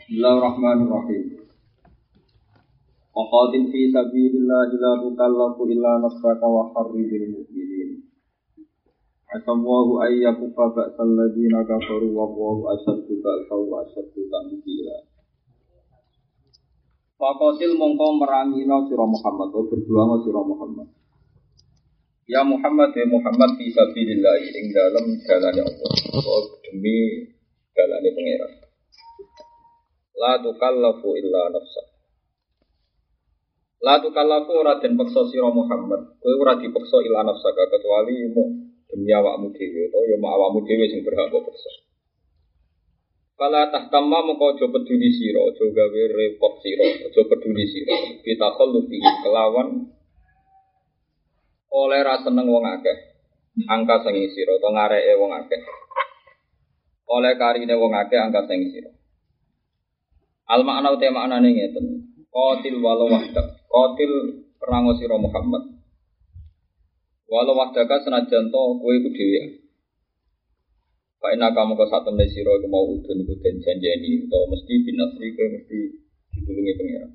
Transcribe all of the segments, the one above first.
Bismillahirrahmanirrahim. Waqatil fi sabilillahi la tukallafu illa nafsaka wa harridil mu'minin. Asallahu ayyakuffa ba'sal ladina kafaru wa Allahu asyaddu ba'san wa asyaddu ta'dila. Waqatil mongko merangina sira Muhammad atau berjuang sira Muhammad. Ya Muhammad fi sabilillahi ing dalem dalane Allah. Demi dalane pangeran. La tukallafu illa nafsa. La tukallafu ora den peksa sira Muhammad. Kowe ora dipeksa illa nafsa kecuali demi awakmu dhewe utawa ya awakmu dhewe sing berhak kok peksa. Fala tahtamma moko aja peduli sira, aja gawe repot sira, aja peduli sira. Pitakhallufi kelawan oleh ra seneng wong akeh. Angka sing sira utawa ngareke wong akeh. Oleh karine wong akeh angka sing sira. Al makna uta maknane ngeten. Qatil walau wahdak. Qatil perang sira Muhammad. Walau wahdaka senajan to kowe iku dhewe. Fa inna kamu ka satemene sira iku mau udun iku den janjeni utawa mesti binasri kowe mesti ditulungi pangeran.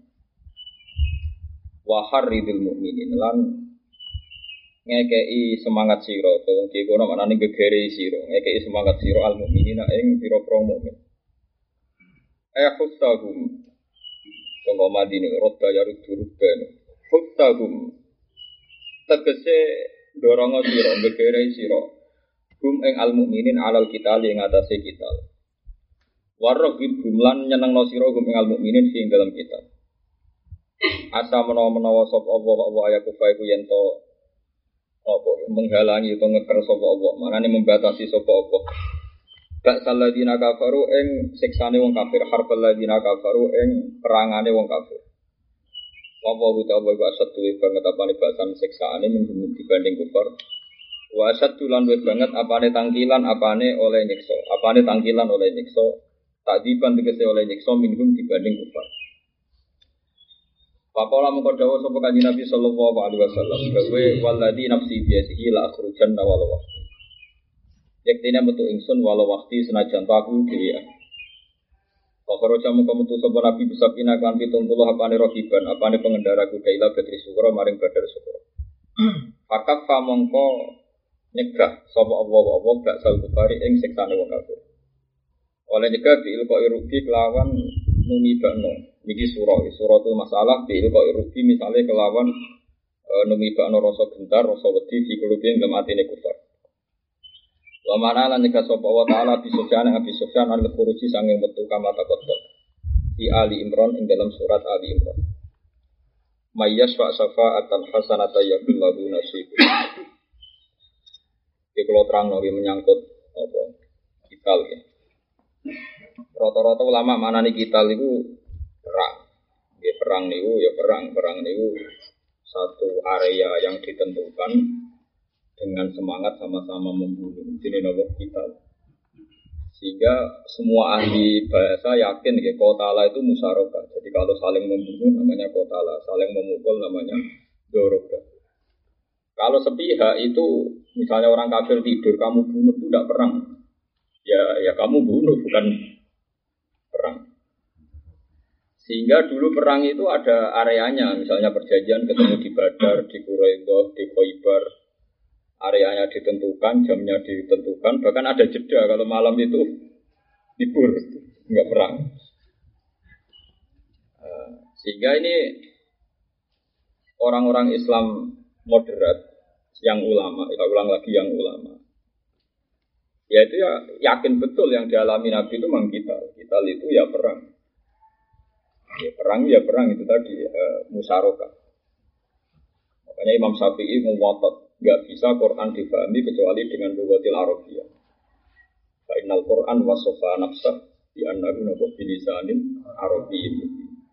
Wa harridil mu'minin lan ngekei semangat sira utawa iki kono maknane gegere sira, ngekei semangat sira al mukminina ing pira-pira mukmin. Khustahum Tunggu madini Rodda yaruduruddan Khustahum tegese dorongo siro Begerai siro Hum ing al-mu'minin alal kitali ing atase kital Warrogib humlan nyenengno siro Hum ing al-mu'minin fi dalam kital Asa menawa-menawa sop Allah ayakufa iku yento menghalangi atau ngeker sop Allah maknane membatasi sop Allah Ba'sal ladina kafaru ing siksane wong kafir, harbal ladina kafaru ing perangane wong kafir. Wa ta'ala wa asaddu banget apane ba'san siksaane minggu dibanding kufar. Wa asaddu lan banget apane tangkilan apane oleh nyiksa, apane tangkilan oleh nyiksa, takdiban tegese oleh nyiksa minggu dibanding kufar. Pakola mengko dawuh sapa Kanjeng Nabi sallallahu alaihi wasallam, "Gawe walladzi nafsi bi yadihi la akhrujanna walau Yaktina metu ingsun walau waktu senajan aku dhewe. Pakaro jamu kemetu sapa Nabi bisa pina kan 70 apane rohiban, apane pengendara kuda ila Badri Sukra maring Badar Sukra. Pakak pamongko nyegah sapa Allah baksal kufari ing siksane wong kafir. Oleh nyegah diilko irugi kelawan numibakno. Niki surah itu masalah diilko irugi misale kelawan numibakno rasa gentar, rasa wedi fi kulubin lematine kufar. Wa mana lan nika sapa wa taala bisufyan al-khuruji sanging metu kama taqaddam di Ali Imran ing dalam surat Ali Imran mayyas wa safa'atan hasanata yakul lahu nasibun iki kula terangno menyangkut apa kital ya rata-rata ulama manani kital iku perang nggih perang niku satu area yang ditentukan dengan semangat sama-sama membunuh. Ini nomor kita. Sehingga semua ahli bahasa yakin ya qatala itu musyarakah. Jadi kalau saling membunuh namanya qatala, saling memukul namanya doroga. Kalau sepihak itu misalnya orang kafir tidur kamu bunuh itu tidak perang. Ya kamu bunuh bukan perang. Sehingga dulu perang itu ada areanya, misalnya perjanjian ketemu di Badar, di Quraidah, di Khaibar. Areanya ditentukan, jamnya ditentukan, bahkan ada jeda kalau malam itu libur, enggak perang. Sehingga ini orang-orang Islam moderat yang ulama, kita ulang lagi yang ulama. Ya itu ya yakin betul yang dialami Nabi itu memang kita itu ya perang. Ya perang itu tadi musyarakah. Makanya Imam Syafi'i mewatat enggak bisa Quran difahami kecuali dengan lughatil Arabiyyah. Fa innal Qur'an wasafa nafsah bi annahu nabu bilisanin arabiyyin.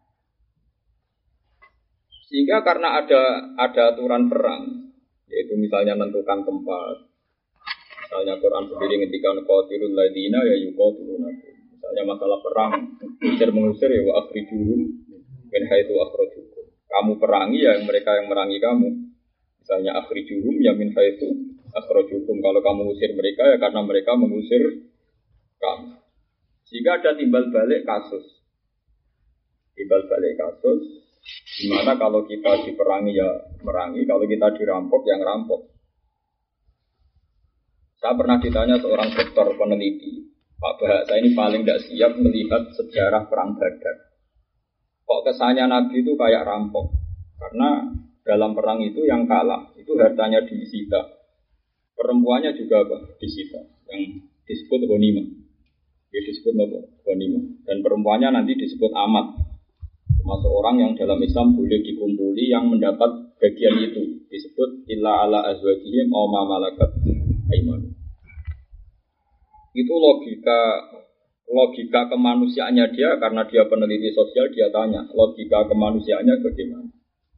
Sehingga karena ada aturan perang, yaitu misalnya menentukan tempat. Misalnya Quran sendiri ngendikan qatilul ladina ya yuqatilunakum. Misalnya masalah perang, mengusir ya wa akhrijuhum min haitsu akhrajukum. Kamu perangi ya mereka yang merangi kamu. Misalnya akhrijuhum ya min haitsu akhrajukum. Kalau kamu usir mereka ya karena mereka mengusir kamu. Jika ada timbal balik kasus Timbal balik kasus, dimana kalau kita diperangi ya merangi, kalau kita dirampok ya ngerampok. Saya pernah ditanya seorang dokter peneliti, Pak Bahasa ini paling tidak siap melihat sejarah perang Badar. Kok kesannya Nabi itu kayak rampok? Karena dalam perang itu yang kalah, itu hartanya disita. Perempuannya juga apa? Disita. Yang disebut ghanimah. Ya disebut apa? Ghanimah. Dan perempuannya nanti disebut amat. Termasuk orang yang dalam Islam boleh dikumpuli yang mendapat bagian itu. Disebut illa ala azwajihim aw ma malakat aimanuhum. Itu logika kemanusiaannya dia, karena dia peneliti sosial, dia tanya logika kemanusiaannya bagaimana.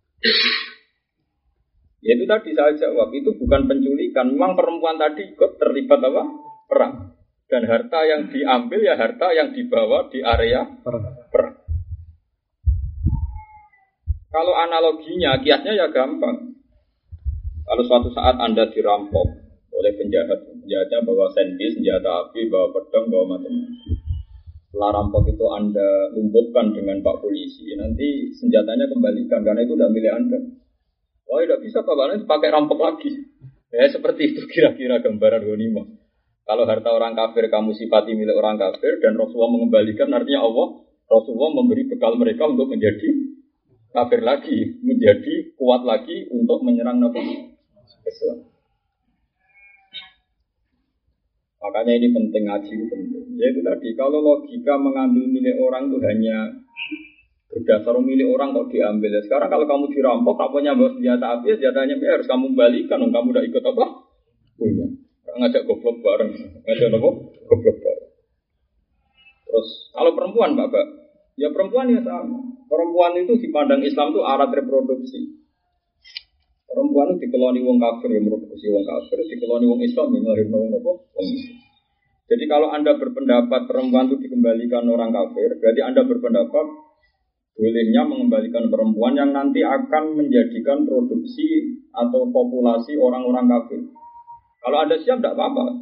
Ya itu tadi saya jawab, itu bukan penculikan. Memang perempuan tadi ikut terlibat apa? Perang. Dan harta yang diambil ya harta yang dibawa di area perang. Kalau analoginya, kiasnya ya gampang. Kalau suatu saat Anda dirampok oleh penjahatnya bawa senpi, senjata api, bawa pedang, bawa macam-macam. Setelah rampok itu Anda lumpuhkan dengan Pak Polisi, nanti senjatanya kembalikan karena itu tidak milik Anda. Wah, tidak bisa Pak, karena pakai rampok lagi. Ya seperti itu kira-kira gambaran ghanimah. Kalau harta orang kafir kamu sifati milik orang kafir dan Rasulullah mengembalikan, artinya Allah, Rasulullah memberi bekal mereka untuk menjadi kafir lagi, menjadi kuat lagi untuk menyerang Nabi Islam. Makanya ini penting, ngaji itu penting. Yaitu tadi, kalau logika mengambil milik orang itu hanya berdasar milik orang kok diambil. Sekarang kalau kamu dirampok, kamunya bawa senjata api, senjatanya harus kamu balikan. Kamu udah ikut apa? Punya. Ngajak goblok bareng. Ngajak apa? Goblok bareng. Terus, kalau perempuan, Bapak, ya perempuan ya sama. Perempuan itu dipandang Islam itu alat reproduksi. Perempuan itu dikeloni wong kafir, yang mereproduksi wong kafir, dikeloni wong Islam, yang melahirkan wong apa? Wong Islam. Jadi kalau Anda berpendapat perempuan itu dikembalikan orang kafir, berarti Anda berpendapat bolehnya mengembalikan perempuan yang nanti akan menjadikan produksi atau populasi orang-orang kafir. Kalau Anda siap, tidak apa-apa.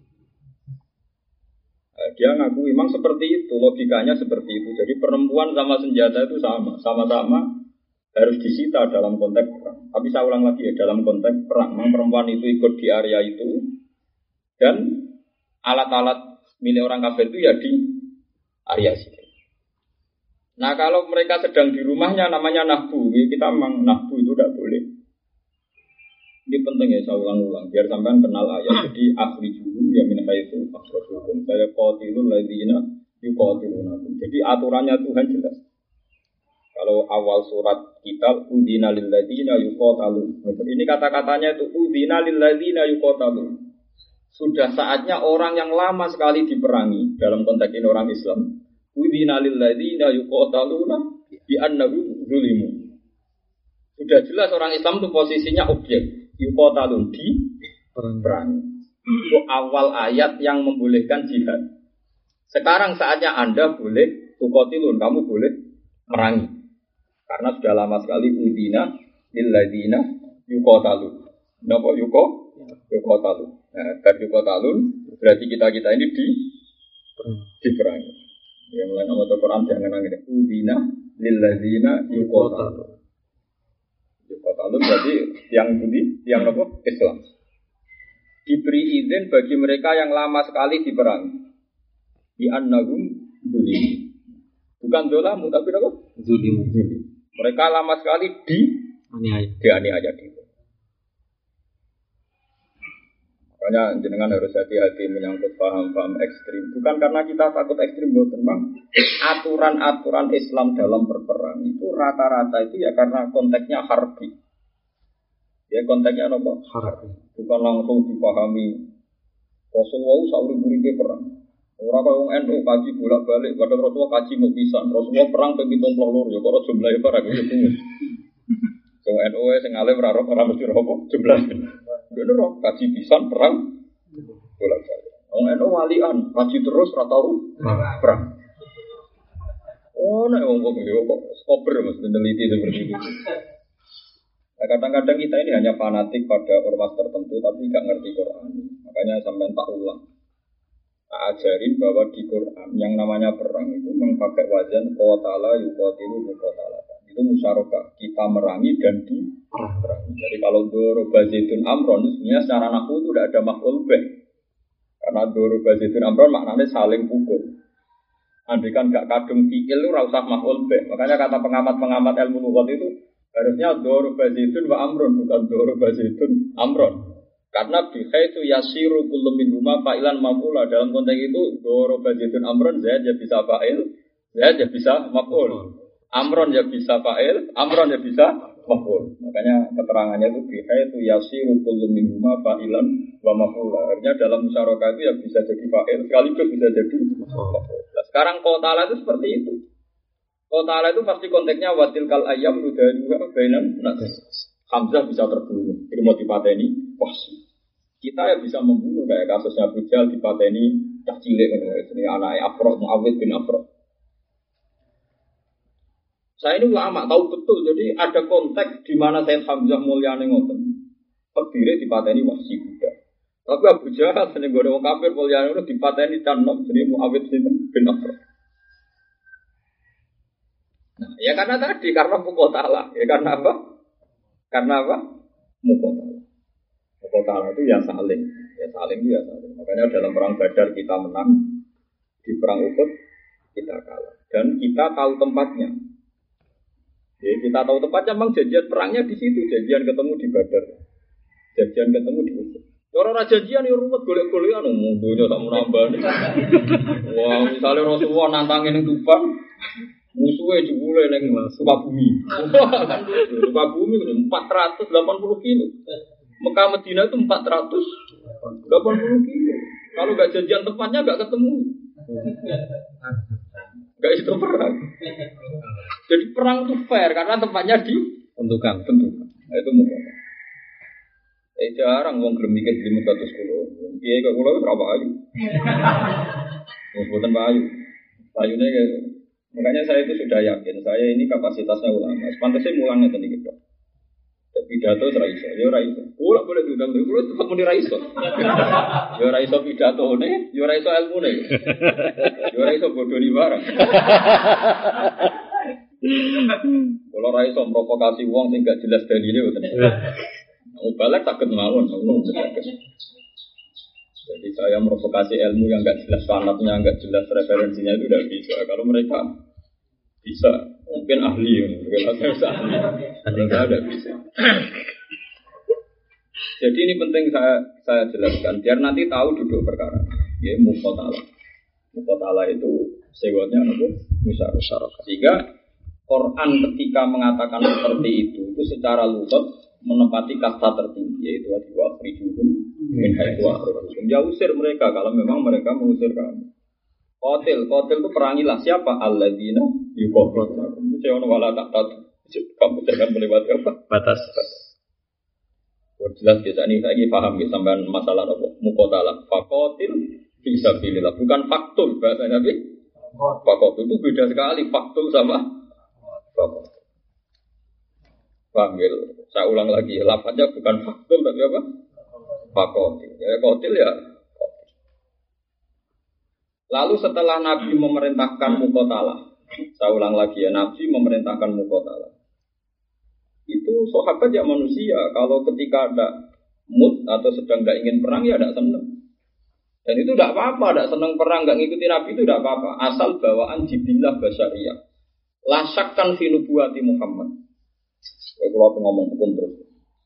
Dia ngaku memang seperti itu, logikanya seperti itu. Jadi perempuan sama senjata itu sama-sama harus disita dalam konteks perang. Tapi saya ulang lagi ya, dalam konteks perang. Memang perempuan itu ikut di area itu, dan alat-alat milik orang kafir itu ya di area situ. Nah kalau mereka sedang di rumahnya namanya nahbu. Kita memang nahbu itu tidak boleh. Ini penting ya, saya ulang-ulang biar sampean kenal ayat. Jadi akhrijuhum ya min haitsu akhrajukum. Saya qatilul ladzina yuqatilunakum. Jadi aturannya Tuhan jelas. Kalau awal surat kita udina lil ladzina yuqatalun. Ini kata-katanya itu udina lil ladzina yuqatalun. Sudah saatnya orang yang lama sekali diperangi, dalam konteks ini orang Islam. Udina lil ladzina yuqataluna bi annahum zulimu. Sudah jelas orang Islam itu posisinya objek. Yuqatalun di perang. Itu awal ayat yang membolehkan jihad. Sekarang saatnya Anda boleh tuqatilun, kamu boleh merangi. Karena sudah lama sekali udina lil ladzina yuqatalun. Napa yuqatalun? Nah, dari yuqatalun berarti kita ini diperangi. Yang mulai nama Al-Quran jangan nangis. Udina lil ladzina yuqatalun. Yuqatalun berarti yang budi, yang apa? Islam. Diberi izin bagi mereka yang lama sekali diperangi. Di annahum zulim. Bukan zolamu tapi apa? Zulim. Mereka lama sekali dianiaya. Makanya jenengan harus hati-hati menyangkut paham-paham ekstrim. Bukan karena kita takut ekstrim, Bang. Aturan-aturan Islam dalam berperang itu rata-rata itu ya karena konteksnya harbi. Ya konteksnya apa? Harbi. Bukan langsung dipahami. Rasulullah sauri-uripe perang. Orang kaya wong NU kaji bolak-balik, padahal Rasulullah kaji mau pisan. Rasulullah perang ping 72 ya kok jumlahe para kuwi bingung. Wong NU sing alim ora mesti apa jumlah. Dene roh kaji pisan perang bolak-balik. Wong NU walian kaji terus ora tau perang. Oh nek wong kok yo kok skober Mas meneliti seperti itu. Nah, kadang-kadang kita ini hanya fanatik pada ormas tertentu tapi enggak ngerti Quran. Makanya sampai tak ulang. ajarin bahwa di Quran yang namanya perang itu memakai wazan qatala yuqatilu muqatalatan. Itu musyarakah, kita merangi dan diperangi. Jadi kalau doroba zaitun amron sebenarnya secara nahwu itu tidak ada maf'ul bih. Karena doroba zaitun amron maknanya saling pukul. Andai kan gak kadung fi'il itu ora usah maf'ul bih. Makanya kata pengamat-pengamat ilmu lughat itu harusnya doroba zaitun wa amron bukan doroba zaitun amron. Karena bihaitu yasiru kullu minhuma fa'ilan maf'ula. Dalam konteks itu doroba zaitun amron zaid ya bisa fa'il, zaid ya bisa maf'ul. Amron ya bisa fa'il, amron ya bisa maf'ul. Makanya keterangannya itu bihaitu yasiru kullu minhuma fa'ilan wa maf'ula. Artinya dalam musyarakah itu ya bisa jadi fa'il sekaligus bisa jadi maf'ul. Nah, sekarang qatala itu seperti itu. Qatala itu pasti konteksnya watilkal ayyam nudaduha bainan nas. Hamzah bisa terbunuh, ilmu dipateni, wah. Kita ya bisa membunuh kayak kasusnya Bujal dipateni cah cilik ini anaknya Afro Muawid bin Afro. Saya ini ulama tahu betul, jadi ada konteks di mana Sayyid Hamzah mulyane ngoten. Terdiri dipateni wahsi Buddha. Tapi Abu Jahal seneng gore wong kafir mulyane itu dipateni canom jadi Muawid bin Afro. Nah, ya karena tadi karena muqatalah, ya karena apa? Karena apa? Muqatalah. Muqatalah itu ya saling itu ya saling. Makanya dalam perang Badar kita menang, di perang Uhud kita kalah. Dan kita tahu tempatnya. Jadi kita tahu tempatnya, memang janjian perangnya di situ, janjian ketemu di Badar, janjian ketemu di Uhud. Orang janjian yang ruwet golek-golekan, mundunya tak mau nambah. Wah, misalnya Rasulullah nantangin yang Tuban, musuhnya jebule neng Sukabumi. Sukabumi 480 kilo. Mekah Medina itu 480 kilo. Kalau nggak janjian tempatnya nggak ketemu. Nggak itu perang. Jadi perang itu fair karena tempatnya ditentukan. Nah, itu mudah. Jarang wong gelem mikir 500 kilo. Piye kok kula berapa ayu? Mboten ayu. Ayune makanya saya itu sudah yakin, saya ini kapasitasnya ulama. Pantasnya mulangnya tadi gitu. Pidato raiso, ya raiso. Kula boleh diundang, kula tetap muni raiso. Ya raiso pidatone, ya raiso ilmune. Ya raiso bodoh di barang. Kula raiso provokasi wong sing gak jelas dalile ngoten. Mubalak takut mawon, jadi saya provokasi ilmu yang gak jelas sanadnya, gak jelas referensinya itu tidak bisa. Kalau mereka bisa, mungkin ahli, mungkin saya bisa ahli. Mereka tidak bisa. Jadi ini penting saya jelaskan, biar nanti tahu duduk perkara. Ya, muqatalah. Muqatalah itu sewanya apa? Musyarakah. Sehingga Quran ketika mengatakan seperti itu secara lughat menempati kasta tertinggi, yaitu wa'khrijuhum min haitsu akhrajukum. Ya usir mereka kalau memang mereka mengusir kamu. Qatil itu perangilah siapa? Alladzina yuqatilunakum. Jangan wala taqtad. Kamu jangan melewati apa? Batas. Jelas biasa ini saya paham ya sampean masalah apa? Muqatalah. Faqatil fi sabilillah, bukan faktul bahasa Nabi. Faqatil itu beda sekali faktul sama faqatil. Panggil, saya ulang lagi, lafaznya bukan faktul tapi apa? Faqatil. Ya qatil ya. Lalu setelah Nabi memerintahkan muqatalah, saya ulang lagi ya, Nabi memerintahkan muqatalah. Itu sahabat ya manusia, kalau ketika ada mood atau sedang tidak ingin perang ya tidak senang. Dan itu tidak apa-apa, tidak senang perang, tidak ngikuti Nabi itu tidak apa-apa. Asal bawaan jibillah basyariyah. Lasakkan fi nubuwati Muhammad. Kalau ngomong hukum terus.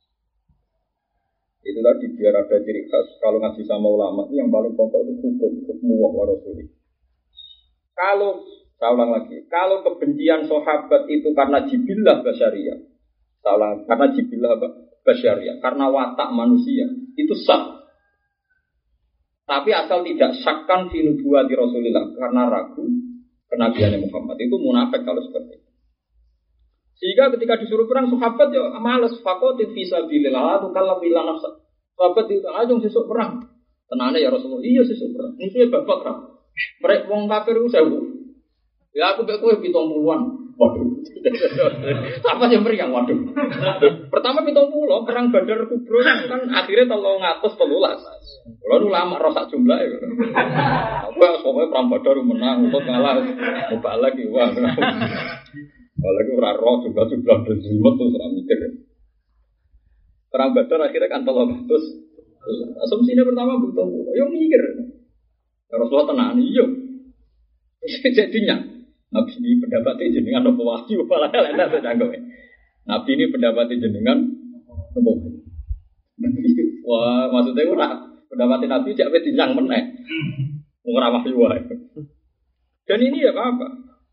Itu tadi biar ada ciri khas. Kalau ngaji sama ulama itu yang paling pokok itu hukum wa rasuli. Kalau saya ulang lagi, kalau kebencian sahabat itu karena jibillah basyariyah, saya ulang, karena jibillah basyariyah, karena watak manusia, itu sah. Tapi asal tidak syakkan fi nubuwati Rasulillah karena ragu kenabiannya Muhammad, itu munafik kalau seperti itu. Sehingga ketika disuruh perang sahabat ya malas, faqatil fi sabilillah tu kalau bilang nafsa. Sahabat itu aja sesuk perang. Tenane ya Rasulullah, iya sesuk perang. Musuhe babak ra. Mereka wong kafir ku 1000. Ya aku mek kowe 70-an. Waduh. Apa yang meriang waduh. Pertama 70 perang Badar Kubro kan akhirnya 313. Kalau nu lama rosak jumlah ya. Apa pokoknya perang Badar menang, untuk ngalah. Coba lagi wah. Kalau lagi ora roh juga berjumlah terus ora mikir. Perang Badar akhirnya kan 300. Asumsinya pertama betul. Yo mikir. Rasulullah tenan iya. Jadinya Nabi ini pendapatnya jenengan apa wahyu malah enak sedangkan. Nabi ini pendapatnya jenengan apa wahyu. Wah, maksudnya ora pendapatnya Nabi jak wis dinyang meneh. Ora wahyu wae. Dan ini ya apa?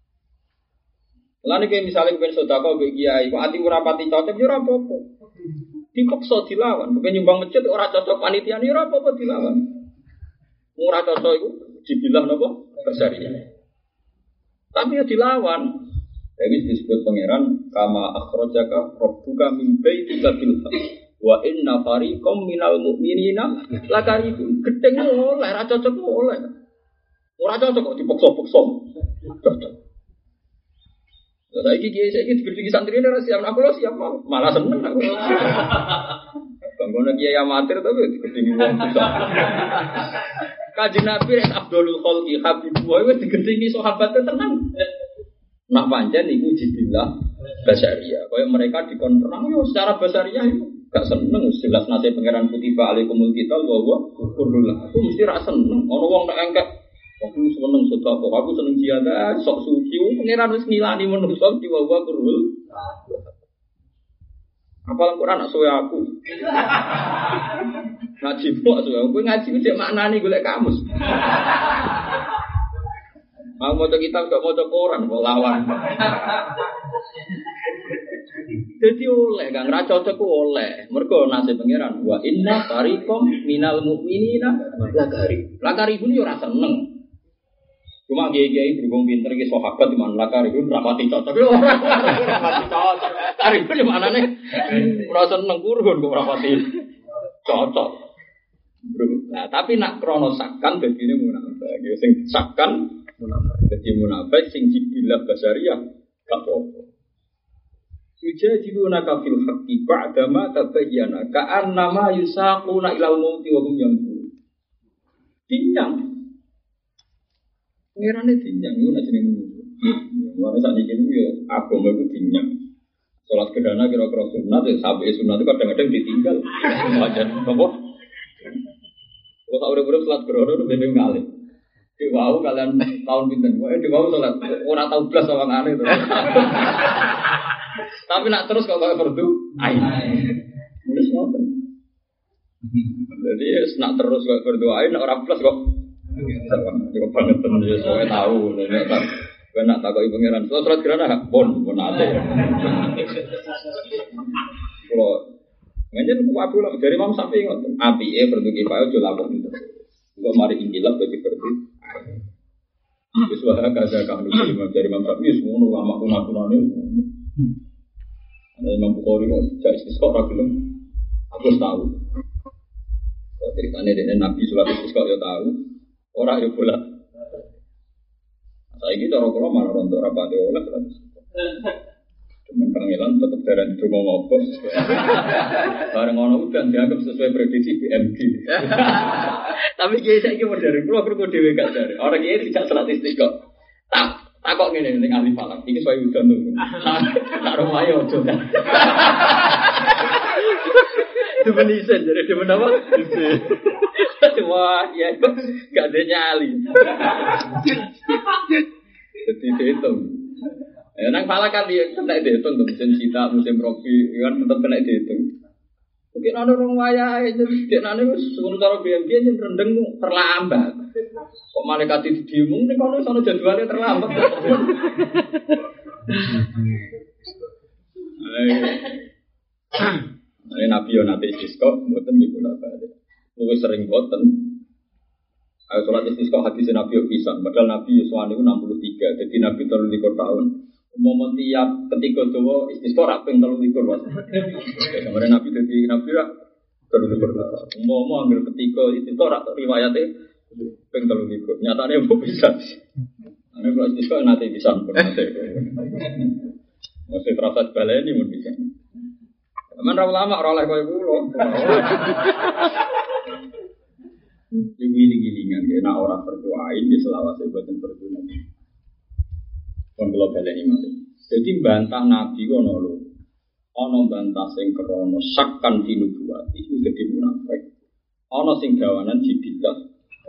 Lan iki misale kepen sedekah mbek kiai, kok ati ora pati cocok ya ora apa-apa. Dipaksa dilawan, kepen nyumbang masjid ora cocok panitia ya ora apa-apa dilawan. Ora cocok iku dibilang napa? Basariah. Tapi ya dilawan. Jadi disebut pangeran kama akhrajaka rabbuka min baitika bil haqq wa inna fariqam minal mu'minina lakarihun. Gedeng oleh ra cocok oleh. Ora cocok kok dipaksa-paksa. Cocok. Saiki digedhi santri ora siap aku lho siap malah seneng aku. Bangun kiai amatir tapi digedhi wong bisa. Kanjeng Nabi Abdul Khalqi Habib wis digedhingi sahabate tenan. Nak pancen iku jibillah basaria. Kaya mereka dikon perang yo secara basaria itu gak seneng jelas nase pangeran kutiba alaikumul qital wa huwa kurrullah. Aku mesti ra seneng. Ana wong nek engkek aku seneng sedekah, aku seneng jihad, sok suci pangeran wis ngilani menungso di wa huwa kurrul. Apal Quran nak suwe aku. Ngaji kok suwe aku ngaji ku cek maknane golek kamus. Mau maca kitab gak maca Quran kok lawan. Jadi oleh gak ngra cocok oleh. Mergo nasib pangeran wa inna fariqam minal mu'minina lakari pun yo ora seneng. Cuma kiai-kiai berhubung pinter iki sahabat di mana lakari pun rapati cocok lho. Rapati cocok. Kari pun maknane ora seneng kurun kok rapati cocok. Nah, tapi nak krono sakkan dadine munafik. Ya sing sakkan munafik. Dadi munafik sing jibillah basariah gak apa-apa. Yujadiluna kafil haqqi ba'da ma tabayyana ka'annama yusaquna ilal mauti wa hum yanzurun. Dinyang. Ngirane dinyang yo nek jenenge ngono. Wong sak iki yo agama iku dinyang. Salat kedana kira-kira sunat ya sampai sunat itu kadang-kadang ditinggal. Wajan apa? Kalau tak urip-urip salat kedana itu bebek kali. Diwau kalian tahun pinten. Wae diwau salat ora tau blas sawangane to. Tapi nak terus kok fardu ain. Wis ngoten. Jadi nak terus kok fardu ain ora blas kok. Cukup banget tenan ya soalnya tahu nek tak nak takoki pangeran. Salat gerana pun ate. Kalau nganjen waduh lah dari Imam Syafi'i ngoten. Apike fardu kifayah aja lakon itu. Kok mari injilab dadi fardu. Wis wae kaza kang dari Imam Syafi'i ngono lama kuna-kunane. Ada Imam Bukhari kok jadi istisqa ra gelem. Aku tahu. Kok ceritane dene Nabi salat istisqa ya tahu. Ora yo bola. Saiki cara kula malah rontok rapate oleh salat istisqa. Cuman pangelan tetep darani donga ngopo. Bareng ngono udan dianggap sesuai prediksi BMG. Tapi kiai saiki modern kula perlu dhewe gak jare. Ora kiai tidak salat istisqa. Takok ngene ning ahli falak. Iki suwe udan lho. Tak rumahe ojo. Demenisen jare demen apa? Wah, ya gak ada nyali. Jadi dihitung. Ya nang falak kan dia kena dihitung tuh musim cita, musim robi kan tetap kena dihitung. Mungkin ada orang wayahe jadi dia nane wis sementara BMG yen rendeng terlambat. Kok malaikat didiumung ning kono sono jadwalnya terlambat. Nabi yo nate istisqa mboten niku napa. Luwih sering mboten. Ayo salat istisqa hadis Nabi yo pisan, padahal Nabi Yusuf niku 63, jadi Nabi 33 tahun. Umum tiap ketika dawa istisqa ra ping 33 Mas. Kemarin Nabi dadi Nabi ra 33. Umum ambil ketika istisqa ra riwayate ping 33. Nyatane mbok pisan. Ana kalau istisqa nanti bisa pun nanti. Mesti terasa baleni mun bisa. Aman ra ulama ora oleh koyo kula. Ibu giling-gilingan kena orang berdoain di selawase boten berguna. Kon kula baleni malih. Jadi bantah Nabi ono lho. Ono bantah sing krana sakkan dinubuwati iku dadi munafik. Ono sing gawanan jibillah.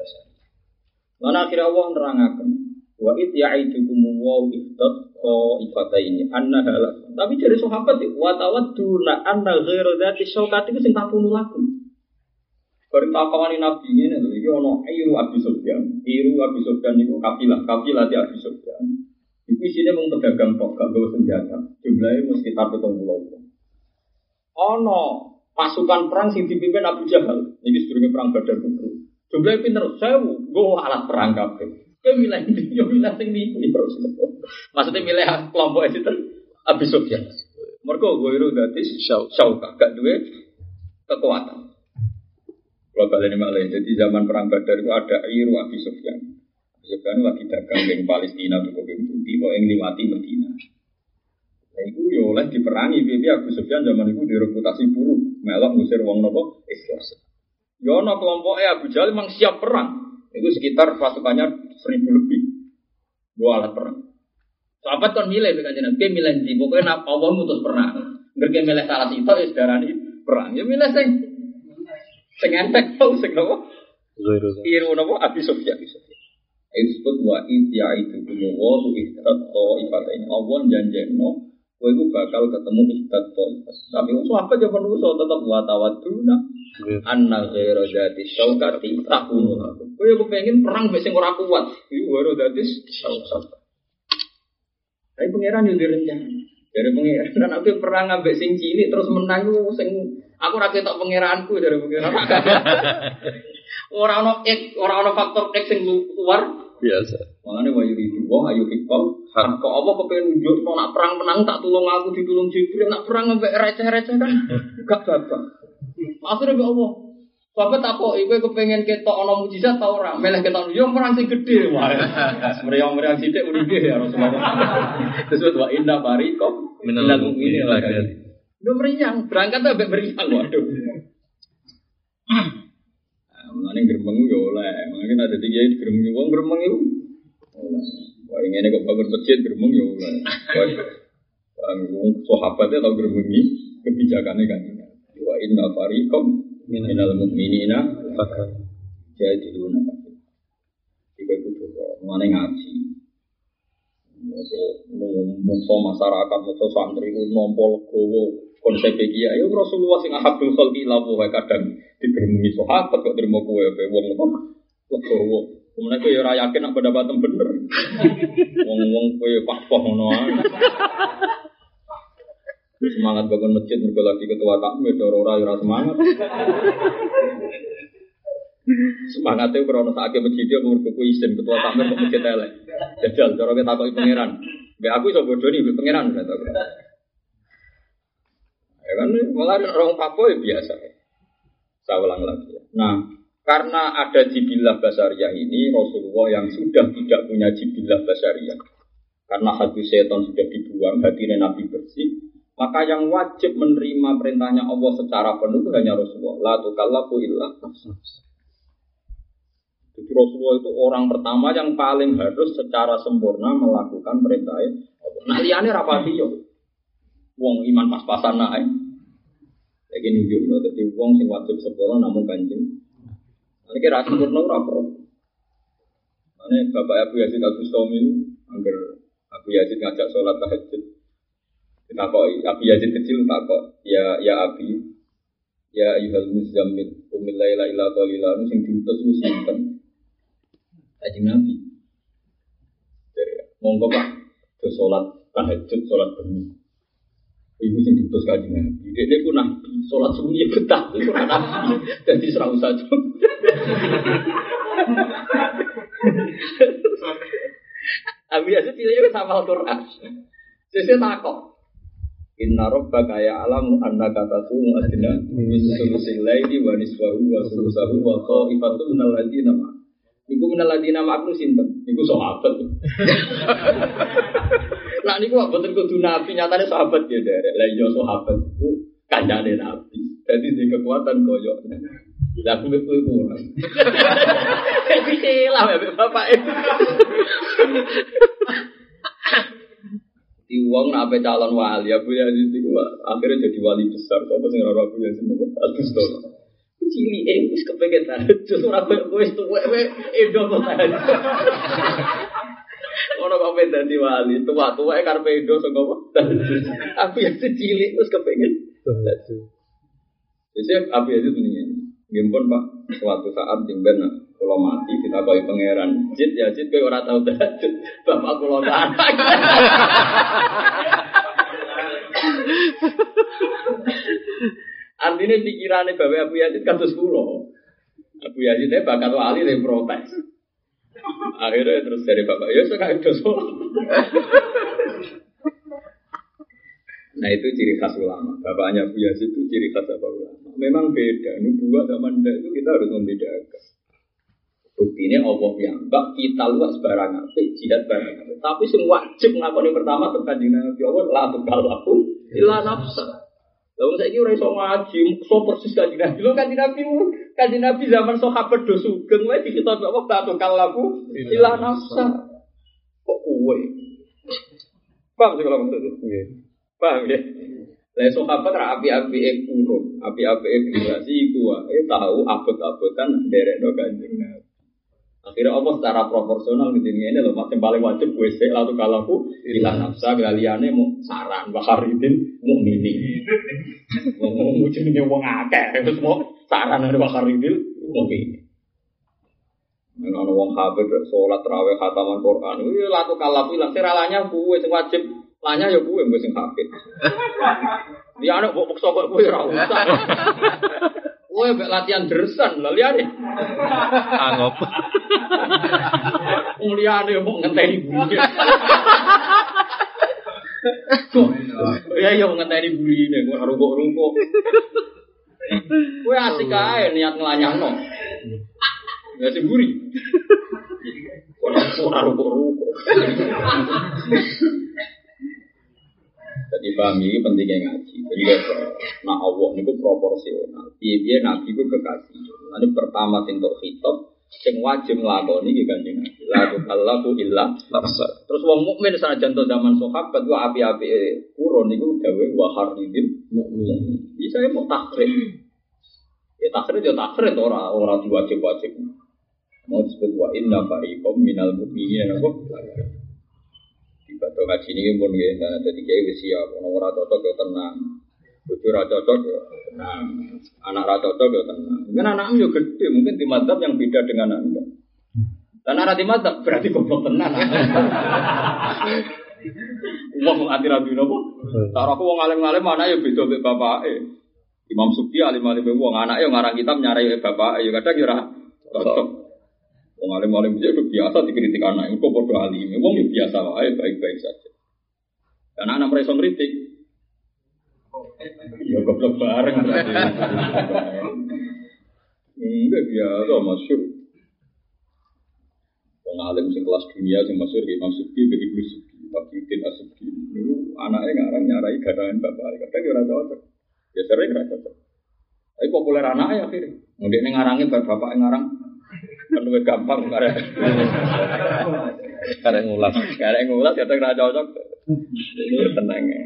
Lan akhire Allah nerangaken wa it ya'idukum wa iftat ifataini anna halal. Tapi dari sahabat wa tawadduna anna ghairu dzati syaukat itu sing takunu lakum. Bareng takawani Nabi ngene lho iki ana Iru Abi Sufyan. Iru Abi Sufyan niku kafilah di Abi Sufyan. Iku isine mung pedagang tok gak nggawa senjata. Jumlahe mung sekitar 70 orang. Ana pasukan perang sing dipimpin Abu Jahal. Iki sedurunge perang Badar Kubro. Jumlahe pinter 1000 nggo alat perang kabeh. Kowe milih yo milih sing niku terus. Maksudnya milih kelompok itu Abi Sufyan. Mergo Iru dadi syauka gak duwe kekuatan. Kalau kalian malah jadi zaman perang Badar itu ada Iru Abi Sufyan. Abi Sufyan lagi dagang di Palestina untuk kopi putih, kok yang liwati Medina. Nah itu ya oleh diperangi, tapi Abi Sufyan zaman itu direputasi buruk, melok ngusir wong nopo Islam. Ya no kelompoknya Abu Jahal memang siap perang. Itu sekitar pasukannya 1000 lebih. Dua alat perang. Sahabat kan milih dengan Nabi, milih di pokoknya Allah mutus perang. Mereka milih salah itu ya saudara ini perang. Ya milih sing entek tau sing apa? Iru napa Abi Sufyan. Itu disebut wa itu wa ihtat ifatain. Allah janjeno kowe iku bakal ketemu ihtat ifat. Tapi apa aja perlu tetap wa tawadduna anna ghairu dzati syaukati takunu. Kowe kepengin perang mek sing ora kuat. Iku ora dadi syaukat. Tapi pangeran yo direncana. Dari pangeran kan aku perang ambek sing cilik terus menang ku sing aku ra ketok pangeranku dari pangeran. Ora ono faktor X sing luar biasa. Makane wa yuridu wa ayu hikam. Kok apa kepen nunjuk nak perang menang tak tulung aku ditulung Jibril nak perang ambek receh-receh kan gak babak. Akhire mbek Allah. Bapak takoki kowe kepengin ketok ana mukjizat ta ora? Meleh ketok yo perang sing gedhe wae. Meriang-meriang sithik uripe ya Rasulullah. Terus wa inna barikum minal mu'minin lagi. Udah meriang, berangkat sampai meriang, waduh. Mengenai gerbang itu oleh, mungkin ada 3 gerbang uang gerbang itu. Wah ini kok bangun masjid gerbang itu oleh. Wah, sahabatnya tahu gerbang ini kebijakannya kan. Wa inna fariqam minal mu'minina jadi dulu nak. Jika itu juga mengenai ngaji. Musuh masyarakat, musuh santri itu nompol gowo konsep iki ya Rasulullah sing ahabul khalqi lawu wae kadang digermungi sahabat kok terima kowe wong kok gowo. Kemudian kowe ora yakin nek pendapatmu bener. Wong kowe pahpoh ngono ae. Semangat bangun masjid mergo lagi ketua takmir ora semangat. Semangatnya krono sakake masjid yo mergo kuwi isin ketua takmir kok masjid elek. Jajal cara kita takoki pangeran. Mbek aku iso bodoni mbek pangeran kata aku. Ya kan malah orang Papua ya biasa. Saya ulang lagi. Nah, karena ada jibillah basariyah ini Rasulullah yang sudah tidak punya jibillah basariyah. Karena hati setan sudah dibuang, hati Nabi bersih, maka yang wajib menerima perintahnya Allah secara penuh itu hanya Rasulullah. La tukallafu illa nafsuh. Jadi Rasulullah itu orang pertama yang paling harus secara sempurna melakukan perintahnya Allah. Nah liane rapati yo. Wong iman pas-pasan naik. Lagi nunjuk no, jadi wong sing wajib sempurna namun kanjeng. Ini kira sempurna apa? Ini Bapak Abu Yazid Al-Bustami, angger Abu Yazid ngajak sholat tahajud. Kita kok Abu Yazid kecil tak kok ya Abi, ya Ayyuhal Muzammil, Qumil Laila illa qalila, sing diutus iku sinten? Kanjeng Nabi. Jadi monggo Pak, ke sholat tahajud, sholat bengi. Ibu sing diutus Kanjeng Nabi. Dene ku nabi, salat sunyi betah iku ora nabi. Dadi serau saja. Abi aja cilik wis hafal Quran. Sesuk takok. Inna rabbaka ya'lamu annaka taqumu adna min sulusil laili wa nisfahu wa sulusahu wa qa'ifatun minal ladzina ma. Iku menaladina maknu sinten? Iku sahabat. Nah niku mboten kudu nabi, nyatane sahabat ya derek. Lah iya sahabat iku kancane nabi. Dadi di kekuatan koyo. Lah kuwi kurang. Iki lah bapak. Di uang nak calon wali, Abu Yazid itu akhirnya jadi wali besar. Kau pasti ngerasa Abu Yazid itu Agustus. Cili, wis kepengen tahajud. Orang wis tuwek, edo tahajud. Orang kau pengen jadi wali, tua-tua karpe edo sengkau. Abu Yazid cili, wis kepengen tahajud. Jadi Abu Yazid ini, gimpun Pak, suatu saat jengben kalau mati kita koi pangeran. Jid ya Jid kau orang tahu tahajud. Bapak kalau anak. Artinya pikirannya Bapak Abu Yazid kados kula. Abu Yazid bakat wali dari protes. Akhirnya terus dari Bapak, ya sekarang dosa. Nah itu ciri khas ulama. Bapaknya Abu Yazid itu ciri khas apa ulama. Memang beda. Nubuah sama ndak itu kita harus membedakan. Buktinya Allah yang kita luas barang apik, jihad barang apik. Tapi semua wajib ngakoni pertama tekan di Nabi Allah la tukal aku illa nafsa. Lalu saya kira iso ngaji, so persis kanjeng Nabi. Lho kanjeng Nabi zaman sahabat do sugeng wae dikitab Allah la tukal aku illa nafsa. Kok kowe? Paham sih kalau maksudnya? Nggih. Paham ya? Lah sahabat ra api-api urun, api-api generasi iku wae tahu abot-abotan nderekno kanjeng Nabi. Akhirnya Allah secara proporsional di dunia ini loh, yang paling wajib WC lalu kalaku ilah nafsa galiane mau saran Bakharidin mukminin. Mau jenenge wong akeh terus mau saran dari Bakharidin mukminin. Ana wong hafid salat tarawih khataman Quran. Iki lalu kalaku ilang seralanya kuwe sing wajib, lanya ya kuwe sing hafid. Dia anak mbok paksa kok kuwe ora usah. Kowe mek latihan dersan lho liyane. Angop. Liyane mung ngenteni burine. Ya ngenteni burine kok rungkuk-rungkuk. Kowe asik ae niat nglanyahno. Ya semburi. Kok rungkuk-rungkuk. Jadi paham ini pentingnya ngaji. Jadi nak Allah itu proporsional. Dia Nabi itu kekasih. Nanti pertama untuk khitab, yang wajib ngelakoni iki kanjeng Nabi. La tukallafu illa nafsa. Terus wong mukmin senajan to zaman sahabat ku api-api kurun niku dawe wa haridil mukmin. Bisa mau takrib. Ya takrib ora diwajib-wajib. Mau disebut wa inna fariqam minal mu'minina kok. Bato ngaji ini pun gitu, jadi kayak wis siap. Orang ora cocok ya tenang, bojo ora cocok ya tenang, anak ora cocok ya tenang. Mungkin anakmu juga gede, mungkin di madzhab yang beda dengan anda. Dan anak di madzhab berarti goblok tenan. Wong anti rabi nopo? Cara aku wong alim-alim mana ya beda mbek bapake. Imam Subki alim-alim wong anak ya ngarang kitab nyarai bapake ya kadang ya ora cocok. Wong alim-alim itu biasa dikritik anak, itu podo alim. Wong ya biasa wae, baik-baik saja. Karena anak mereka ngritik. Ya goblok bareng berarti. Enggak biasa masyhur. Wong alim sing kelas dunia sing masyhur Imam Subki, Ibnu Subki, Taqiuddin As-Subki. Niku anake ngarang nyarai gadahan bapak, kadang ya ora cocok. Ya sering ora cocok. Tapi populer anake akhirnya. Ndek ning ngarangi bapak ngarang penuh gampang karek ngulas kadang ra cocok. Ini tenang ya.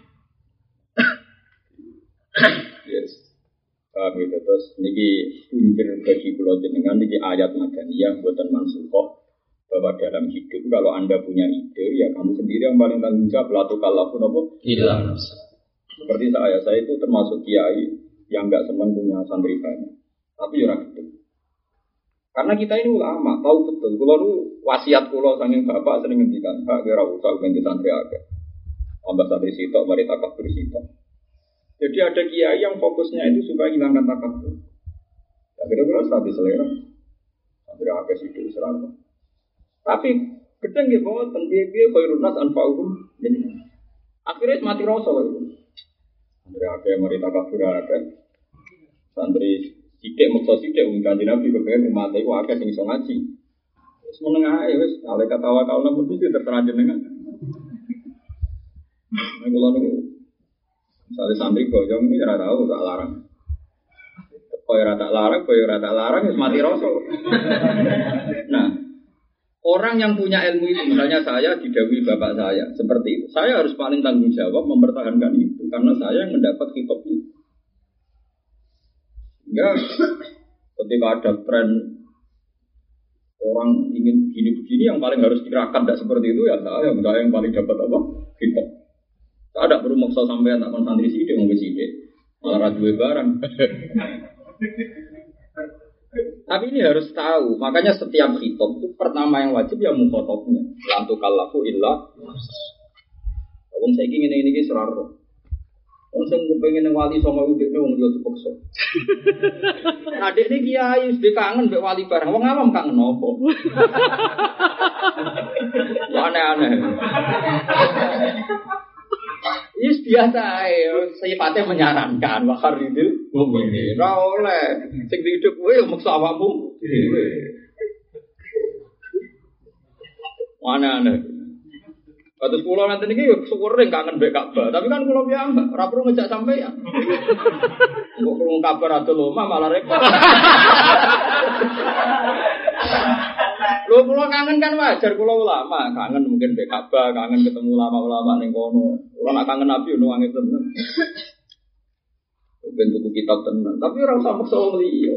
Yes. Gitu terus niki punjer bagi kula jenengan niki ayat madaniyah mboten mansukh bahwa dalam hidup kalau Anda punya ide ya kamu sendiri yang paling tanggung jawab la tukallafu napa illa nafsa. Seperti saya itu termasuk kiai yang enggak senang punya santri banyak. Tapi ora gitu. Karena kita ini ulama, tahu betul. Kalau lu wasiat kulo saking bapak sering ngendikan, Pak kira usah ganti santri akeh. Tambah santri sitok, mari takabur sitok. Jadi ada kiai yang fokusnya itu supaya hilangkan takabur. Ya kira-kira strategi selera. Santri akeh sidik serana. Tapi gedeng ya bahwa tentu-tentu khairun nas anfa'uhum. Jadi akhirnya mati rasa itu. Santri akeh, mari takabur akeh. Santri sidik maksa sidik kanjeng Nabi kepengen umat iku akeh sing iso ngaji. Semenengah wis ale katawa kaula mesti terserah jenengan. Nek kula niku misale santri boyong iki ora tau tak larang. Koyo ora tak larang wis mati rasa. Nah, orang yang punya ilmu itu, misalnya saya didhawuhi bapak saya seperti itu, saya harus paling tanggung jawab mempertahankan itu karena saya yang mendapat khitab itu. Ya, ketika ada tren orang ingin begini-begini yang paling harus dikerahkan tidak seperti itu ya saya yang paling dapat apa? Khitab. Saya ada perlu maksa sampai tak santri sithik wong wis sithik. Malah ra duwe barang. Tapi ini harus tahu, makanya setiap khitab itu pertama yang wajib ya mukhatabnya. La tukallafu illa wong saiki ngene iki seraro. Wong sing kepengin wali sama udekne wong liya dipaksa. Adekne kiai wis kangen mbek wali bareng. Wong awam kangen opo? Aneh-aneh. Yes biasa sifatnya menyarankan wakar itu mukmin. Ora oleh sing hidup kowe yo maksa awakmu dhewe. Aneh-aneh. Kados kula nanti niki yo syukur ning kangen mbek Ka'bah, tapi kan kula piyambak ora perlu ngejak sampeyan. Kok krungu kabar ado lomah malah repot. Lho kula kangen kan wajar, kula ulama, kangen mungkin mbek Ka'bah, kangen ketemu ulama-ulama ning kono. Kula nak kangen Nabi yo nangis tenan. Ben tuku kitab tenan, tapi ora usah maksa wong liya.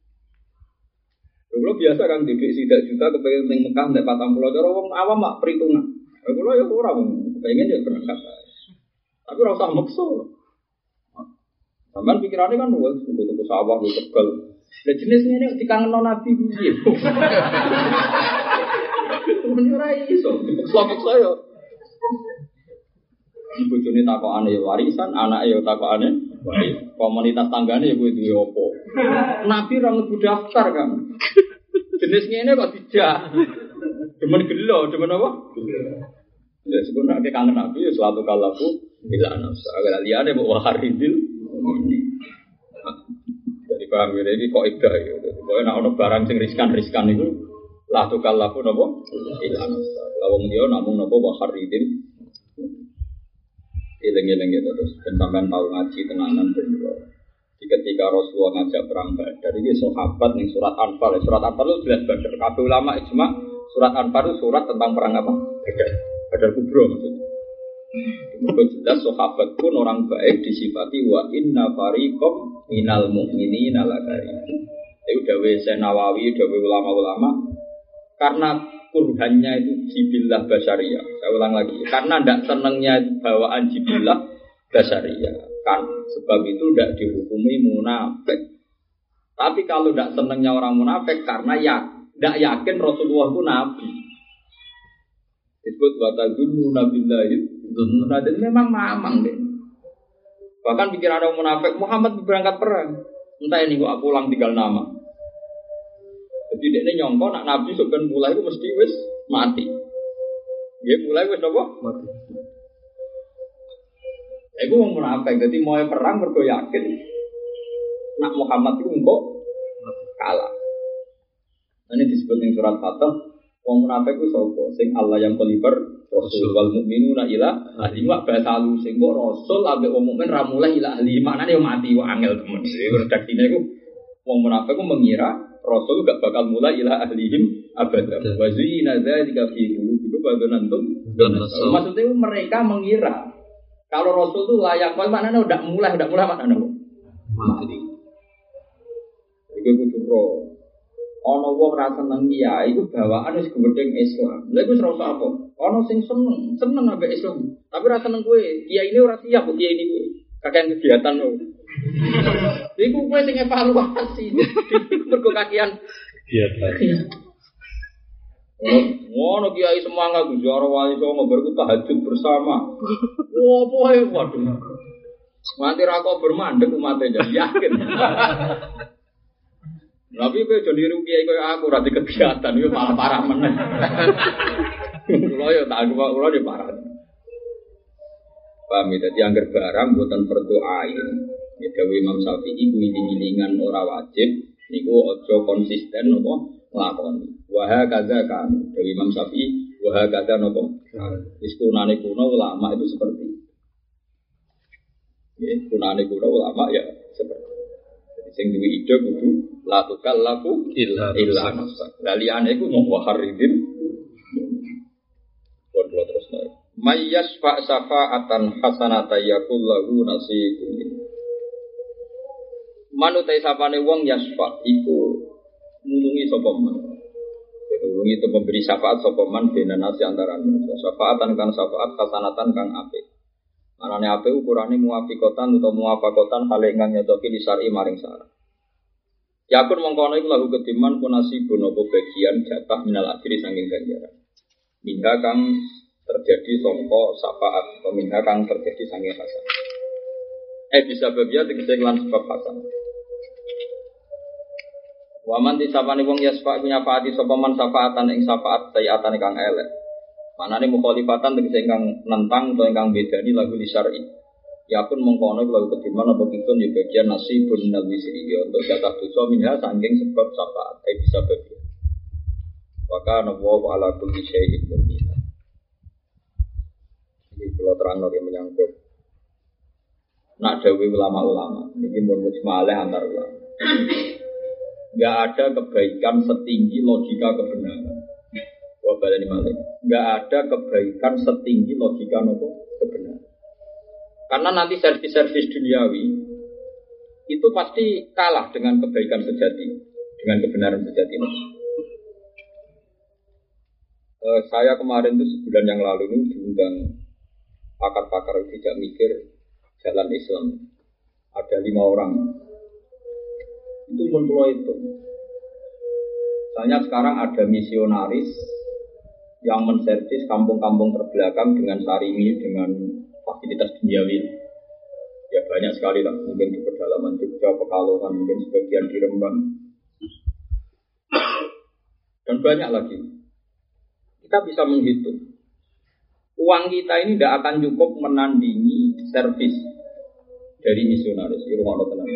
Lho biasa kan duit sidak juta kepengin ning Mekah nek 40 cara wong awam mak perhitungan. Kalau ya orang pengen dia berangkat, tapi rasa maksa. Sampai pikirannya kan luas, untuk sawah, untuk tegal. Dan jenisnya ini dikangen Nabi gitu. Menyurai iso, dipaksa ya. Ibu Juni takut aneh warisan, anak ya takut aneh. Komunitas tanggane ya gue dua opo. Nabi orang ngebu daftar kan. Jenisnya ini kok tidak. Cuman gelo, cuman apa? Ya sebenarnya kita kangen Nabi, ya suatu kalaku bila nafsa. Agak liane bawa haridil. Jadi paham ini kok idah ya. Pokoknya nak ada barang sing riskan itu lah tu kalaku nopo bila nafsa. Lawang dia namun nopo bawa haridil. Ileng-ileng gitu terus. Dan sampai tahu ngaji tenanan bener. Ketika Rasulullah ngajak perang Badar, ini sahabat nih surat Anfal. Surat Anfal itu jelas Badar. Kabeh ulama ijma surat Anfal itu surat tentang perang apa? Badar kubro maksudnya. Itu jelas sahabat pun orang baik disifati wa inna fariqam minal mu'minina lakarim. Itu dawe Nawawi, dawe ulama-ulama. Karena kurhannya itu jibillah basyariyah. Saya ulang lagi. Karena tidak senangnya bawaan jibillah basyariyah. Kan sebab itu tidak dihukumi munafik. Tapi kalau tidak senangnya orang munafik karena ya tidak yakin Rasulullah itu nabi. Disebut watazunnu nabillahi dzunna, dan memang mamang deh. Bahkan pikiran orang munafik Muhammad berangkat perang. Entah ini gua pulang tinggal nama. Jadi dia nyongko nak nabi sebenarnya mulai itu mesti wis mati. Dia mulai wis apa? Mati. Aku mau munafik, jadi mau perang mergo yakin nak Muhammad itu engkau kalah. Ini disebut yang surat Fatah. Wong munafik itu sapa? Sing Allah yang koliber Rasul wal mukminuna ila ahli wa basalu sing kok Rasul ambek wong mukmin ra mulai ila ahli. Maknane yo mati wae angel temen. Redaksine iku wong munafik ku mengira Rasul gak bakal mulai ila ahlihim abada. Wa zina dzalika fi qulubihim badanantum. Maksudnya mereka mengira kalau Rasul itu layak, maknanya udah mulai maknanya mati. Iku kudu ro. Ana wong ra seneng kiai iku bawaan wis gedeng Islam. Lha iku ora apa? Ana sing seneng ambek Islam, tapi ra seneng kowe. Kiai ini ora siap kok kiai ini kowe. Kakean kegiatan lho. Iku kowe sing evaluasi. Mergo kakean kegiatan. Ngono kiai semangat Gus wali songo berku tahajud bersama. Opo ae waduh. Mati ra kok bermandeg umate yakin. Tapi kowe aja niru kiai koyo aku ora di kegiatan yo malah parah meneh. Kulo yo tak kulo di parah. Paham ya, dadi angger barang mboten berdoain. Ya dewe Imam Syafi'i kuwi diilingan ora wajib niku aja konsisten apa nglakoni. Wa kadza kan dari Imam Syafi'i wa kadza nopo. Wis kunane kuno ulama itu seperti itu. Ya, kunane kuno ulama ya seperti itu. Jadi sing duwe ide kudu la tukallafu illa nafsa. Laliane iku mau waharidin. Kontrol terus naik. Mayyasfa syafa'atan hasanatan yakul lahu nasibun. Manutai sapane wong yasfa iku nulungi sapa man. Nulungi itu memberi syafaat sapa man benanasi antara manusia. Syafaatan kang syafaat hasanatan kang apik. Manane apik ukurane muwafiqatan utawa muwafaqatan hale ingkang nyocoki li syar'i maring syara. Yakun mongkono iku lahu kediman punasibun apa bagian jatah minal ajri saking ganjaran. Minha kang terjadi sangka syafaat, minha kang terjadi saking hasan. Bisa babia tegese lan sebab hasan. Waman disapane wong yasfa nyafaati sapa man syafaatan ing syafaat sayatan kang elek. Manane mukhalifatan tegese ingkang nentang utawa ingkang bedani lagu li syar'i. Ya pun mengkono lagu kediman apa kitun ya bagian nasibun minal wisri ya untuk jatah dosa minha saking sebab syafaat bisa babia. Wa kana wa ala kulli syai'in muqita. Iki kula terangno yang menyangkut nak dawuh ulama-ulama niki mun mujmalah antar ulama. Enggak ada kebaikan setinggi logika kebenaran. Wah baleni malih. Enggak ada kebaikan setinggi logika nopo kebenaran. Karena nanti servis-servis duniawi itu pasti kalah dengan kebaikan sejati, dengan kebenaran sejati. Saya kemarin itu sebulan yang lalu ini diundang pakar-pakar tidak mikir jalan Islam. Ada 5 orang. Itu menpulau itu. Misalnya sekarang ada misionaris yang menservis kampung-kampung terbelakang dengan sarimi, dengan fasilitas duniawi. Ya banyak sekali lah, mungkin di pedalaman Jogja, Pekalongan, mungkin sebagian di Rembang. Dan banyak lagi. Kita bisa menghitung. Uang kita ini tidak akan cukup menandingi servis dari misionaris. Ini rumah tenang.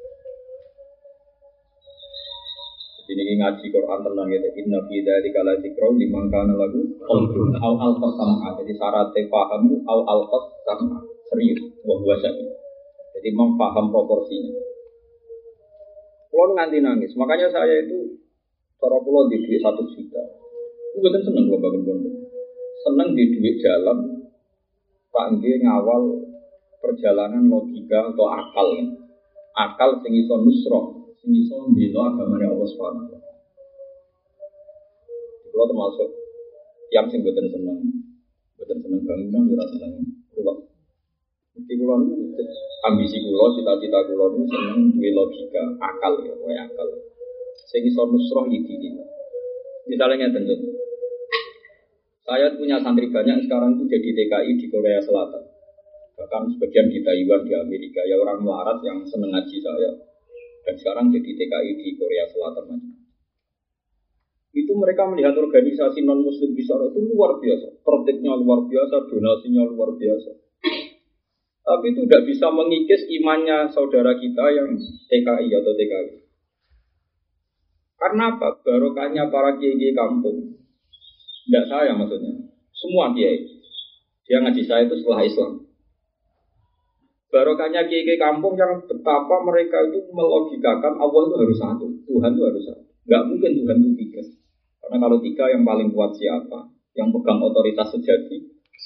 Jadi ngaji Quran tenang gitu. Inna fi dzalika la dzikra liman kana lahu qalbun aw al-qasama. Jadi syaratnya pahamu aw al-qasama. Serius, bahwa syahid. Jadi memaham proporsinya. Kalau nganti nangis, makanya saya itu cara pulau di duit 1 juta. Gue kan seneng kalau bangun pondok. Seneng di duit jalan. Pak Nggih ngawal perjalanan logika atau akal. Akal sing iso nusroh. Ini so bila agamanya Allah Subhanahu wa Ta'ala. Kalau termasuk yang sing boten seneng bangunan, ora seneng ruwet. Mesti kula niku ambisi kula, cita-cita kula niku seneng duwe logika, akal ya, kowe akal. Sing iso nusroh iki. Misalnya ngeten to. Saya punya santri banyak sekarang itu jadi TKI di Korea Selatan. Bahkan sebagian di Taiwan, di Amerika, ya orang melarat yang seneng ngaji saya. Dan sekarang jadi TKI di Korea Selatan. Itu mereka melihat organisasi non-muslim di sana itu luar biasa. Tertibnya luar biasa, donasinya luar biasa. Tapi itu tidak bisa mengikis imannya saudara kita yang TKI atau TKI. Karena apa? Barokahnya para kiai kampung. Tidak saya maksudnya. Semua kiai. Dia ngaji saya itu setelah Islam. Barokahnya kiai kampung yang betapa mereka itu melogikakan Allah itu harus satu, Tuhan itu harus satu. Enggak mungkin Tuhan itu 3. Karena kalau 3 yang paling kuat siapa? Yang pegang otoritas sejati.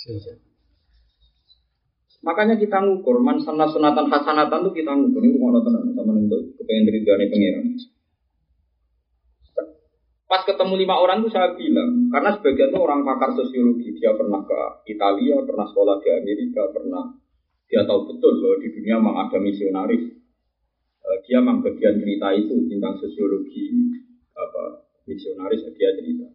Makanya kita ngukur man sunatan hasanatan itu kita ngukur ini rumah tenan sama untuk kepengen ridhoane pangeran. Pas ketemu 5 orang itu saya bilang, karena sebagian itu orang pakar sosiologi, dia pernah ke Italia, pernah sekolah di Amerika, dia tahu betul bahwa di dunia memang ada misionaris. Dia memang bagian cerita itu tentang sosiologi misionaris dia cerita.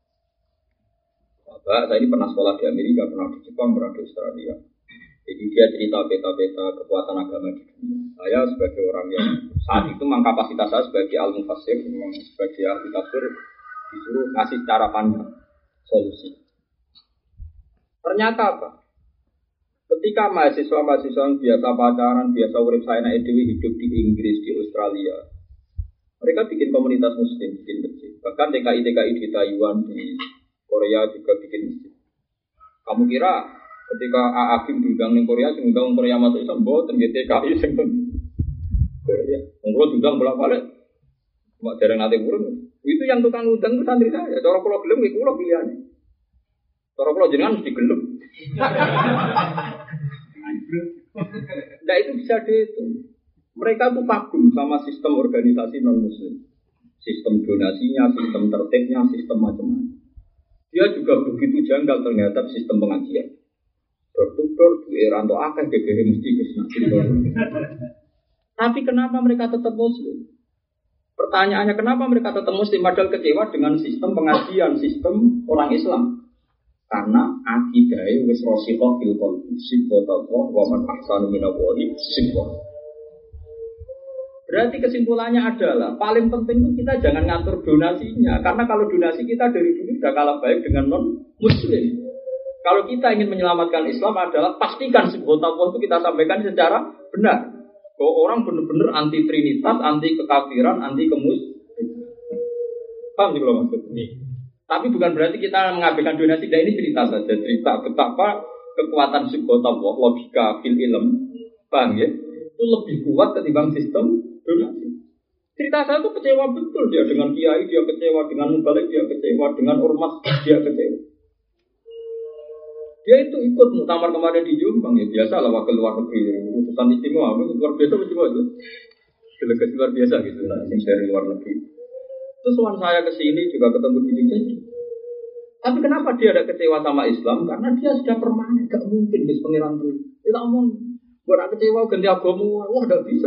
Bapak, saya ini pernah sekolah di Amerika, pernah di Jepang, pernah di Australia. Jadi dia cerita peta-peta kekuatan agama di dunia. Saya sebagai orang yang saat itu memang kapasitas saya sebagai al-mufassir, memang sebagai ahli tafsir disuruh ngasih cara pandang solusi. Ternyata apa? Ketika mahasiswa-mahasiswa yang biasa pacaran, biasa urip saya naik dewi hidup di Inggris, di Australia, Mereka bikin komunitas muslim, bikin masjid. Bahkan TKI di Taiwan, di Korea juga bikin masjid. Kamu kira ketika Agim diundang di Korea, diundang Korea masuk Islam, boten TKI sing Korea. Kalau diundang bolak-balik, mak jarang nanti burung. Itu yang tukang undang itu santri saya. Cara kalau gelem, kalau pilihannya. Cara kalau jenengan mesti gelem. Nah itu bisa dihitung. Mereka tuh kagum sama sistem organisasi non-muslim. Sistem donasinya, sistem tertibnya, sistem macam-macam. Dia juga begitu janggal ternyata sistem pengajian. Dor-dor, di Eranto akeh gegere mesti kesana. Tapi kenapa mereka tetap muslim? Pertanyaannya kenapa mereka tetap muslim padahal kecewa dengan sistem pengajian, sistem orang Islam? Karena akidahnya wis rasikhah fil qalbi, sifatullah wa man ahsanu minallahi sifat. Berarti kesimpulannya adalah paling penting itu kita jangan ngatur donasinya, karena kalau donasi kita dari dulu sudah kalah baik dengan non-muslim. Kalau kita ingin menyelamatkan Islam adalah pastikan sifatullah itu kita sampaikan secara benar. Bahwa orang benar-benar anti trinitas, anti kekafiran, anti paham sih kalau maksudnya? Tapi bukan berarti kita mengabaikan donasi. Nah ini cerita saja, cerita betapa kekuatan sifatullah, logika fil ilm, paham ya? Itu lebih kuat ketimbang sistem donasi. Cerita saya itu kecewa betul dia dengan kiai, dia kecewa dengan mubalik, dia kecewa dengan ormas, dia kecewa. Dia itu ikut muktamar kemarin di Jombang ya biasa lah wakil luar negeri, utusan istimewa, luar biasa cuma itu, delegasi luar biasa gitu lah, dari luar negeri. Terus waktu saya kesini juga ketemu di Jogja. Tapi kenapa dia ada kecewa sama Islam? Karena dia sudah permanen, gak mungkin guys pengiran tuh. Kita omong. Buat kecewa ganti agama, wah tidak bisa.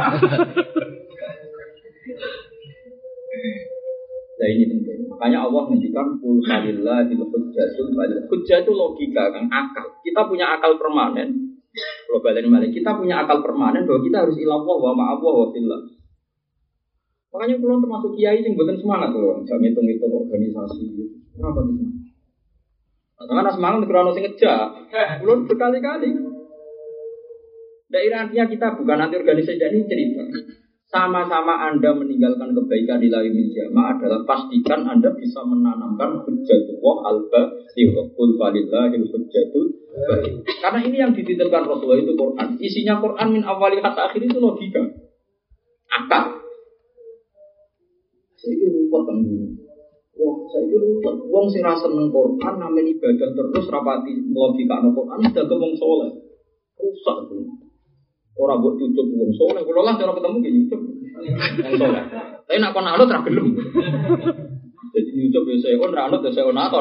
Nah ini penting. Makanya Allah menghentikan kul falillahil hujjatul baligh. Hujjah itu logika kan, akal. Kita punya akal permanen. Globalin balik. Kita punya akal permanen bahwa kita harus ilallah wa ma'allah wa fillah. Makanya kalau termasuk kiai yang bukan semangat loh, jangan hitung-hitung organisasi. Kenapa sih? Karena semangat karena sing ngejak. Belum berkali-kali. Daerah artinya kita bukan anti organisasi, ini cerita. Sama-sama Anda meninggalkan kebaikan di lain jamaah adalah pastikan Anda bisa menanamkan hujjatullah al-baligh. Qul falillahil hujjatul baligh. Karena ini yang dititipkan Rasulullah itu Quran. Isinya Quran min awali hatta akhir itu logika. Akal. Saya kira ruwet kan. Wah, saya kira ruwet. Wong sing ra seneng Quran namanya ibadah terus rapati logika Quran sudah wong saleh. Rusak tuh. Orang buat cucuk wong soleh, kalau lah cara ketemu gini cucuk wong soleh. Tapi nak kon anut ra gelem. Jadi cucuk biasa kon ra anut biasa onator.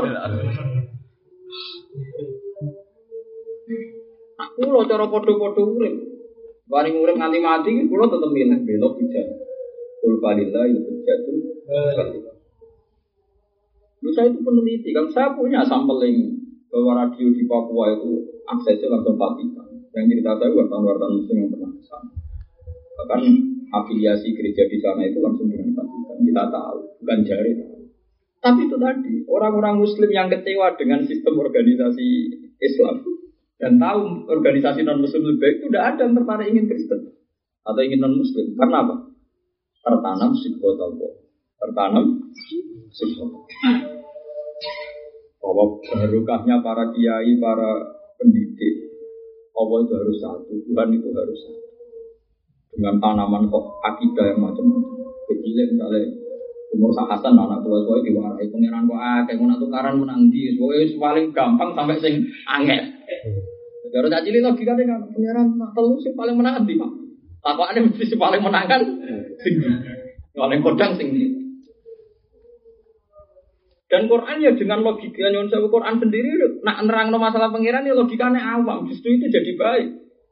Aku lo cara padha-padha urip. Bareng urip nganti mati kulo tetep milih belok bijak. Qul falillahil hujjatul baligh. Lu saya itu peneliti kan, saya punya sampling bahwa radio di Papua itu aksesnya langsung Vatikan. Yang cerita saya wartawan-wartawan muslim yang pernah ke sana. Bahkan afiliasi gereja di sana itu langsung dengan Vatikan. Kita tahu, bukan jari tahu. Tapi itu tadi, orang-orang muslim yang kecewa dengan sistem organisasi Islam dan tahu organisasi non-muslim lebih baik itu tidak ada yang tertarik ingin Kristen atau ingin non-muslim. Karena apa? Tertanam sifat-Allah. Tertanam sifat. Bahwa barokahnya para kiai, para pendidik, Allah itu harus satu, Tuhan itu harus satu. Dengan tanaman kok akidah yang macam-macam. Kecilnya misalnya umur Hasan anak tua-tua diwarai pengiran kok kayak mau tukaran menang di, pokoknya paling gampang sampai sing angel. Kalau tak cilik logika deh kan pengiran telu sing paling menang di Pak. Takwakane mesti sing paling menang kan sing paling kodang sing di. Dan Quran ya dengan logika nyon sewu Quran sendiri nak nerangno masalah pangeran ya logikane awam, justru itu jadi baik.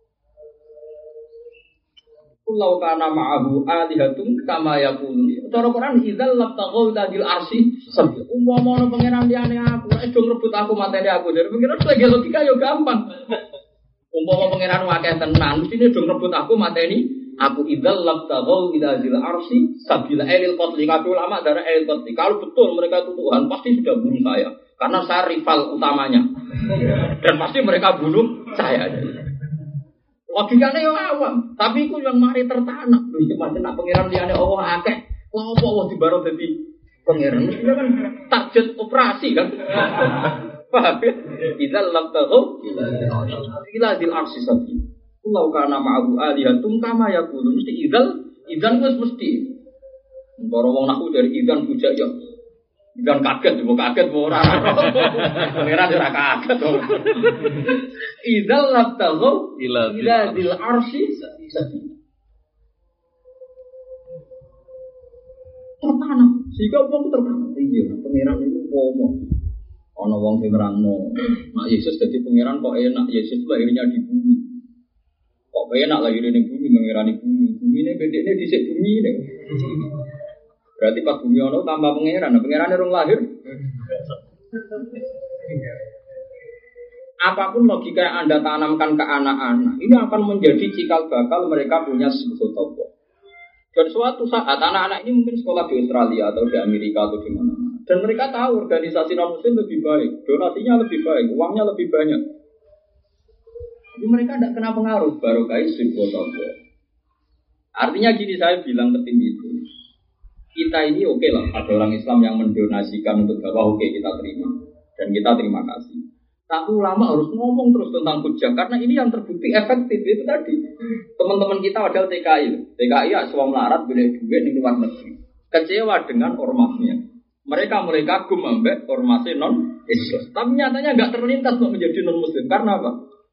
Kullau kana ma'ahu alihatun kama yaqulu. Cara Quran idzal labtaghu tadil arsy sabil. Umpama ono pangeran liyane aku, nek do ngrebut aku materi aku. Dari pangeran lagi logika ya gampang. Umpama pangeran akeh tenan, mestine do ngrebut aku materi aku idzal labtaghu tadil arsy sabil ailil qatli. Kabeh ulama darah ailil qatli. Kalau betul mereka itu Tuhan, pasti sudah bunuh saya. Karena saya rival utamanya. Dan pasti mereka bunuh saya. Logikanya yang awam, tapi itu yang mari tertanam. Itu macam nak pengiran liyane Allah akeh. Lah apa Allah dibarok dadi pangeran? Mestinya kan target operasi kan. Paham ya? Idzal lam tahu ila dil arsi sabi. Kullau kana ma'ahu alihatun kama yaqulu mesti idzan wis mesti. Para wong naku dari idzan bujak ya. Idzan kaget mau ora. Pangeran ora kaget. Idzal lam tahu ila dil arsi sabi. Tertanam, sehingga wong tertanam. Iya, pangeran itu ngomong. Ana wong sing nerangno, nak Yesus dadi pangeran kok enak, Yesus lahirnya di bumi. Kok enak lahirnya di bumi, mengirani bumi. Bumine bedekne dhisik bumi nek. Berarti pas bumi ono tambah pangeran, pangerane rong lahir. Apapun logika yang Anda tanamkan ke anak-anak, ini akan menjadi cikal bakal mereka punya sebut Allah. Dan suatu saat anak-anak ini mungkin sekolah di Australia atau di Amerika atau di mana-mana. Dan mereka tahu organisasi non-muslim lebih baik, donasinya lebih baik, uangnya lebih banyak. Jadi mereka tidak kena pengaruh, baru kait sebut Allah. Artinya gini saya bilang ke tim itu, kita ini oke lah, ada orang Islam yang mendonasikan untuk dakwah, oke kita terima. Dan kita terima kasih. Tapi ulama harus ngomong terus tentang hujah karena ini yang terbukti efektif itu tadi. Teman-teman kita ada TKI ya semua melarat boleh duit di luar negeri. Kecewa dengan ormasnya. Mereka mulai kagum ambek ormasnya non Islam. Tapi nyatanya enggak terlintas untuk menjadi non Muslim karena apa?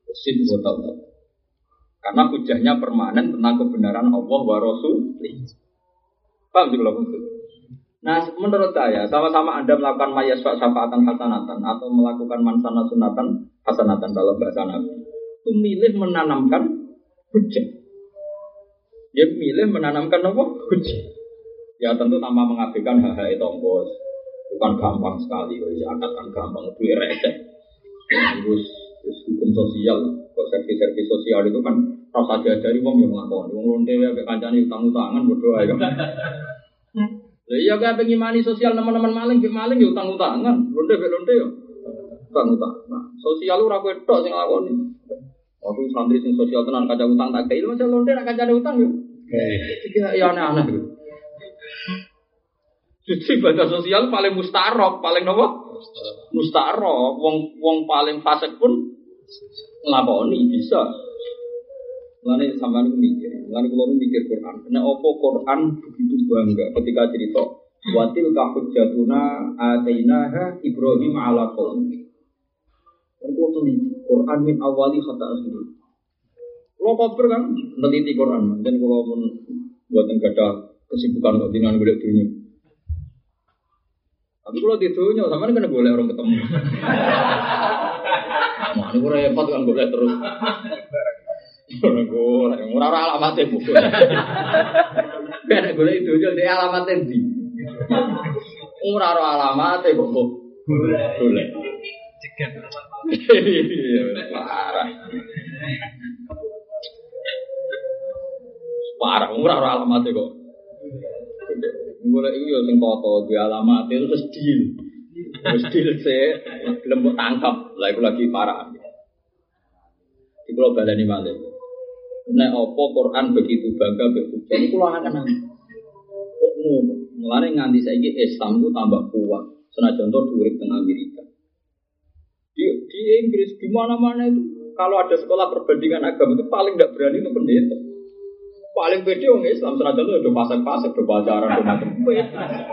Karena hujahnya permanen tentang kebenaran Allah wa Rasul. Paham sih kalau maksud? Nah, menurut saya, sama-sama Anda melakukan mayasfa syafaatan hasanatan atau melakukan mansana sunatan hasanatan dalam bahasa Nabi, itu milih menanamkan hujah. Dia milih menanamkan apa? Hujah. Ya tentu tanpa mengabaikan hal-hal itu, bos. Bukan gampang sekali, zakat kan gampang, duit receh. Terus hukum sosial, kok servis sosial itu kan rasa diajari wong yang ngelakoni, wong lonte ya, kancane utang-utangan berdoa ya. Iya kan pengen mani sosial teman-teman maling ya utang-utangan, lonte ya utang-utang. Nah, sosial ora kowe tok sing nglakoni. Aku santri sing sosial tenan kaca utang tak kei, masa lonte nak kancane utang yo. Iki ya aneh-aneh. Jadi ibadah sosial paling mustarok, paling nopo? Mustarok, wong paling fasik pun nglakoni bisa. Mulane sampean mikir, kula mikir Quran. Nek opo Quran begitu bangga ketika cerita watil kahujjatuna atainaha Ibrahim ala qaumi. Itu Quran min awali hatta akhir. Kulo koper kan neliti Quran, dan kulo mun buatan gadah kesibukan kok dinan golek dunya. Tapi kulo di dunya sampean kena golek orang ketemu. Nah, ini repot kan golek terus. Ora alamate buku. Ben golek itu yo dhek alamate ndi. Ora alamate kok golek. Cegat parah, ora alamate kok. Golek iku yo sing foto duwe alamate terus deal. Wis deal sik, gelem mbok tangkap. Lah iku lagi parah. Iki kula baleni malih. Nek apa Quran begitu bangga begitu. Jadi kula akan kok ngono. Mulane nganti saiki Islam ku tambah kuat. Senajan to urip teng Amerika. Di Inggris di mana-mana itu kalau ada sekolah perbandingan agama itu paling tidak berani itu pendeta. Paling pede orang Islam senajan to do pasang-pasang, do pacaran, do macam-macam.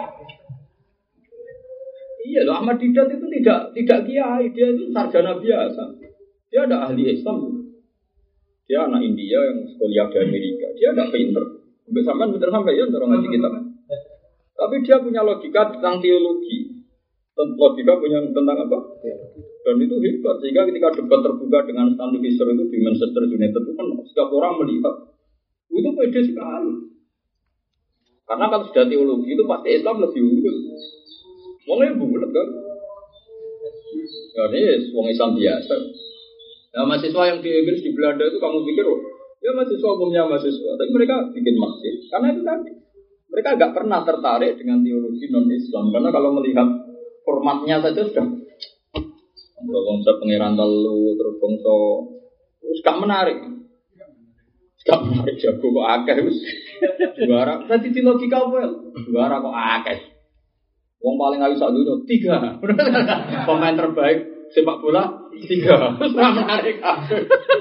Iya loh, Ahmad Didat itu tidak kiai, dia itu sarjana biasa. Dia ada ahli Islam. Dia anak India yang sekolah di Amerika. Dia tidak pinter. Sampai ya orang ngaji kita. Tapi dia punya logika tentang teologi. Logika punya tentang apa? Dan itu hebat. Sehingga ketika debat terbuka dengan Stanley Fisher itu di Manchester United itu kan setiap orang melihat itu pede sekali. Karena kalau sudah teologi itu pasti Islam lebih unggul. Wongnya bulat kan? Jadi wong Islam biasa. Nah, mahasiswa yang di Inggris, di Belanda itu kamu pikir, oh, ya mahasiswa umumnya mahasiswa, tapi mereka bikin masjid. Karena itu tadi, mereka agak pernah tertarik dengan teologi non-Islam. Karena kalau melihat formatnya saja sudah, konsep pengiran telu, terus bangsa, gak menarik. Tak menarik jago kok akeh wis. Juara. Dadi di logika apa? Juara kok akeh. Wong paling ayu sak dunya 3. Pemain terbaik sepak bola 3. Wis ora menarik kabeh.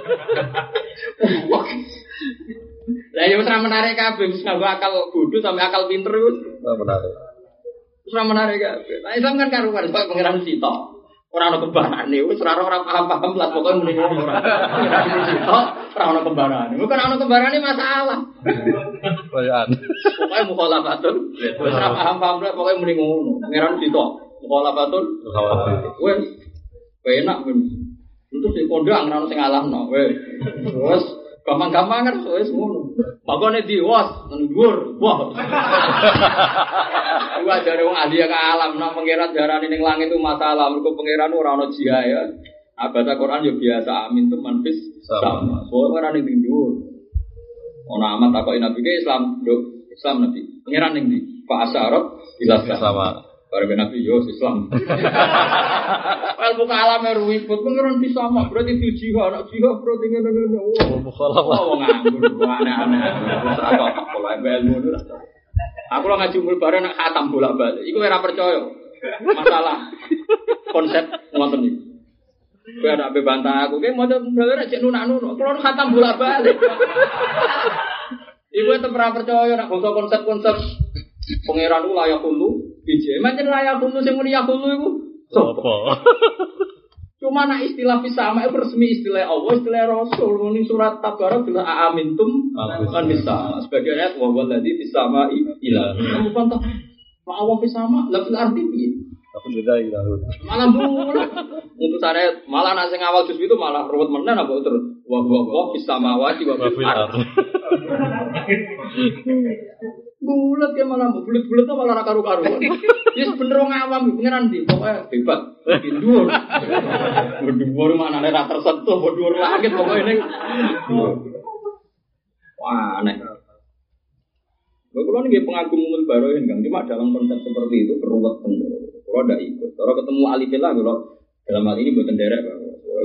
Lah ya wis ora menarik kabeh, wis nganggo akal bodho sampe akal pinter wis. Ora menarik. Wis ora menarik kabeh. Lah Islam kan karuan kok pengiran sitok. Ora ana kembarane, wis ora paham-paham lah pokoke muni ngono ora. Ora ana kembarane. Bukan ana kembarane masalah. Koyan. Pokoke mukhalafatun. Wis ora paham-paham lah pokoke muni ngono. Pangeran sitok. Mukhalafatun. Wis enak men. Itu sing kondang ora ono sing ngalahno. Wis gampang-gampang kan wis ngono. Makane diwas nang dhuwur. Wah. Gua jare wong ahli ke alam nang pangeran darane ning langit itu masalah. Mergo pangeran ora ono jia ya. Baca Quran yo biasa amin tuh manfis sama. Soale ora ning dhuwur. Ono amat takoki Nabi ke Islam, nduk Islam Nabi. Pangeran ning ndi? Pak Asyarat bila sama. Bare Nabi yo Islam. Wal buka alam ruwibut pangeran bisa mak berarti diuji anak jihad berarti ngene-ngene. Oh, mukhalafah. Oh nganggur aneh-aneh. Terus apa pola ilmu itu. Aku lo ngaji umur bareng nak khatam bolak-balik. Iku ora percaya. Masalah konsep ngoten iki. Kowe ada bebantah aku, kowe maca dalane cek nunak-nunak. Kulo khatam bolak-balik. Iku tetep ora percaya nak konsep-konsep pangeran ku layak hulu. Biji, macam layak hulu sing muni yakulu iku. Sopo? Cuma nak istilah fisama itu resmi istilah Allah, istilah Rasul. Ini surat Tabarak bila amintum kan bisa. Sebagai ayat wa walladzi fisama ilah. Kamu pantau wa Allah fisama, la fil ardi piye? Aku beda ilah. Malah bulat. Untuk saya malah nak sing awal juz itu malah ruwet menen apa terus wa fisama wa fil ardi. Bulat ya malah bulat-bulat malah ra karu-karuan. Ya bener wong awam pengenan ndi pokoke hebat. Dhuwur. Dhuwur manane ra tersentuh, dhuwur langit pokoke ning. Wah, aneh. Kulo nggih pengagum umul baroin Kang, cuma dalam konsep seperti itu keruwet bener. Kulo ndak ikut. Kalau ketemu alifillah kulo dalam hal ini mboten derek, Pak.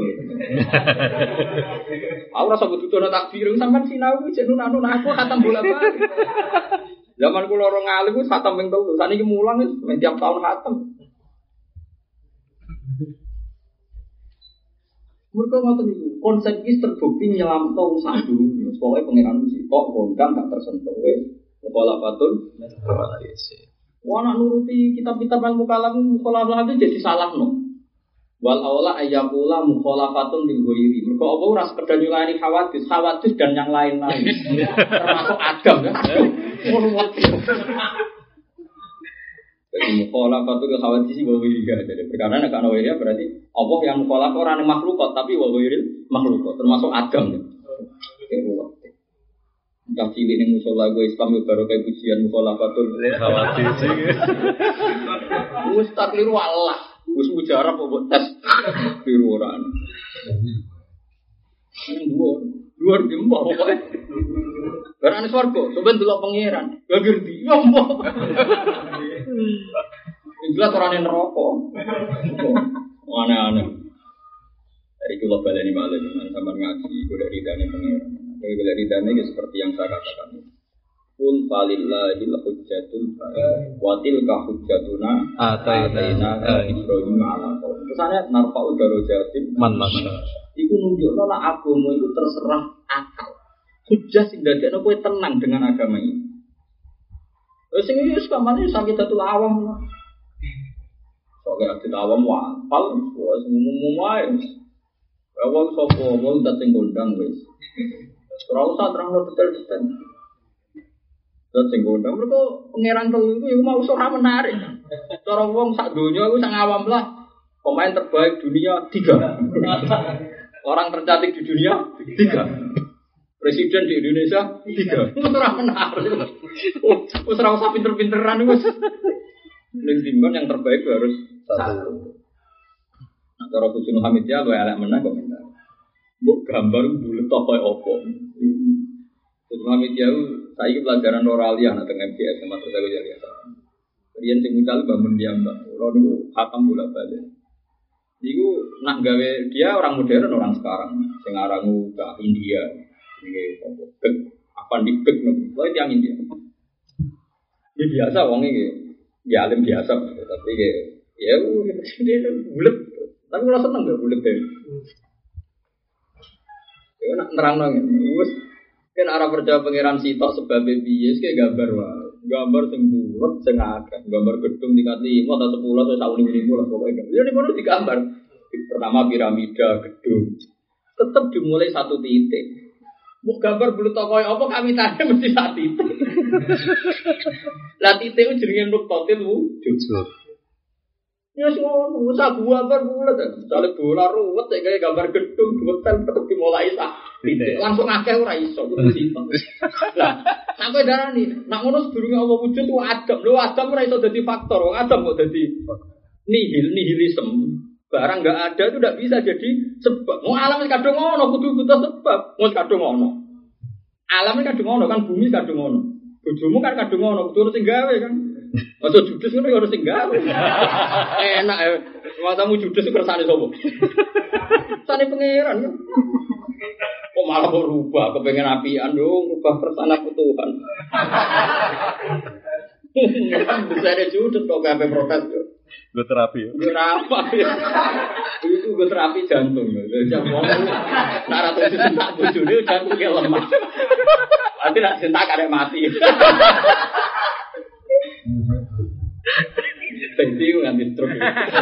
Aku rasa butuh takbir sampean sinau cek nunanu aku khatam bolak-balik. Zaman kula ora ngalim wis khatam ping 3. Saniki mulang wis tiap tahun khatam. Mergo ngoten niku, konsep iki terbukti nyelamto sak dunya. Pokoke pangeran mesti kok kondang gak tersentuh wis. Mukhalafatun wah nak nuruti kitab-kitab ilmu kalam mukhalafah itu jadi salah no. Wal aula ayyakula mukhalafatun lil ghairi. Mergo apa ora sekedar nyulani khawatir dan yang lain-lain. Termasuk Adam ya. Jadi mukhalafatun lil khawatir wa ghairi. Jadi perkara nek ana wae berarti Allah yang mukhalafah ora ning makhluk tapi wa ghairi makhluk termasuk Adam ya. Yang cilik ning musala gue Islam yo baru kayak pujian mukhalafatun khawatir sih. Wis tak kliru Allah. Wis mujarab kok tes biruran. Nang dhuwur jembok pokoke. Barane swarga, sampeyan delok pangeran. Lah ngerti, yo mbok. Jelas ora ning neraka. Aneh-aneh. Dari kula baleni malah sampeyan ngaji golek ridane pangeran. Golek ridane ya seperti yang saya katakan. Kul falillahil hujjatul wa tilka hujjatuna ataina Ibrahim ala qaum. Kesane narfa'u darajatin man nasya. Iku nunjukno nek agama iku terserah akal. Hujjah sing dadekno kowe tenang dengan agama ini. Wis sing iki wis kamane sakidatul awam. Soale adat awam wapal wis umum wae. Awal sapa wong dat sing gondang wis. Ora usah terangno detail-detail. Terus sing gondang mergo pangeran telu iku mau ora menarik. Cara wong sak donya iku sak awam lah. Pemain terbaik dunia 3. Orang tercantik di dunia 3. Presiden di Indonesia 3. Wis ora menarik. Wis ora usah pinter-pinteran wis. Ning timbang yang terbaik harus 1. Nah, cara Gus Hamid ya luwih elek meneh komentar. Mbok gambar bulet apa opo. Gus Hamid ya saiki pelajaran Noralia nang MTS sama terus aku jadi apa. Riyen sing mucal bangun diam Mbak. Ora niku khatam bolak-balik. Niku nak gawe dia orang modern orang sekarang sing aranku ke India. Apa dibek nopo. Kowe tiyang India. Ini biasa wong iki. Ya alim biasa tapi ya dia bulet. Tapi kalau seneng gak bulet deh. Ya nak nerangno ngene. Wis kan arah percaya pangeran sitok sebab piye kayak gambar wae. Gambar sing bulet sing akeh. Gambar gedung tingkat 5 atau 10 atau 1.000 lah pokoknya. Ya ini baru digambar. Pertama piramida, gedung. Tetap dimulai satu titik. Mau gambar bulet koyo apa kami tanya mesti satu titik. Lah titik itu jenenge nuktatil wujud. Ya semua usah gambar bulat. Misalnya bola ruwet kayak gambar gedung buletan tetap dimulai titik. Langsung akeh ora iso kudu sitok. Lah sampai darani nak ngono sedurunge Allah wujud ku Adam. Lho Adam ora iso dadi faktor. Wong Adam kok dadi nihilisme. Barang enggak ada itu tidak bisa jadi sebab. Mau alam kadung ngono kudu butuh sebab. Mau kadung ngono. Alam kadung ngono kan bumi kadung ngono. Bojomu kan kadung ngono kudu sing gawe kan. Masuk judes ngono harus sing gawe. Enak ya. Matamu judes kersane sapa? Sane pangeran kan. Kok malah berubah kepengen apian dong, rubah persana Tuhan. Bisa ada judes kok gawe protes yo. Gue terapi ya? Gue apa ya? Itu gue terapi jantung. Jantung nara tuh cinta bujune jantungnya lemah. Nanti nak cinta kadek mati. Jadi gue nganti stroke.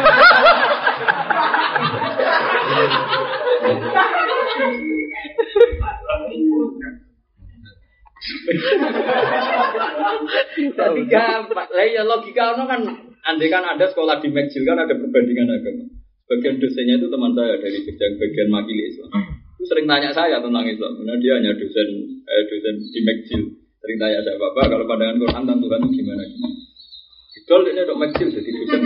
Tapi gampang. Lah ya logika ono kan. Andai kan ada sekolah di McGill kan ada perbandingan agama. Bagian dosennya itu teman saya dari bagian makili Islam. Itu sering tanya saya tentang Islam. Karena dia hanya dosen di McGill. Sering tanya saya, Bapak kalau pandangan Quran tentang Tuhan itu gimana? Idol ini untuk McGill jadi dosen.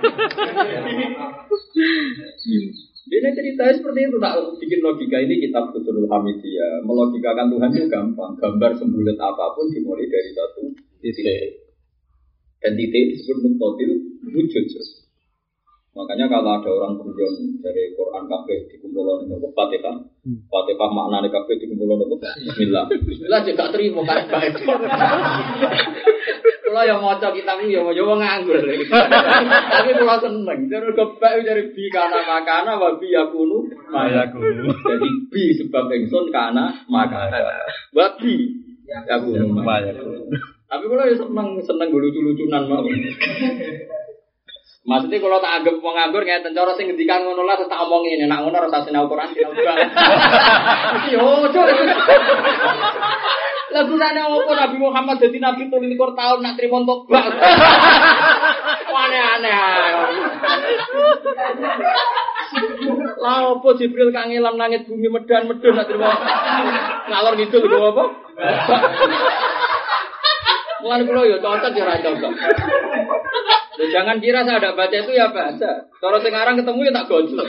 Dia ceritanya seperti itu, tak bikin logika ini kitab Fusulul Hamidiyah. Melogikakan Tuhan itu gampang. Gambar sembulet apapun dimulai dari satu titik. Dan titik disebut nuktatil wujud. Makanya kalau ada orang guyon dari Quran kabeh dikumpulkan itu Fatihah. Fatihah maknane kabeh dikumpulkan itu Bismillah. Bismillah juga terima kan baik. Kalau yang maca kitab iki ya nganggur. Tapi kalau seneng, terus kebak dari bi kana makana wa bi yakunu mayakunu. Jadi bi sebab ingsun kana makana. Wa bi yakunu mayakunu. Tapi kalau ya seneng lucu-lucunan mau. Maksudnya kalau tak anggap nganggur kayak tencoro sing ngendikan ngono lah tak omongin nek ngono ora sinau Quran sinau banget. Yo, coba. Lah gunane opo Nabi Muhammad dadi nabi 23 tahun nak trimo tobat. Aneh-aneh. Lah opo Jibril kangelan langit bumi medan-medun nak trimo ngalor ngidul lho apa? Mulai kalau ya cocok ya ora cocok. Jangan kira saya ada baca itu ya baca. Kalau sekarang ketemu ya tak gojol.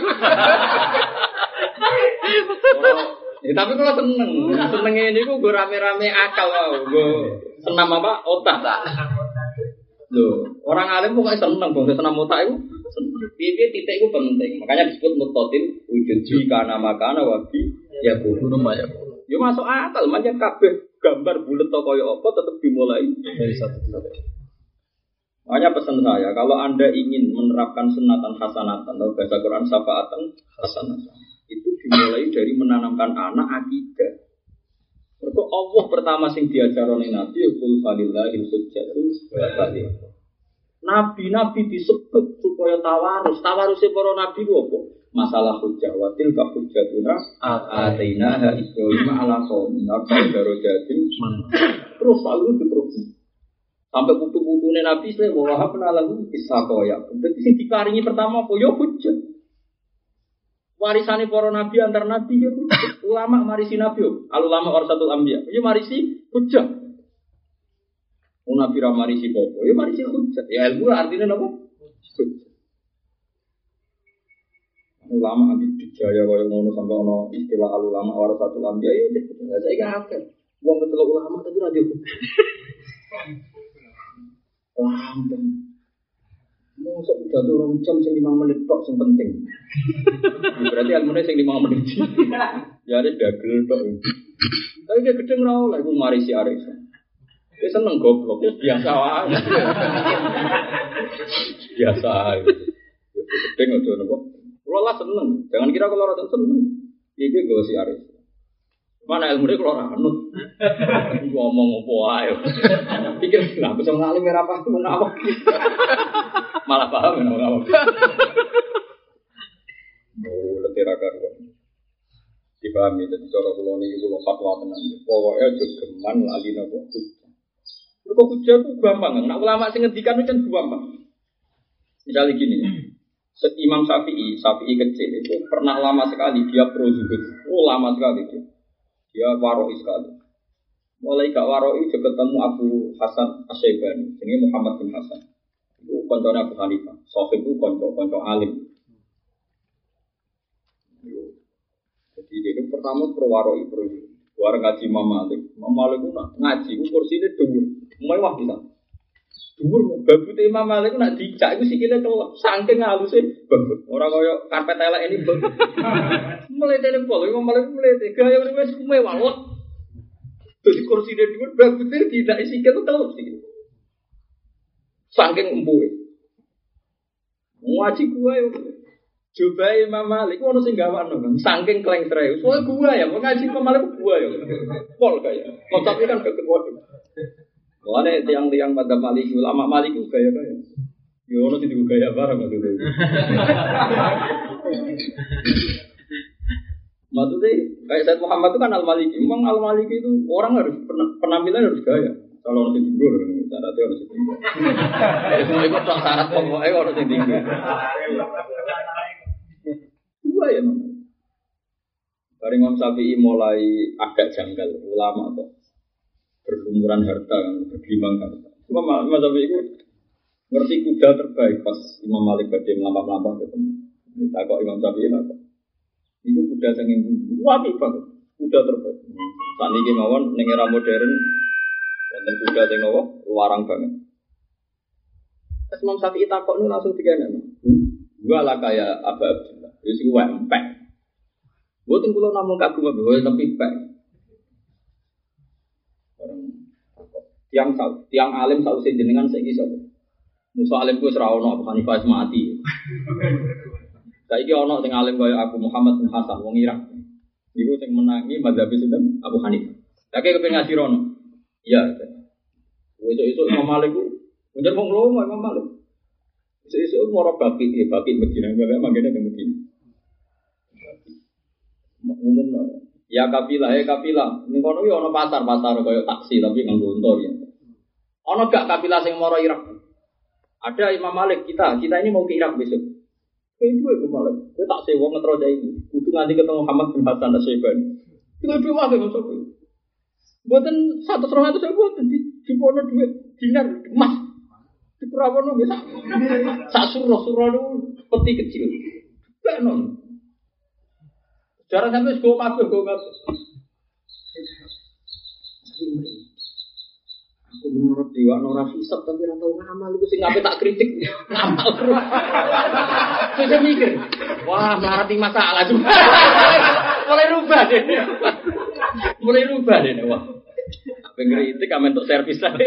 Tapi kalau seneng ini gue rame-rame akal, gue senam apa otak. Loh, orang alim pokoknya seneng, bang senam otak itu. Dia titik itu penting, makanya disebut mutatil wujud jika nama kana wabi ya kuno ya. Ya masuk akal, macam kabeh gambar bulat atau koyo apa tetap dimulai dari satu titik. Makanya pesan saya, kalau Anda ingin menerapkan sunatan hasanatan atau bahasa Quran syafaatan hasanatan, itu dimulai dari menanamkan anak akidah. Mergo Allah pertama sing diajarone Nabi kul falillahil hujjatul baligh. Nabi-nabi disebut supaya tawarus. Tawarusé para nabi ku apa? Masalah hujjah wa tilka hujjatuna atainaha Ibrahim ala qaumi darajatin. Terus selalu diterus. Sampai putu-putune Nabi saya bahwa apa lagu Ishaq ya. Berarti sing dikaringi pertama apa ya hujjah. Warisane para nabi antar nabi ya hujjah. Ulama marisi nabi yo. Al ulama warasatul anbiya. Ya marisi hujjah. Nabi ra marisi popo. Ya marisi hujjah. Ya ilmu artinya apa? Hujjah. Ulama anti dijaya kaya ngono sampai ono istilah al ulama warasatul anbiya ya saya iki akeh. Wong betul ulama tapi ra di hujjah. Lampung. Mosok udah turun jam sing 5 menit tok sing penting. Berarti ilmune sing 5 menit. Ya ada dagel tok. Tapi dia gedeng ra oleh iku mari si Arif. Dia seneng goblok, ya biasa wae. Biasa ae. Ya gedeng aja napa. Kulo lah seneng. Jangan kira kulo ora seneng. Iki go si Arif. Mana ilmune kulo ora anut. Ngomong opo ae. Pikir lah bisa ngalim ora apa menawak. Malah paham ya orang. Oh, letih karuan. Dipahami jadi cara kula niki kula fatwa tenan. Pokoke aja geman lali napa hujjah. Kok hujjah ku gampang, nek ulama sing ngendikan itu kan gampang. Misalnya gini, Imam Syafi'i kecil itu pernah lama sekali dia pro zuhud. Oh, lama sekali dia. Dia waroi sekali. Mulai gak waroi juga ketemu Abu Hasan Asy-Syaibani, jenenge Muhammad bin Hasan. Itu koncone Abu Hanifah. Sahih itu konco alim. Jadi dia itu pertama perwaroi pro. Warang ngaji Imam Malik. Imam Malik itu ngaji, itu kursinya dhuwur. Mewah bisa. Dhuwur, babute Imam Malik itu nak dicak itu sikile kelep. Saking halusnya babut. Orang kaya karpet elek ini babut. Mletene pol, Imam Malik mlete. Gaya wis mewah. Jadi kursinya dhuwur, babute tidak sikile kelep sikile. Saking empuhe. Ngaji gua yo. Coba Imam Malik ono sing gawakno kan. Saking klengtre. Soale gua ya, ngaji Imam Malik gua ya. Pol kaya. Konsepnya kan kekewaduh. Mulane tiang-tiang pada Malik ulama Malik ku gaya-gaya. Yo ono sing gaya bareng maksudnya. Maksudnya kayak Said Muhammad itu kan Al-Maliki. Memang Al-Maliki itu orang harus penampilan harus gaya. Kalau orang sing tinggal, syaratnya orang sing tinggal. Semua itu syarat pokoknya orang sing tinggal. Dua ya memang. Dari Imam Syafi'i mulai agak janggal ulama kok berlumuran harta, bergelimang harta. Imam Syafi'i itu ngerti kuda terbaik pas Imam Malik badhe melampah-lampah ketemu. Tak kok Imam Syafi'i lah kok. Iku kuda sing apik banget. Kuda terbaik. Saniki mawon ning era modern wonten kuda sing nopo larang banget. Pas Imam Syafi'i takok nu langsung digana. Gua lah kaya Abu Abdullah. Wis kuwi empek. Mboten kula namung kagum tapi empek. Tiang alim sausé jenengan saiki sapa? Musa alim ku wis ra ono, Abu Hanifah wis mati. Saiki ono sing alim kaya Abu Muhammad bin Hasan wong Irak. Iku sing menangi mazhab sinten? Abu Hanifah. Lha kek kepengin ngaji rono. Iya. Esuk-esuk Imam Malik ku njen wong lomo Imam Malik. Esuk-esuk moro baki Madinah, gak mangkene teng Madinah. Umumno. Ya kafilah. Ning kono yo ana pasar kaya taksi tapi nganggo unta ya. Ana gak kafilah sing moro Irak? Ada Imam Malik kita ini mau ke Irak besok. Itu Imam Malik. Kowe tak sewa ngetro cah iki. Kudu nganti ketemu Muhammad bin Hasan Asy-Syaibani. Itu dua wae masuk. Mboten 100-200 mboten dipono dhuwit dinar emas. Diperawono bisa. Sak surah peti kecil. Benon. Cara sampai go kabeh. Aku menurut dewa ora hisab tapi ora tau ngamal iku sing ngape tak kritik ngamal terus. Saya mikir, wah mlarati masalah juga. Mulai rubah deh. Wah. Apa ngritik ame untuk servis ae.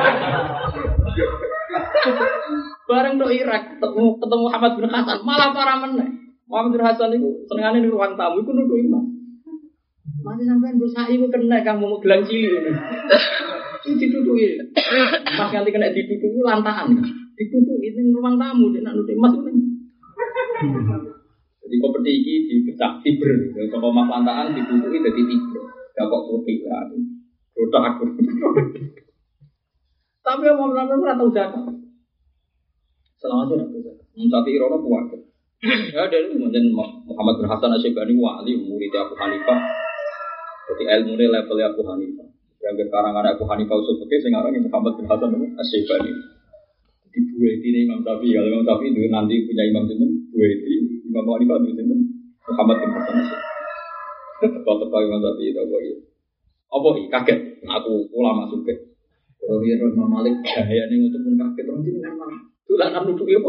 Bareng do Irak ketemu Muhammad bin Hasan malah parah meneh. Muhammad bin Hasan itu senengane di ruang tamu iku nuduh Imam. Mati sampean dosa iku kena kang mau gelang cilik ngono. Iki dituduhi. Mas nganti kena dituduhi lantahan. Dituduhi ning ruang tamu nek nuduh Mas ngene. Jadi kompeti iki dipecah fiber. Saka mas lantahan dituduhi dadi tiga. Ya kok putih lah. Rotak aku. Tapi Muhammad ora tau zakat. Selawase ora tau zakat. Tapi irono kuat. Ya dari kemudian Muhammad bin Hasan Asy-Syaibani wali murid Abu Hanifah. Jadi ilmunya level Abu Hanifah. Yang sekarang ada Abu Hanifah usul fikih sing aran Muhammad bin Hasan Asy-Syaibani. Di dua ini Imam Syafi'i. Kalau Imam Syafi'i itu nanti punya imam sinten, dua ini Imam Hanifah itu sinten Muhammad bin Hasan Asy-Syaibani. Kalau Imam Syafi'i itu apa ya? Apa kaget? Aku ulama suka. Kalau dia Imam Malik gayane untuk pun kaget orang jenengan malah Dolanan nuduh apa?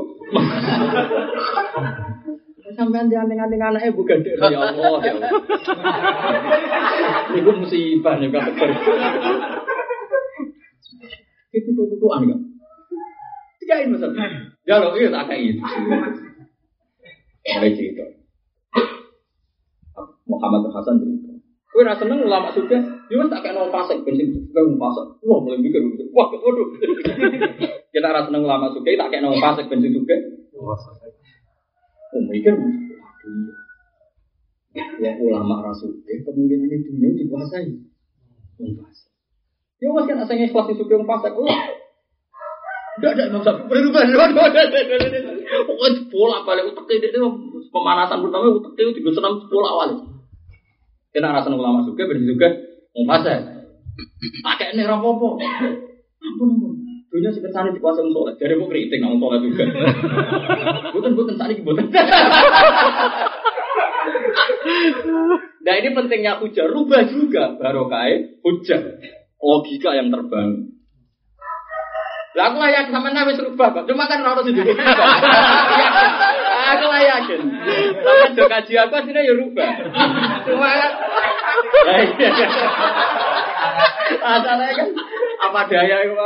Sampeyan dianting-anting anake bukan dek ya Allah ya. Iku musibah nek kok. Itu tutuan enggak? Tigain Mas. Ya lho iya tak kayak itu. Mulai cerita. Muhammad Hasan cerita. Kowe ra seneng ulama sudah, yo tak kayak nang pasek bensin juga pasek. Wah, mulai mikir. Wah, waduh. Kita ra seneng ulama sudah tak kayak nang pasek bensin juga. Mikir, waduh. Ya ulama rasul, kemungkinan itu dunia dikuasai. Pasek. Ya wes kan asalnya kelas itu yang pasek. Enggak ada Imam Syafi'i berubah. Pokoknya bola balik utek itu pemanasan pertama utek itu 36 bola awal. Kena rasa ulama juga berarti juga pasek. Pakai nih rapopo. Ampun. Dunia sekitar di kuasa soleh. Jadi mau kritik nang soleh juga. Bukan tadi bukan. Nah ini pentingnya hujah. Rubah juga barokah hujah. Logika yang terbangun. Lah aku layak sama nabi serubah kok. Cuma kan harus hidup. Aku yakin. Tapi do kaji aku asline ya rubah. Cuma kan asalnya kan apa daya itu.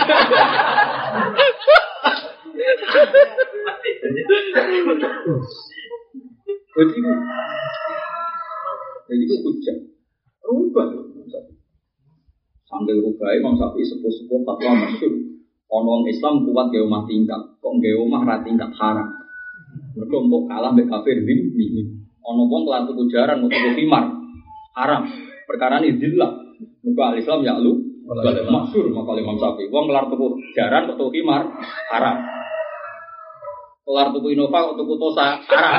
Jadi itu hujah. Rubah. Sambil rubah Imam Syafi'i sepuh-sepuh fatwa masyhur. Ono Islam kuat ge omah tingkat, kok ge omah ra tingkat haram. Mergo mbok kalah mbek kafir zimmi. Ono wong kelar tuku jaran utawa khimar haram. Perkara ini zillah. Mergo al-Islam ya lu masyhur maka Imam Syafi'i. Wong kelar tuku jaran utawa khimar haram. Kelar tuku Innova utawa Tosa haram.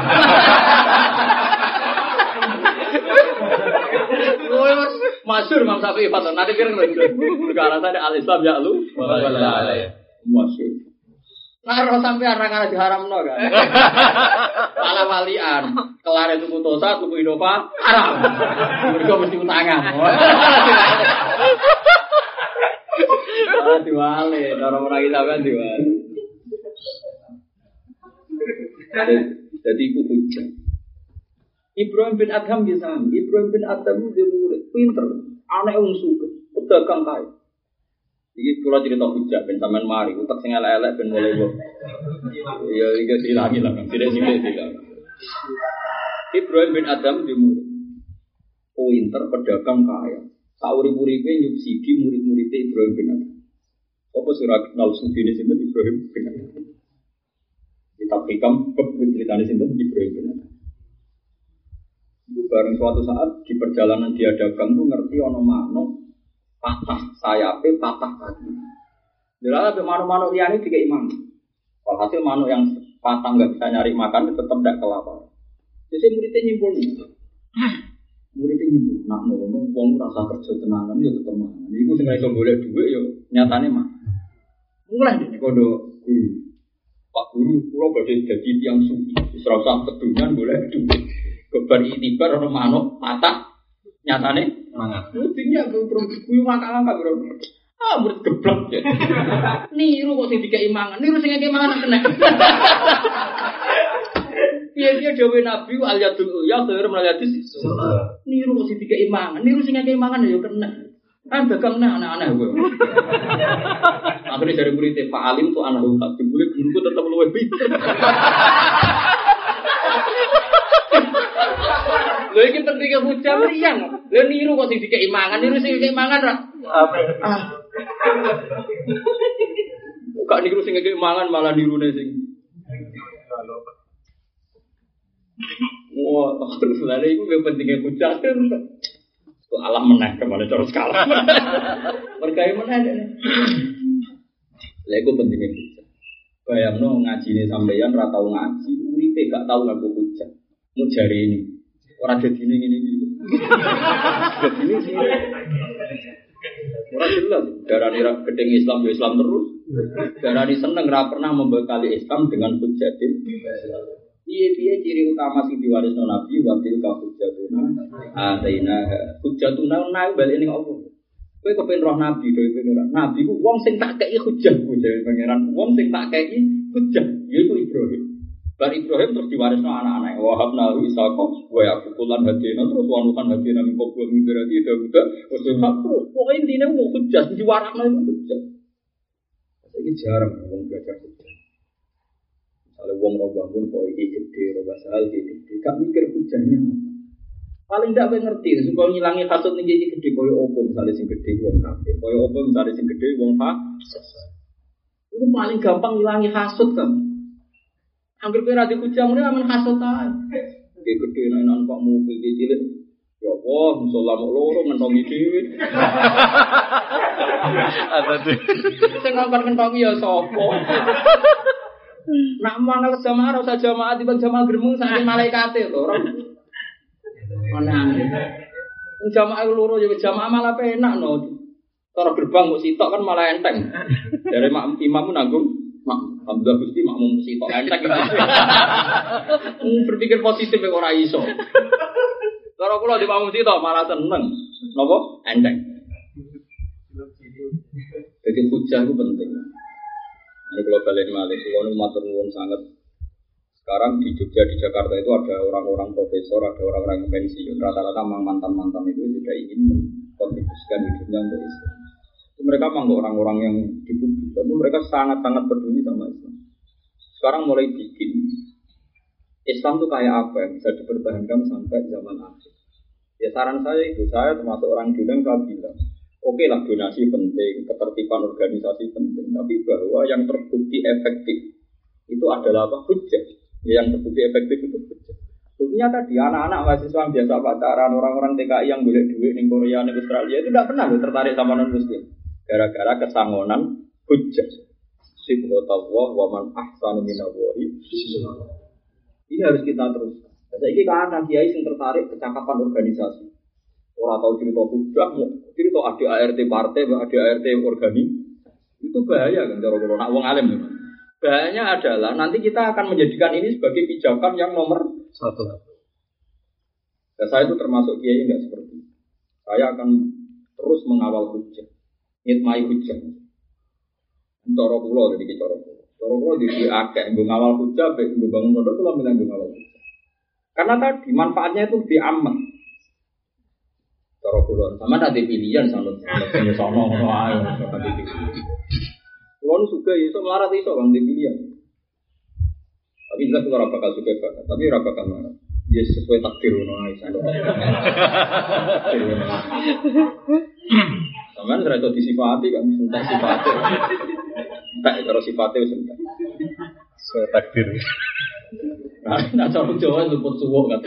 Masyhur Imam Syafi'i fatwa. Nanti kira perkara tadi al-Islam ya lu masyhur. Nah, roh sampai arang-arang diharamno kan. Pala walian, kelar tuku Tosa, tuku Innova haram. Mergo mesti utangan. Diwale, orang-orang kita kan diwale. Jadi iku hujah. Ibrahim bin Adham bisa. Ibrahim bin Adham dia murid pinter, anak wong sugih, pedagang kaya. Iki kula cerita hujah ben sampean mari, utek sing elek-elek ben mulai kok. Ya iki dilangi lah, sithik-sithik dilangi. Ibrahim bin Adham dia murid. Pinter, pedagang kaya. Saurip-uripe nyubsidi murid-murid Ibrahim bin Adham. Apa sira kenal sugine sinten Ibrahim bin Adham? Kita hikam ceritane sinten Ibrahim bin Adham. Itu bareng suatu saat di perjalanan dia dagang tuh ngerti ono manuk patah sayape patah kaki. Jadi manuk-manuk liyane dikei mangan. Walhasil manuk yang patah enggak bisa nyari makan tetap ndak kelaparan. Jadi muridnya nyimpul. Nak ngono wong rasa kerja tenanan ya tetep mangan. Iku sing iso golek dhuwit ya nyatane mah. Mulai dene kondo guru. Pak guru kula badhe dadi tiyang sufi. Wis ora usah kedunyan golek dhuwit. Kebar itibar ono manuk patah nyatane mangan. Mestinya kuwi mangkal-mangkal bro. Ah murid geblek ya. Niru kok sing dikeki mangan. Niru sing ngekeki mangan kena. Piye-piye dawuh Nabi al yadul ya khair melayadis. Niru kok sing dikeki mangan. Niru sing ngekeki mangan ya kena. Kan dagang anak-anak gue. Akhirnya dari murid Pak Alim tuh anak tak dibully guruku tetap luwih pinter. Lho iki pentingnya hujah mriyang. Lho niru kok sing dikeki mangan, niru sing dikeki mangan ra. Kok niru sing dikeki mangan malah nirune sing. Wah, terus lha iku pentingnya hujah terus. Kok alam meneh kemana cara skala. Berkaya meneh dene. Lha iku pentingnya hujah. Bayangno ngajine sampeyan ra tau ngaji, uripe gak tau ngaku hujah. Mau jari ini. Orang jadi ini. Jadi ini sih. Orang jelas. Darani gedeng Islam ya Islam terus. Darani seneng ra pernah membekali Islam dengan hujatin. Piye ciri utama sing diwarisno Nabi wa tilka hujjatuna ataina hujjatuna nang bali ning Allah. Kowe kepen roh Nabi dhewe pengen. Nabi ku wong sing tak kei hujjah ku dhewe pangeran. Wong sing tak kei hujjah, yaitu Ibrahim. Bar Ibrahim terus diwarisno anak-anak. Wahabna Ishaq wa Yaqub lan hadina terus wanukan hadina min qabl min berarti Daud terus pokoke intine mau hujjah diwarakno itu hujjah. Saiki jarang wong belajar hujjah. Kalau wong ora bangun kok iki gede, ora sahal iki gede, gak mikir hujjahnya. Paling ndak ngerti supaya ngilangi hasud ning iki gede koyo opo misale sing gede wong kafir, koyo opo misale sing gede wong fasik. Itu paling gampang ngilangi hasud kan. Hampir kira di hujjah mulai aman hasud ae. Gede nang Pak mobil cilik. Ya Allah, musola mok loro ngentongi dhewe. Apa tuh? Sing ngongkon ngentongi ya sapa? Nak mangal jamaah ora usah jamaah tiba jamaah gremeng saking malaikate lho. Ana. Wong jamaah loro ya jamaah malah penak no. Cara gerbang kok sitok kan malah enteng. Dari imam nanggung Alhamdulillah Gusti makmum sitok enteng. Berpikir positif kok ora iso. Cara kula di makmum sitok malah seneng. Napa? Enteng. Jadi hujjah itu penting. Ini kalau balik malih, kalau matur nuwun sangat. Sekarang di Jogja, di Jakarta itu ada orang-orang profesor, ada orang-orang yang pensiun. Rata-rata mantan-mantan itu sudah ingin mengkontribusikan hidupnya untuk Islam. Itu mereka memang orang-orang yang di publik, tapi mereka sangat-sangat peduli sama Islam. Sekarang mulai bikin Islam itu kayak apa yang bisa dipertahankan sampai zaman akhir. Ya saran saya itu, saya termasuk orang dulu yang saya bilang, oke lah donasi penting, ketertiban organisasi penting, tapi bahwa yang terbukti efektif itu adalah apa? Hujjah. Yang terbukti efektif itu hujjah. Buktinya tadi anak-anak mahasiswa yang biasa pacaran, orang-orang TKI yang boleh duit di Korea, di Australia itu tidak pernah tertarik sama non-muslim. Gara-gara kesangonan hujjah. Sibghatullah wa man ahsanu minallahi. Ini harus kita teruskan. Saiki kan kiai sing tertarik kecakapan organisasi. Orang tahu cerita hujjah, cerita ada ART partai, ada ART organik. Itu bahaya kan cara kalau nak wong alim. Bahayanya adalah nanti kita akan menjadikan ini sebagai pijakan yang nomor satu. Dan saya itu termasuk kiai enggak seperti itu. Saya akan terus mengawal hujjah, ngitmai hujjah. Cara kula jadi cara kula. Cara kula di akeh ngawal hujjah, nggo bangun pondok kula bilang ngawal hujjah. Karena tadi manfaatnya itu di aman. Cara kula sama ada pilihan sanut sono ngono ae sampe iki. Kulo suka iso melarat iso Bang pilihan. Tapi jelas ora bakal suka banget, tapi ora bakal melarat. Ya sesuai takdir ngono ae sanut. Sampeyan ora iso disifati kan sentak sifate. Tak karo sifate wis sentak. Sesuai takdir. Nah, cara Jawa luput suwuk kan.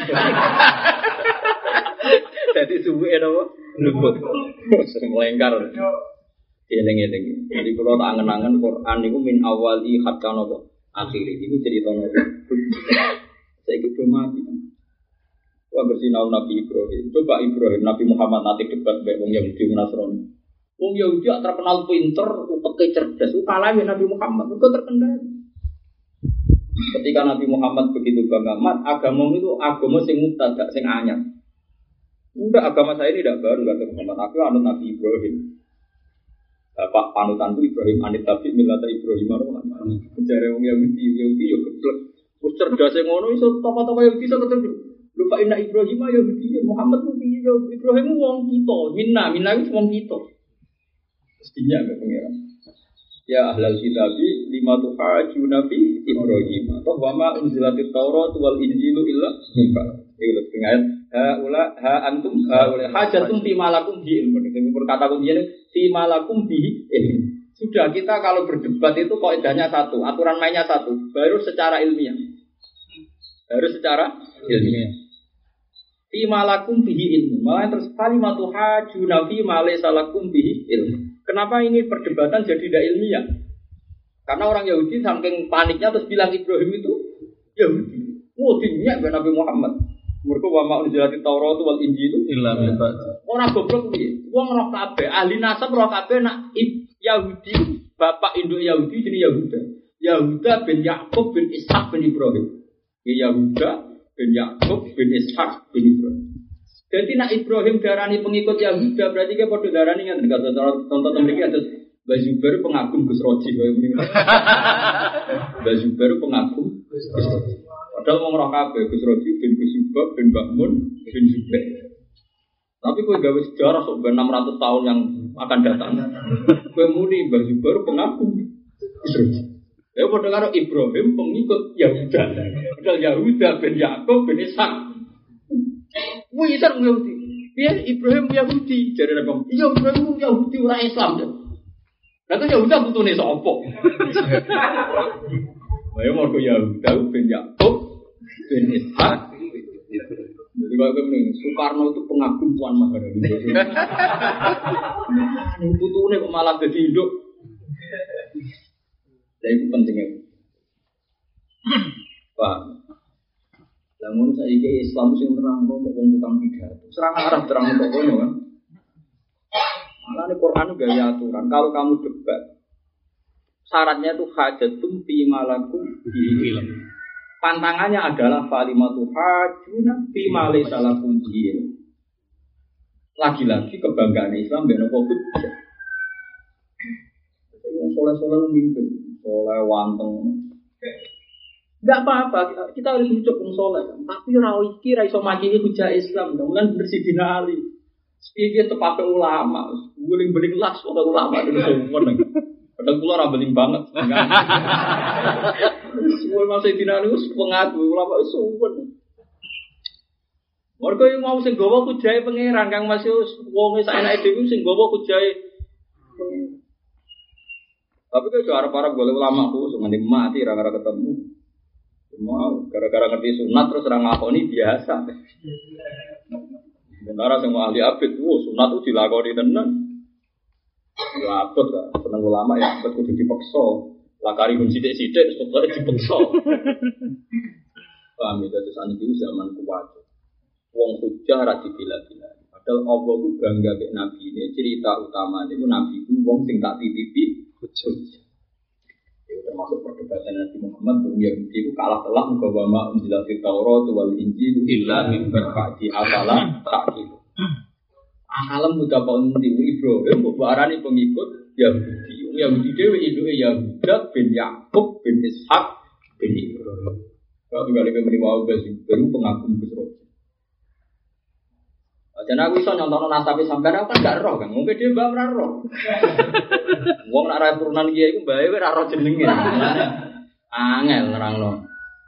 Jadi subuh itu luput, sering melengkar. Eling-eling. Jadi kalau tak angen-angen Quran itu min awali hatta nopo akhiri. Itu cerita nopo. Saya ikut mati. Wah bersinau Nabi Ibrahim. Coba Ibrahim, Nabi Muhammad nanti debat dengan Wong Yahudi Nasrani. Wong Yahudi terkenal pinter, utek cerdas. Kalah ya Nabi Muhammad. Itu terkenal. Ketika Nabi Muhammad begitu bangga, mat agama itu agama sing mubtada, sing anyar. Enggak, agama saya ini tidak baru, kata Muhammad. Aku anut Nabi Ibrahim. Bapak panutanku Ibrahim anit tapi milata Ibrahim arwah. Jare wong Yahudi yo geblek. Wis cerdas e ngono iso tokoh-tokoh Yahudi iso ketemu. Lupa inna Ibrahim Yahudi, Muhammad ku piye yo Ibrahim wong kita, minna itu wong kita. Mestinya enggak pengira. Ya ahlal kitabi lima tuhajuna fi Ibrahim. Atau wa ma unzilatit Taurat wal Injilu illa min itu lebih ayat ha antum hajatum fi malakum bi ilmu. Sing berkata kuncinya fi malakum bi ilmu. Sudah kita kalau berdebat itu kaidahnya satu, aturan mainnya satu, baru secara ilmiah. Harus secara ilmiah. Fi malakum bihi ilmu. Malah terus kalimatu hajuna fi ma laysa lakum bihi ilmu. Kenapa ini perdebatan jadi tidak ilmiah? Karena orang Yahudi saking paniknya terus bilang Ibrahim itu Yahudi. Dinyak Nabi Muhammad. Mergo wa ma'un zilati Taurat wal Injil illa min ba'd. Ora goblok piye? Wong roh kabeh, ahli nasab roh kabeh nak Yahudi, bapak induk Yahudi jenenge Yahuda. Yahuda bin Yakub bin Ishak bin Ibrahim. Yahuda bin Yakub bin Ishak bin Ibrahim. Jadi nak Ibrahim darani pengikut Yahuda berarti dia padha darani kan tonton mriki atus Mbak Zubair pengagum Gus Roji. Mbak Zubair pengagum Gus Roji. Padahal mau ngerok kabeh Gus Roji bin Gus Subab bin Bakmun bin Zubair. Tapi kowe gawe sejarah sok 600 tahun yang akan datang. Kowe muni Mbak Zubair pengagum Gus Roji. Ya padha karo Ibrahim pengikut Yahuda. Padahal Yahuda bin Yakub bin Ishak. Kuwi Ishak Yahudi. Piye Ibrahim Yahudi? Jare Nabi, iya Ibrahim Yahudi ora Islam. Lah kok Yahuda putune sapa? Ayo mau Yahuda bin Yakub bin Ishak. Jadi kalau kemudian Soekarno itu pengagum Tuan Maharani. Putune kok malah jadi induk. Jadi itu pentingnya. Paham? Namun saya ini Islam sing terang kok wong tukang pidato. Serang Arab terang kok kono kan. Malah di Quran gaya aturan. Kalau kamu debat, syaratnya itu hajatum fi malakum bi ilm. Pantangannya adalah kalimatu hajuna fi ma laysa lakum bi ilm. Lagi-lagi kebanggaan Islam ben apa hujjah. Wong soleh-soleh mimpin, soleh wanteng. Enggak apa-apa, kita harus hidup wong soleh. Tapi ora iki ra iso makili hujah Islam, mulan bersih dina ali. Iki tepake ulama, beling-beling las kok ulama itu semua. Padahal kula ora beling banget. Semua masih dina ali wis pengaku ulama semua. Mergo yang mau sing gawa hujahe pangeran Kang Mas wong sak enake dhewe sing gawa hujahe. Tapi kok arep-arep golek ulama ku sing mati ra ketemu. Mau gara-gara ngerti sunat terus orang ngakoni biasa. Sementara semua ahli abid, sunat itu dilakoni tenan. Ya abid kan, seneng ulama ya abid kudu dipaksa. Lakari pun sidik-sidik, sebetulnya dipaksa. Paham ya, terus ini zaman kuat. Wong hujah rati bila-bila. Padahal Allah itu bangga ke Nabi ini. Cerita utama itu Nabi itu wong sing tak titipi hujah. Termasuk perdebatan Nabi Muhammad Yahudi itu kalah telak bahwa unzilatit Taurat wal Injil illa min ba'di afala ta'qil. Alam muda paundi Ibrahim barani pengikut Yahudi. Yahudi dhewe ibuke Yahuda bin Yakub bin Ishak bin Ibrahim. Kalau kali kemari wau baru pengagum Gus Roji. Dan aku iso nyontono nasabe sampean aku kan gak roh kan. Mungkin dia mbak ora roh. Wong nek ra turunan kiai iku mbae ora roh jenenge. Angel nerangno.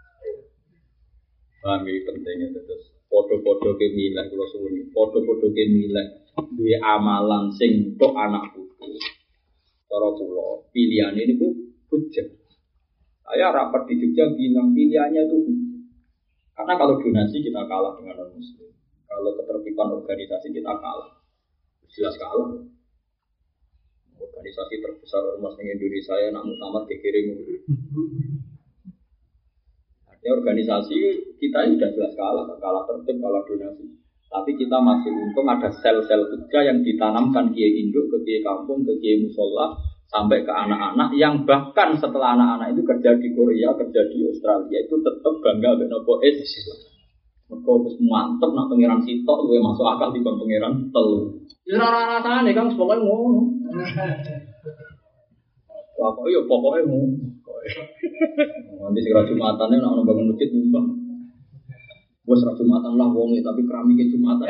Paham iki pentingnya terus padha-padha ke milih kula suwun. Padha-padha ke milih duwe amalan sing tok anak putu. Cara kula pilihane niku hujjah. Saya rapat di Jogja bilang pilihannya itu karena kalau donasi kita kalah dengan non muslim. Kalau ketertiban organisasi kita kalah, jelas kalah. Organisasi terbesar ormas di Indonesia ya nak muktamar dikirim. Artinya organisasi kita ini sudah jelas kalah tertib, kalah donasi. Tapi kita masih untung ada sel-sel kerja yang ditanamkan kiai induk ke kiai kampung, ke kiai musola, sampai ke anak-anak yang bahkan setelah anak-anak itu kerja di Korea, kerja di Australia itu tetap bangga dengan nopo Islam. Mereka harus mantep nak pangeran sitok, gue masuk akal di pangeran telu. Ya rasa-rasanya nih kan, pokoknya ngono. Pokoknya ngono. Nanti segera Jumatannya nak bangun masjid nyumbang. Gue segera Jumatan lah wongi, tapi keramiknya Jumatan.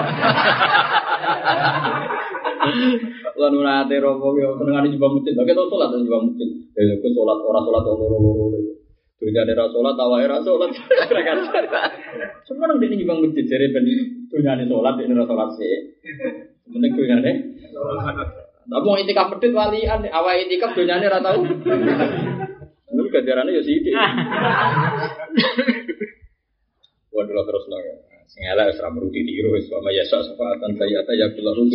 Lalu nanti rokok ya, senengan di nyumbang masjid. Oke, tau sholat di nyumbang masjid. Ya, gue sholat orang sholat loro-loro. Dunia ada sholat, tawa era sholat. Semua orang di nyumbang masjid jadi dunia ada sholat, ini sholat sih. Sebenarnya dunia ada. Tapi mau itikaf pedit walian, awal itikaf dunia ada tahu. Lalu gajarannya ya sih. Waduh terus lah. Sengela esra merudi tiru, sama yasa sefatan saya ya belum.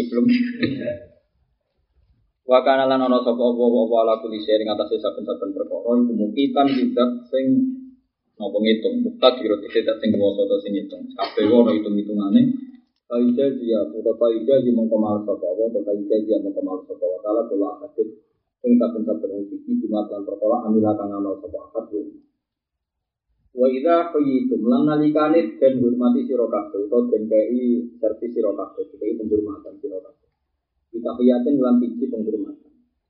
Wakana lan ana sapa apa ala kuli sing ngatasi saben-saben perkara iku mungkitan tidak sing napa ngitung mukta kira tidak sing kuwasa ta sing ngitung kabeh ora hitung-hitungane kaida dia utawa kaida di mengkemal sapa apa utawa kaida dia mengkemal sapa wa taala kula hadis sing saben-saben iki dimatlan perkara amila kang amal sapa akad wa idza qayitum lan nalikane den hormati sira kabeh utawa den kei servis sira kabeh iki penghormatan sira kabeh. Kita kiyatin dalam siji penghormatan.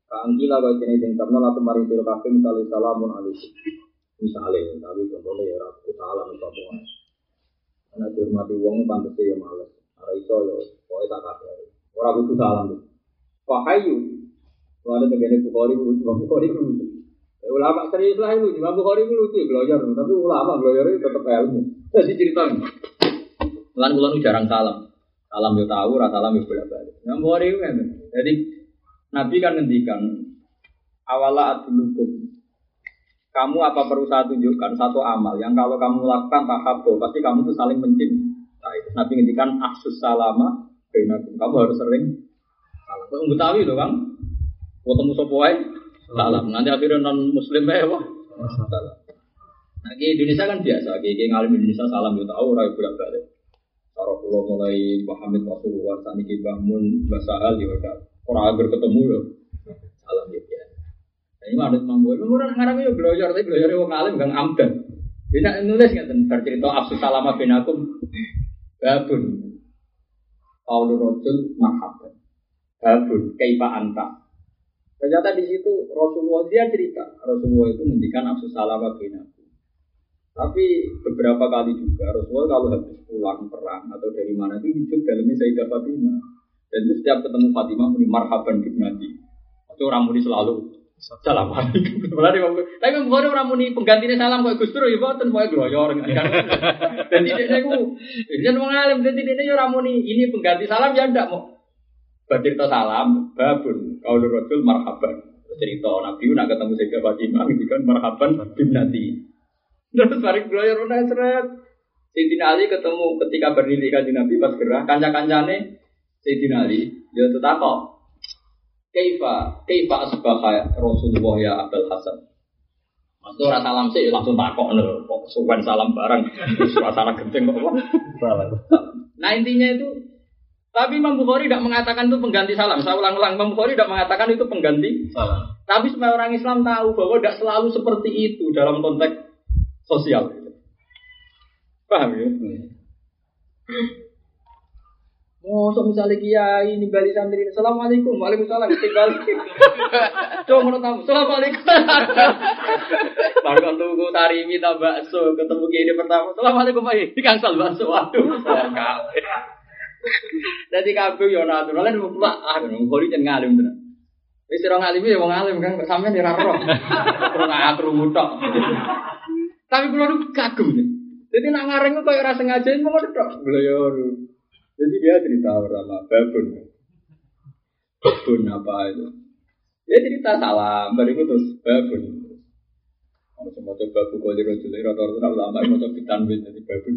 Kangkila kau jenis yang terkenal atau mari siro kafe misalnya salamun alaikum. Misalnya, tapi contohnya ya rakyat salam itu apa? Karena dihormati wong pantas ya males. Ada iso ya, pokoknya tak kafe. Orang butuh salam tu. Wahyu, ada tegane Bukhari lucu. Ulama serius lah itu, Imam Bukhari lucu, belajar. Tapi ulama belajar itu tetap ilmu. Jadi cerita. Lan kula jarang salam. Salam yo tahu, rasa salam yo bolak-balik. Imam Bukhari itu kan. Jadi Nabi kan ngendikan awala adulukum. Kamu apa perlu saya tunjukkan satu amal yang kalau kamu lakukan tahabbu pasti kamu tuh saling mencintai. Nabi ngendikan afsus salama bainakum. Kamu harus sering salam. Kok Betawi lho, Kang. Ketemu sapa wae salam. Nanti akhirnya non muslim ae apa? Salam. Nah, di Indonesia kan biasa, di ngalim Indonesia salam yo tahu ora bolak-balik. Cara kula mulai Muhammad Rasulullah saniki bangun basahal yo orang agar ketemu ya, salam ya. Ini ada mampu, orang ngarang ya belajar, tapi belajar yang alim gang amdan. Dia nulis nggak tentang cerita absus salama binakum, babun, Paulus Rojul mahabban, babun, kaifa anta. Ternyata di situ Rasulullah dia cerita, Rasulullah itu menghentikan absus salama binakum. Tapi beberapa kali juga Rasulullah kalau habis pulang perang atau dari mana itu hidup dalamnya Sayyidah Fatimah. Dan itu setiap ketemu Fatimah muni marhaban binati. Itu orang muni selalu salam alaikum. Tapi Bukhari orang muni penggantinya salam kok Gus Dur ya boten pokoke gloyor. Dan tidaknya aku yen wong alim dan tidaknya orang muni ini pengganti salam ya ndak mau. Bercerita salam babun qaulur rajul marhaban. Cerita Nabi nak ketemu Sayyidah Fatimah ngendikan marhaban binati. Terus balik gloyor ana seret. Sayyidina Ali ketemu ketika berdiri kanjeng Nabi pas gerah kanca-kancane Sayyidina Ali, ya tetap kok. Kaifa asbaha Rasulullah ya Abul Hasan. Mas ora salam sih langsung takok lho, kok suwen salam bareng. Suasana genting kok apa? Nah intinya itu tapi Imam Bukhari tidak mengatakan itu pengganti salam. Saya ulang-ulang, Imam Bukhari tidak mengatakan itu pengganti salam. Tapi supaya orang Islam tahu bahwa tidak selalu seperti itu dalam konteks sosial. Paham ya? So misalnya kiai ini balik santri, assalamualaikum, waalaikumsalam, balik. Coba menurut kamu, assalamualaikum. Baru kan tunggu tarimi tak bakso, ketemu kiai pertama, assalamualaikum Pak, di kangsal bakso, waduh, kabeh. Jadi kabeh yo natural, lan mutlak, ngori jangan ngalim tenan. Wis ora ngalim ya wong alim kan, sampean ora roh. Ora krungu tok. Tapi kula nu kagum. Jadi nak ngareng kok ora sengaja ngono tok. Gloyor. Jadi dia cerita sama babun apa itu? Dia cerita salam, baru terus babun. Kalau semua coba buku di rojul, rata-rata ulama mau coba ditanwin jadi babun.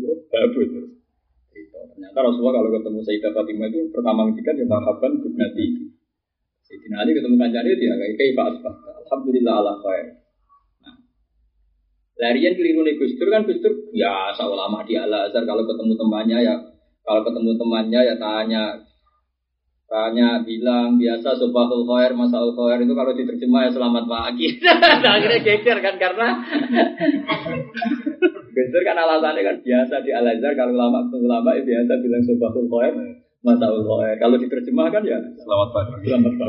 Ternyata Rasulullah kalau ketemu Sayyidah Fatimah itu pertama ngendikan ya marhaban binati. Sayyidina Ali ketemu kancane dia kayak Pak Asbah. Alhamdulillah ala khair. Nah, larian keliru nih Gus Dur kan Gus Dur ya ulama di Al Azhar kalau ketemu temannya ya tanya bilang biasa subahul khair masaul khair itu kalau diterjemah ya selamat pagi. Akhirnya geger kan karena geger kan alasannya kan biasa di Al Azhar kalau ulama ya biasa bilang subahul khair masaul khair. Kalau diterjemah kan ya selamat pagi.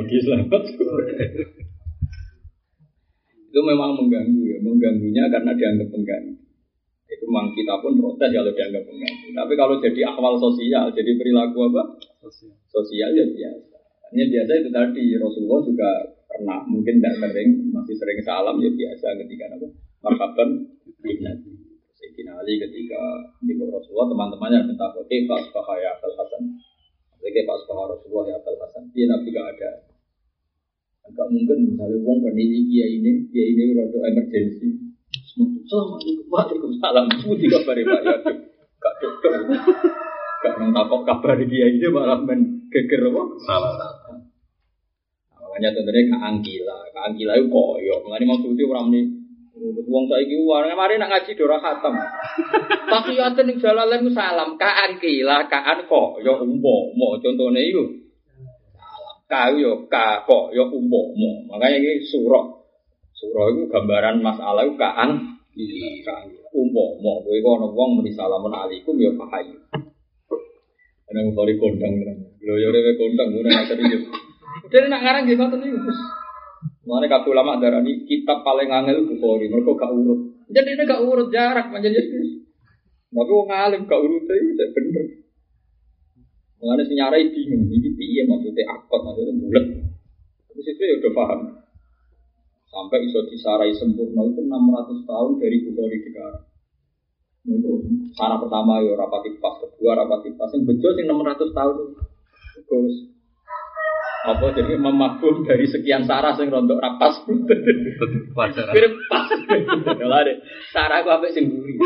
Itu memang mengganggunya karena dianggap mengganggu. Itu memang kita pun protes kalau dianggap mengganggu. Tapi kalau jadi akwal sosial, jadi perilaku apa? Sosial ya biasa. Hanya biasa itu tadi Rasulullah juga pernah mungkin tidak sering, masih sering salam ya biasa ketika apa? Marhaban binati. Sayyidina Ali ketika di Rasulullah teman-temannya minta oke Pak Asbah ya Abul Hasan. Oke Pak Asbah Rasulullah ya Abul Hasan. Dia Nabi gak ada. Enggak mungkin misalnya wong bernili dia ini rada emergensi. Assalamualaikum waalaikumsalam. Putih kabar Pak ya. Gak cocok. Gak nangkap kabar dia ini malah men geger apa? Salah. Makanya tentunya Kak Angkila itu koyo. Mengenai maksudnya orang ini wong saiki wong mari nak ngaji dora khatam. Tahiyaten ning jalalain salam Kak Angkila, Kak koyo umpama contone iku. Salam kayu yo koyo umpama. Makanya iki surah itu gambaran masalah itu kaan umpama kowe ana wong muni salamun alaikum ya pahayu. Ana mari kondang tenan. Lho ya rewe kondang ora serius. Jadi nak ngarang nggih ngoten niku. Mulane kabeh ulama darani kitab paling angel Bukhari, mergo gak urut. Jadi ini gak urut jarak panjenengan. Tapi wong alim gak urut itu bener. Mulane sing nyarai bingung iki piye maksudnya akot maksudnya bulet. Terus itu ya udah paham. Sampai iso disarai sempurna itu 600 tahun dari Bukhari dikarang. Sarah pertama ya rapati pas, kedua rapati pas, yang bejo sing 600 tahun. Terus apa jadi memabum dari sekian sarah sing rontok rapas. Wajar. Pas. Lha deh. Sarah ku apik sing mburi.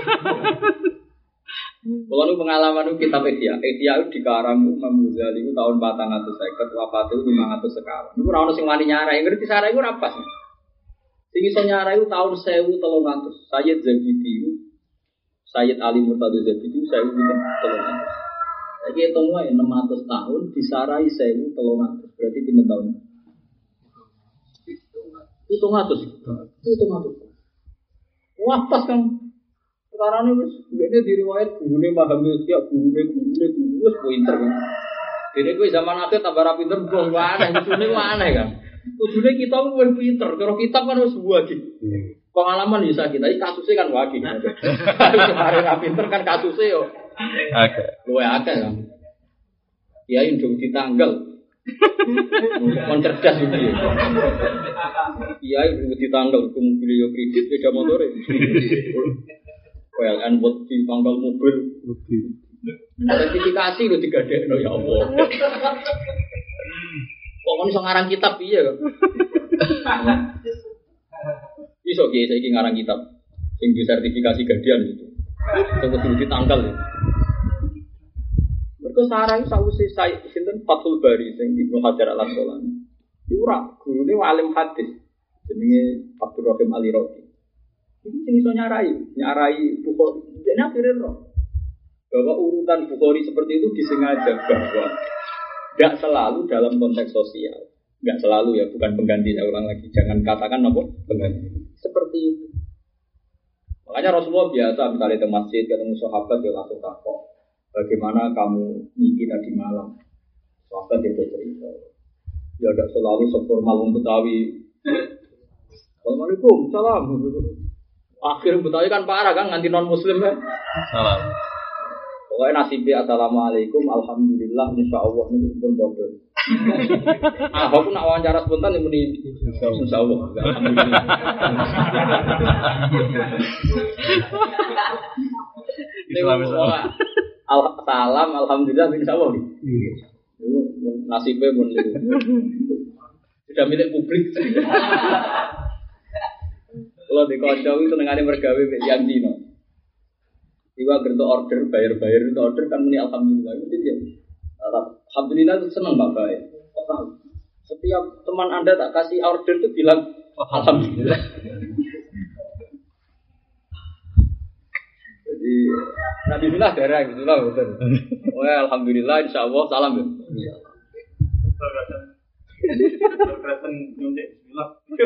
Kalau nu pengalaman nu kitab Ihya itu dikarang Imam Ghazali itu tahun 450, wafat itu 500 sekawan. Itu ora ono sing wani nyarai, ngerti sarah iku rapas. Sing iso nyarai itu tahun 1300. Sayyid Zabidi, Sayyid Ali Murtadha Zabidi 1300. Lagi hitung wae 600 tahun disarai 1300. Berarti pinten tahun? 700. Wah pas kan. Sekarang ini wis diriwayat gurune Mahamud ya gurune wis pinter kan. Dene kowe zaman akhir tambah ra pinter wong aneh, kudune aneh kan. Kudune kita wis pinter, cara kitab kan wis wajib. Pengalaman bisa kita, iki kasusnya kan wajib. Kemarin ra pinter kan kasusnya yo. Oke. Luwe akeh kan. Kiai ndung ditanggal. Kon cerdas iki. Kiai ndung ditanggal ke mobil yo kredit beda motore. PLN buat ditanggal mobil. Sertifikasi lho digadekno ya Allah. Kok kon iso ngarang kitab piye kok? Iso kiai saiki ngarang kitab sing disertifikasi gadian itu. Sing kudu ditanggal. Mergo sarah iku sawise sinten Fathul Bari sing Ibnu Hajar Al-Asqalani. Iku ora gurune alim hadis jenenge Abdurrahim Al-Iraqi. Iku sing iso nyarai Bukhari. Dene akhire roh bahwa urutan Bukhari seperti itu disengaja bahwa enggak selalu dalam konteks sosial. Enggak selalu ya, bukan pengganti, saya ulang lagi. Jangan katakan apa pengganti. Seperti itu. Makanya Rasulullah biasa misalnya di masjid ketemu sahabat dia langsung takut. Bagaimana kamu mimpi tadi malam? Sahabat dia cerita. Ya tidak selalu seformal wong Betawi. Assalamualaikum, salam. Akhir Betawi kan parah kan nganti non Muslim kan. Salam. Pokoknya nasibnya assalamualaikum, alhamdulillah, insyaallah ini pun bodoh. Aku nak wawancara spontan yang muni insyaallah. Alhamdulillah. Salam, alhamdulillah, insyaallah. Nasibnya pun sudah milik publik. Kalau di kocok itu senengane mergawe yang dino. Iwa gerto order, bayar-bayar itu order kan muni alhamdulillah. Itu dia. Alhamdulillah itu seneng Pak Bay. Setiap teman Anda tak kasih order itu bilang alhamdulillah. Jadi alhamdulillah darah gitulah betul. Oh alhamdulillah insyaallah salam ya. Iya. Terkesan nyuntik bismillah.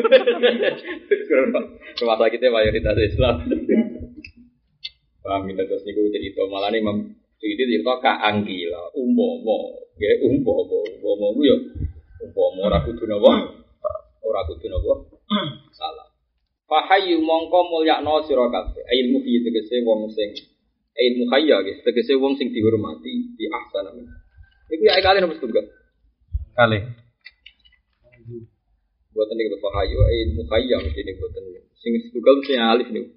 Rumah sakitnya mayoritas Islam. Paham kita terus niku cerita malah nih Imam Suyuti cerita kaanggila umpama nggih umpama ku yo umpama ora kudu napa salah fahayu mongko mulyakno sira kabeh ilmu fi tegese wong sing ilmu hayya nggih tegese wong sing dihormati di ahsana iku ya kali nomor setunggal kali buatan niku fahayu ilmu hayya mesti niku buatan sing setunggal sing alif niku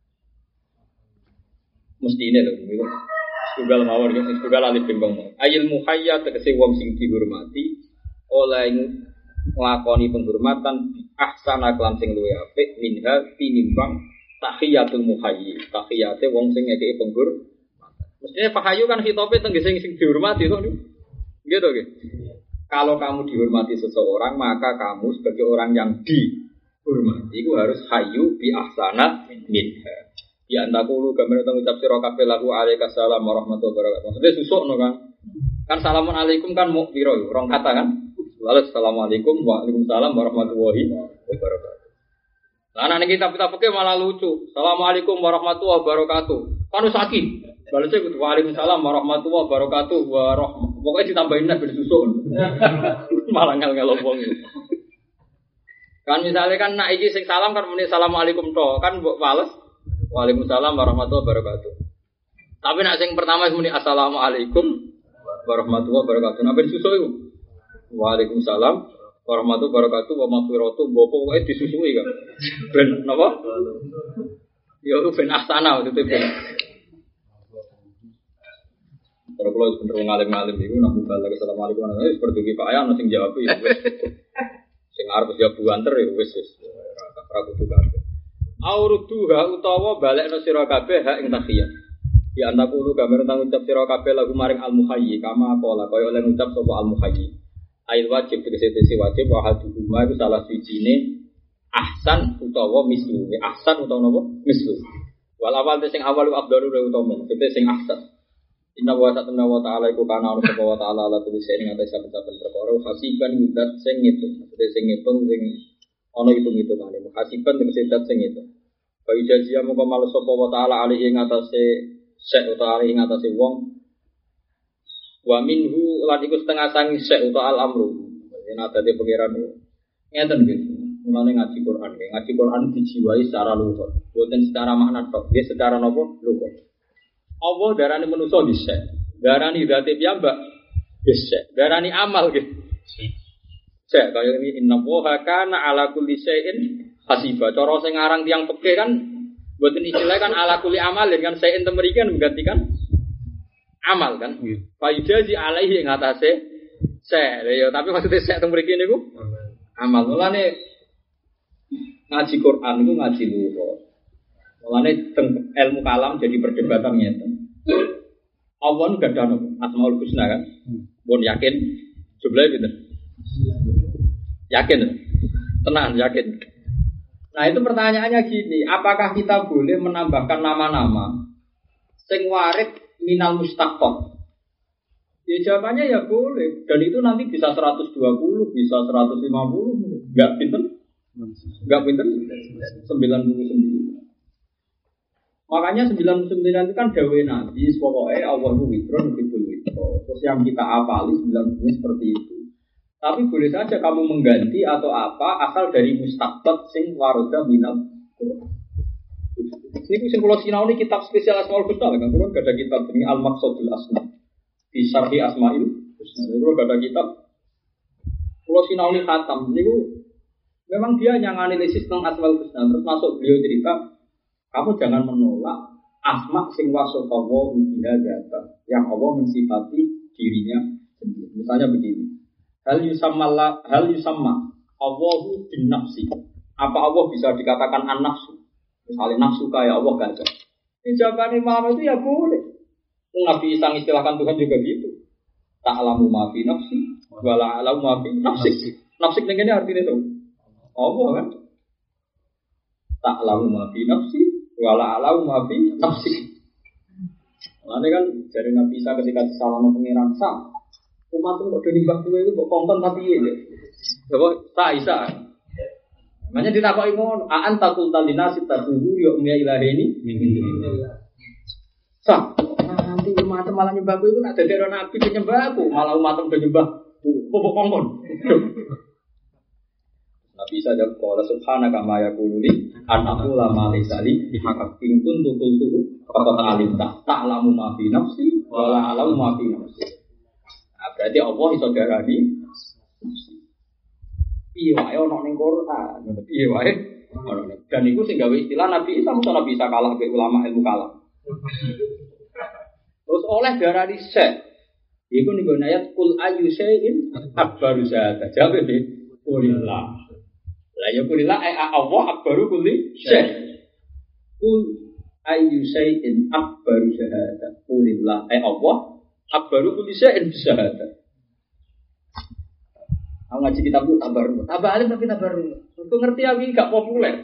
mesti ini loh, tunggal mawar, tunggal alif bimbang mawar. Ayil muhayya tegese wong sing dihormati oleh nglakoni penghormatan ahsana kelan sing luwih apik minha tinimbang tahiyatul muhayyi. Tahiyate wong sing ngekeki penghormatan. Mestinya pahayu kan hitope tegese sing dihormati to. Nggih to nggih. Kalau kamu dihormati seseorang, maka kamu sebagai orang yang dihormati itu harus hayyu bi ahsana minha. Ya antakulu gambar tentang ucap sira kabeh lahu alaikassalam warahmatullahi wabarakatuh. Maksudnya susukno kan. Kan assalamualaikum kan mau piro rong kata kan. Lalu assalamualaikum waalaikumsalam warahmatullahi wabarakatuh. Lah nek kita fikih malah lucu. Assalamualaikum warahmatullahi wabarakatuh. Kan sakit. Balasnya kudu waalaikumsalam warahmatullahi wabarakatuh pokoknya ditambahin nah bersusun. Malah ngel-ngel wong. Kan misalnya kan nak iki sing salam kan muni assalamualaikum to, kan mbok bales waalaikumsalam warahmatullahi wabarakatuh. Tapi nak sing pertama muni assalamualaikum warahmatullahi wabarakatuh. Napa disusul iku? Waalaikumsalam warahmatullahi wabarakatuh wa maghfiratuh mbok pokoke disusui kan. Ben napa? Ya ben asana itu ben. Terus kalau bener ngalim-ngalim itu nak balik assalamualaikum warahmatullahi seperti iki Pak Ayan sing jawab ya wis. Sing arep jawab buanter ya wis ora kudu kabeh. Auruduha utawa balekno sira kabeh hak ing tahiyat. Ya antakulu gambar tanggung ucap sira kabeh lagu maring al-muhayyi kama qala kaya oleh ngucap sapa al-muhayyi. Ail wajib tegese wajib wa haduma iku salah sijine ahsan utawa mislu. Ahsan utawa napa? Mislu. Wal awal sing awal afdalu utawa sing ahsan. Inna wa ta'ala iku kana ana wa ta'ala la tulis ing atas saben-saben perkara hasiban mudat sing ngitung. Maksudnya sing ngitung sing ana hitung-hitungane. Hasiban tegese dat sing ngitung. Fa ijazia moko males sapa wa ta'ala alih ing atase sek utawa alih ing atase wong. Wa minhu lan iku setengah sangi sek utawa al-amru. Yen adate pangeran ngeten nggih. Mulane ngaji Quran. Ngaji Quran dijiwai secara luhur. Boten secara makna tok, nggih secara napa? Luhur. Allah darani manusa dhisik, darani zate piyambak dhisik, darani amal nggih. Sek kaya ini inna woha kana ala kulli syai'in hasiba. Cara sing aran tiyang peke kan mboten istilah kan ala kulli amalin kan syai'in temriki kan menggantikan amal kan. Fa yujazi alaihi ing atase sek. Ya tapi maksudnya sek temriki niku amal. Mulane ngaji Quran itu ngaji luhur. Mulane ilmu kalam jadi perdebatan ngeten. Allah nu gadah Asmaul Husna kan? Pun yakin jumlahe pinten? Yakin? Tenang, yakin. Nah, itu pertanyaannya gini, apakah kita boleh menambahkan nama-nama sing warid minal mustaqab? Ya jawabannya ya boleh. Dan itu nanti bisa 120, bisa 150, enggak pinten? Enggak pinten? 99. Makanya 99 itu kan dawe Nabi, pokoknya Allah itu witro, nukibul witro. Terus yang kita apali 99 seperti itu. Tapi boleh saja kamu mengganti atau apa asal dari mustaqbat sing waroda minal Quran. Ini sing kula sinau ini kitab spesial Asmaul Husna kan. Kulo gak ada kitab ini Al-Maqsadul Asma. Di Syarhi Asmaul Husna. Kulo gak ada kitab. Kulo sinau ini khatam. Niku memang dia yang analisis tentang Asmaul Husna. Terus masuk beliau cerita, kamu jangan menolak asma sing wasofawo biha zata yang Allah mensifati dirinya sendiri. Misalnya begini. Hal yusamma Allahu bin nafsi. Apa Allah bisa dikatakan an-nafsu? Misalnya nafsu kayak Allah kan. Ini jawabannya Muhammad itu ya boleh. Nabi Isa istilahkan Tuhan juga gitu. Ta'lamu ma fi nafsi wa la a'lamu ma fi nafsi. Nafsi ini artinya itu Allah kan. Ta'lamu ma fi nafsi wala alau mafi nafsi. Lalu kan dari Nabi Isa ketika disalahkan pengiran sah, umat itu kok nyembah kowe itu kok konten tapi ya. Coba sah Isa. Makanya ditakoki ngono, aan takul talinasi tadhuru ya umya ilaheni. Sah. Nanti umat malah nyembah kowe itu nak dadi Nabi nyembah aku, malah umat itu nyembah kok kongkon. Nabi Isa jawab qala subhanaka ma yakunu li an aqula ma laysa li bihaqqin in kuntu qultuhu faqad alimta ta'lamu ma fi nafsi wa la a'lamu ma fi nafsi. Nah, berarti Allah iso darani piye wae ana ning Quran, piye wae ana. Dan iku sing gawe istilah Nabi Isa mung Nabi Isa kalah be ulama ilmu kalam. Terus oleh darani syekh iku ning ayat kul ayu syai'in akbaru zata. Jawab be kulillah. La yakulillah Allah akbaru kulli syai'. Kul ayyu syai'in akbaru syahada. Kulillah Allah akbaru kulli syai'in syahada. Aku ngaji kitab itu tabar. Tabar alim tapi tabar. Aku ngerti aku gak populer.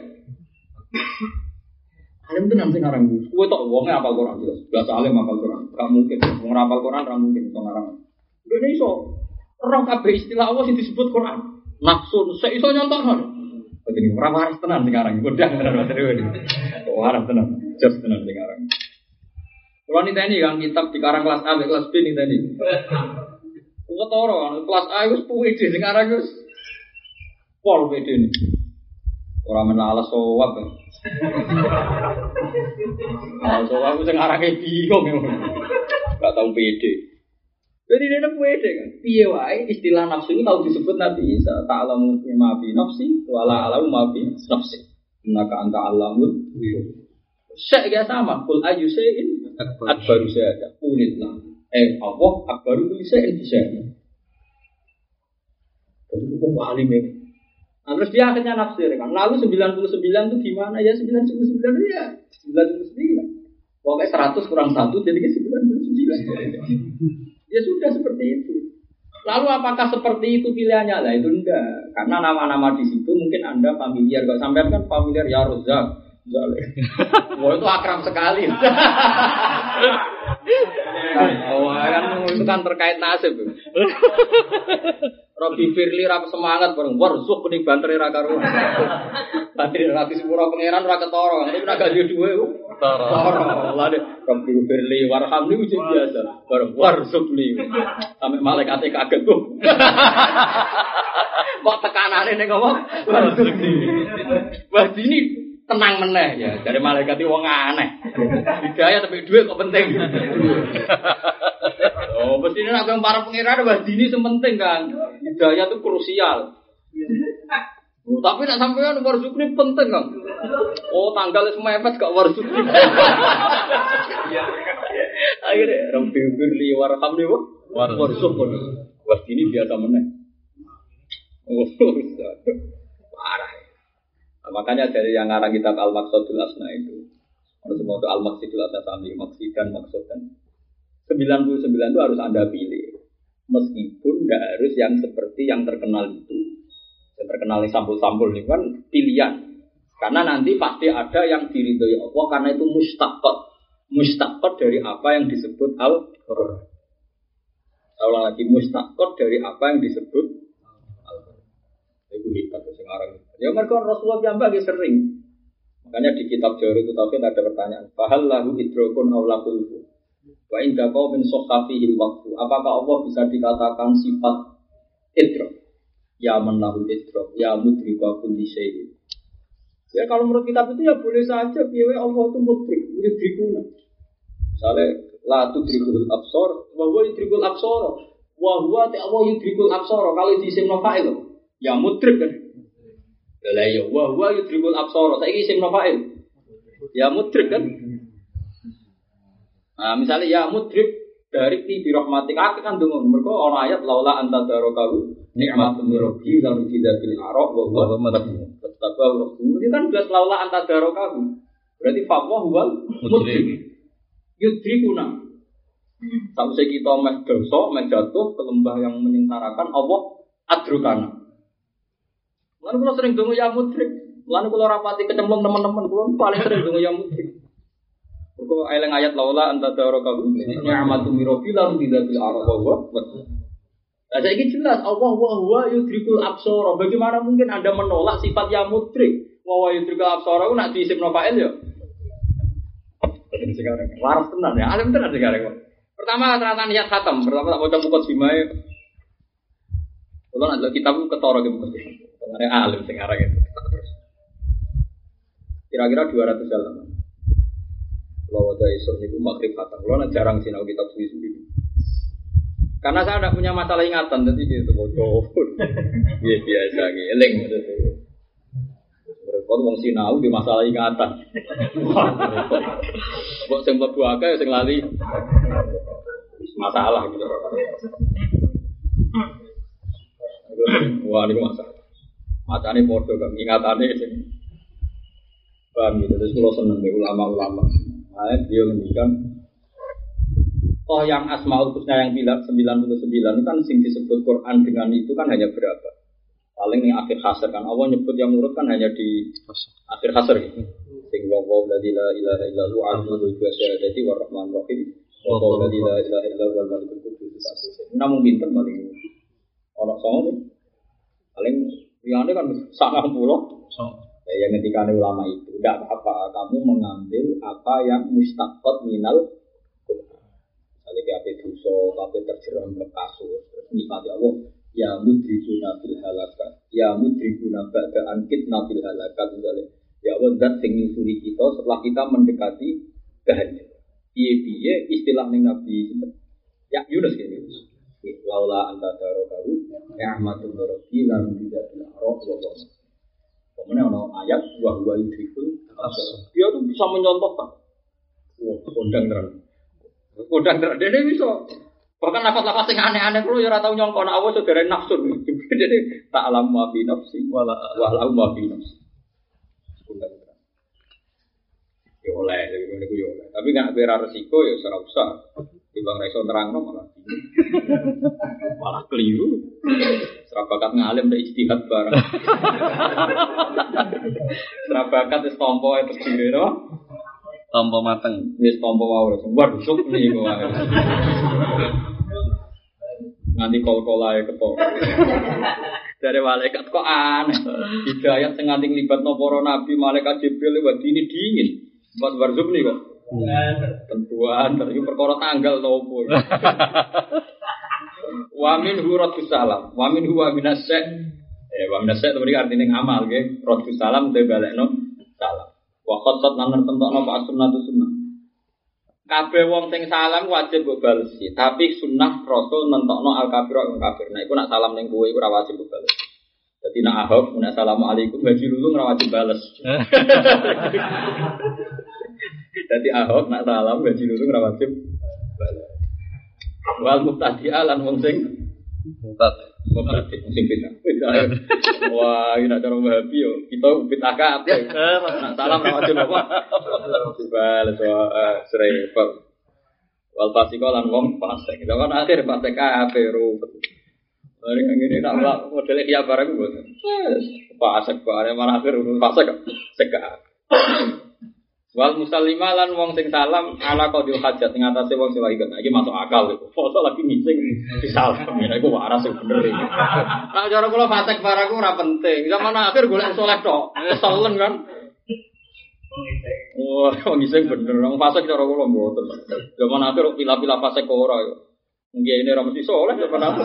Alim itu nanti ngarang. Kowe tok wonge apal Quran jelas. Bahasa alim apal Quran. Gak mungkin wong apal Quran ra mungkin iso ngarang. Dene iso. Roh kabeh istilah Allah sing disebut Quran. Nafsun seiso nyontokno. Jadi orang waras tenan sekarang, godang tenan materi ini. Waras tenan, just tenan sekarang. Kalau niteni kan kitab dikarang kelas A, kelas B niteni. Ketara kelas A wis puwede sing aran wis pol pede ini. Ora menalas sowap. Sowap sing arane bingung. Enggak tahu pede. Jadi dia pede kan. Piye wae istilah nafsu ini kalau disebut Nabi Isa, ta'lamu ma fi nafsi wa la a'lamu ma fi nafsi. Innaka anta alamul ghuyub. Syek ya sama, kul ayu syai'in akbaru syahada. Qulillah. Allah akbaru kulli syai'in bisyahada. Itu hukum alim ya. Nah, terus dia akhirnya nafsir kan. Lalu 99 itu gimana ya? 99 ya 99. Pokoknya 100 kurang 1 jadi 99. Ya sudah seperti itu. Lalu apakah seperti itu pilihannya? Lah itu enggak. Karena nama-nama di situ mungkin Anda familiar. Kalau sampean kan familiar ya Rozak. Wah itu akrab sekali. Oh kan itu kan terkait nasib. Robi Firly rap semangat bareng warzuk kuning banteri ra karo. Banteri ra disepuro pangeran ra ketara. Nek ora gak duwe ketara. Lah Robi Firly warham niku biasa. Bareng warzuk li. Sampai malaikat kaget kok. Kok tekanane ning ngomong warzuk li. Wah ini tenang meneh ya. Dari malaikat iki wong aneh. Hidayah tapi duit kok penting. Oh, mestinya nak para pengiran wah dini sementing kan. Hidayah itu krusial. Oh, tapi nak sampean warzukni penting kan. Oh, tanggal wis mepet gak warzukni. Akhirnya Rabbi firli warhamni warzuk. Wah dini biasa meneh. Oh, parah. Makanya dari yang ngarang kitab Al-Maqsadul Asna itu, kalau semua itu Al-Maqsadul Asna sami maksud dan maksud dan 99 itu harus Anda pilih. Meskipun tidak harus yang seperti yang terkenal itu. Yang terkenal yang sampul-sampul itu kan pilihan. Karena nanti pasti ada yang diridhoi Allah karena itu mustaqot. Mustaqot dari apa yang disebut Al-Qur'an. Ulang lagi mustaqot dari apa yang disebut Al-Qur'an. Itu hebat sekarang. Ya mereka Rasulullah yang bagi sering. Makanya di kitab Jawahir itu Tauhid ada pertanyaan. Fahal lahu idrokun awlaqulhu. Wa inda qaumin sokhafihil waqfu. Apakah Allah bisa dikatakan sifat idrok? Ya menahul idrok, ya mudrika kulli syai'in. Ya kalau menurut kitab itu ya boleh saja piye Allah itu mudrik, mudrikuna. Misalnya la tudrikul absar, wa huwa yudrikul absar. Wa huwa ta'wa yudrikul absar. Kalau diisim fa'il ya mudrik kan. Lah ya wa huwa yudrikul absar. Saiki isim fa'il. Ya mudrik kan. Nah, misalnya ya mudrik dari ti birahmatik akeh kan donga mergo ana ayat laula anta darakahu nikmatun rabbi lalu tidak bil araq wa huwa madhum tatabau itu kan jelas laula anta darakahu berarti fa huwa mudrik yudrikuna sampai kita meh dosa meh jatuh ke lembah yang menyengsarakan Allah adrukana lan kula sering donga ya mudrik lan kula rapati kecemplung teman-teman kula paling sering donga ya mudrik. Kau eleng ayat laula anta darakahu ni'matum mirofila tidak bil arwah. Nah, saya ini jelas Allah wa huwa yudrikul absara. Bagaimana mungkin Anda menolak sifat yang mudrik? Wa yudrikul absara itu nak diisim fa'il ya. Sekarang waras tenan ya, alim tenan sekarang. Pertama ternyata niat khatam, pertama tak baca buku simae. Kalau ada kitab ketara gitu mesti. Karena alim sekarang itu terus. Kira-kira 200 halaman. Kalau ada isu niku maghrib khatam. Kalau jarang sinau kitab suwi-suwi. Karena saya tidak punya masalah ingatan, jadi gitu bodoh. Iya biasa, eling. Kalau wong sinau di masalah ingatan. Kok sing mlebu akeh sing lali. Masalah gitu. Wah, niku masalah. Macane padha kok ingatane sing paham gitu. Terus kula seneng ulama-ulama. Dia ngendikan yang Asmaul Husna yang bilang 99 kan sing disebut Quran dengan itu kan hanya berapa? Paling yang akhir hasr kan Allah nyebut yang urut kan hanya di akhir hasr gitu. Sing wa la ilaha illallah al-mulku wa syahadati wa rahman rahim wa la ilaha illallah wal malikul qudus. Namun pinten paling orang songo paling liyane kan 90. Ya yang ngendikane ulama itu tidak apa-apa kamu mengambil apa yang mustaqot minal Jadi ape dosa, ape terjerembab kasus, nikmati Allah. Ya mudrikuna bil halakat, ya mudrikuna ba'da ankitna bil halakat misalnya. Ya Allah zat sing nyusuri kita setelah kita mendekati kehancuran. Piye-piye istilah ning Nabi ya Yunus gini. Laula anta darokahu ya ahmadul rabbi lan tidak bil arab wa. Kemudian ono ayat wa huwa yudrikul dia tuh bisa menyontohkan. Wah, kondang terang. Dia bisa. Bahkan lafaz-lafaz yang aneh-aneh kalau ya ora tau nyongko nek Allah saudara nafsu. Jadi tak alam wa fi nafsi wala wa fi nafsi. Kondang terang. Ya oleh, ngene ku ya oleh. Tapi nek ora resiko ya ora usah. Timbang ra iso nerangno malah keliru. Serabakat ngalim ndak ijtihad bareng. Serabakat wis tampa itu dhewe no. Tampa mateng. Wis tampa wae wis waduh niku wae. Nanti kol-kolae ketok. Dari malaikat kok aneh. Hidayat sing nganti nglibatno para nabi, malaikat Jibril wadine dingin. Pas barzuk nih kok. Tentuan terus perkara tanggal to opo. Wa min huratus salam, wa min huwa minasy. Wa minasy itu artine ngamal nggih. Ratus salam te balekno salam. Wa khatat lan nentokno apa sunnah sunnah. Kabeh wong sing salam wajib mbok balesi, tapi sunnah Rasul nentokno al kafir wong kafir. Nah iku nak salam ning kowe iku ora wajib mbok bales. Dadi nak ahok nek asalamualaikum gaji lulu ora wajib bales. Dadi ahok nak salam gaji lulu ora wajib bales. Wal mubtadi'a lan wong sing mubtadi sing bid'ah. Wah, ini nak cara Wahabi yo. Kita bid'ah kabeh. Nak salam ora wajib apa? Bales serempet. Wal fasiko lan wong fasik. Kita kan akhir fasik kabeh rupet. Mari ngene nak modele kiya barang ku. Fasik bare malah akhir fasik seka. Wal musallima lan wong sing salam ala qadil hajat ing atase wong sing lagi kena iki masuk akal iku. Foto lagi ngising disalam ya iku waras sing bener iki. Nek cara kula fasik barang ku ora penting. Zaman akhir golek saleh tok. Keselen kan. Wah, wong ngising bener. Wong fasik cara kula mboten. Zaman akhir pila-pila fasik kok ora yo. Nggih ini ora mesti saleh zaman akhir.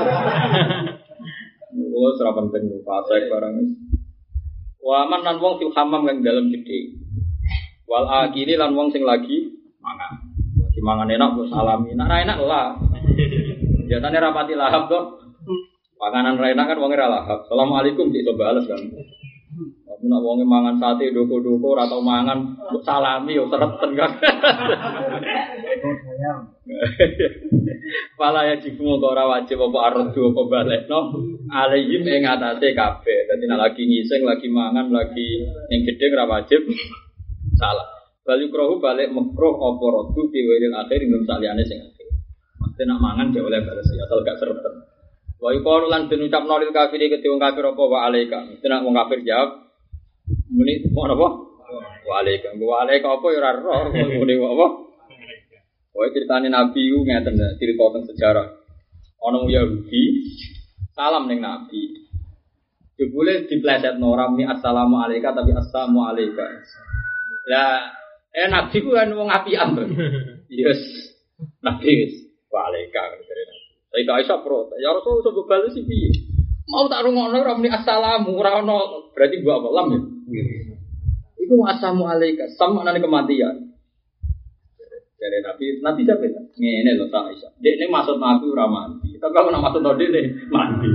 Kula ora penting fasik barang. Wa man lan wong fil hamam kang dalem gedhe. Wal akili lan wong sing lagi mangan. Lagi mangan enak kok salami. Nek ra enak lah. Biasane rapati lahap to. Panganan ra enak kan wong ora lahap. Asalamualaikum dik coba bales kan. Tapi nek wong mangan sate doko-doko ora tau mangan kok salami yo sereten kan. Pala ya jiku kok ora wajib apa ardu apa balekno. Alaihim ing atase kabeh. Dadi nek lagi ngising, lagi mangan, lagi ning gedhe ora wajib salah. Balik rohu balik makruh apa rodu diwiril akhir ingin saliyane sing akhir. Mesti nak mangan dia oleh balas ya asal gak sereten. Wa yuqalu lan den ucap nolil kafir iki wong kafir apa wa alaika. Mesti nak wong kafir jawab muni mau apa? Wa alaika. Wa alaika apa ya ora roh muni apa? Wae critane nabi ku ngeten cerita teng sejarah. Ana wong Yahudi salam ning nabi. Jebule diplesetno ora muni assalamu alayka tapi assalamu alayka. Ya, nabi ku kan wong apian to. Yes. Nabi wis waleka dari nabi. Saya gak iso pro. Ya Rasul coba bales iki piye? Mau tak rungokno ora muni assalamu ora ono berarti gua apa lam ya. Iku assalamu alayka sama nane kematian. Dari nabi sampe ngene lho tak iso. Dekne maksud nabi ora mati. Tapi aku nak maksud dekne mati.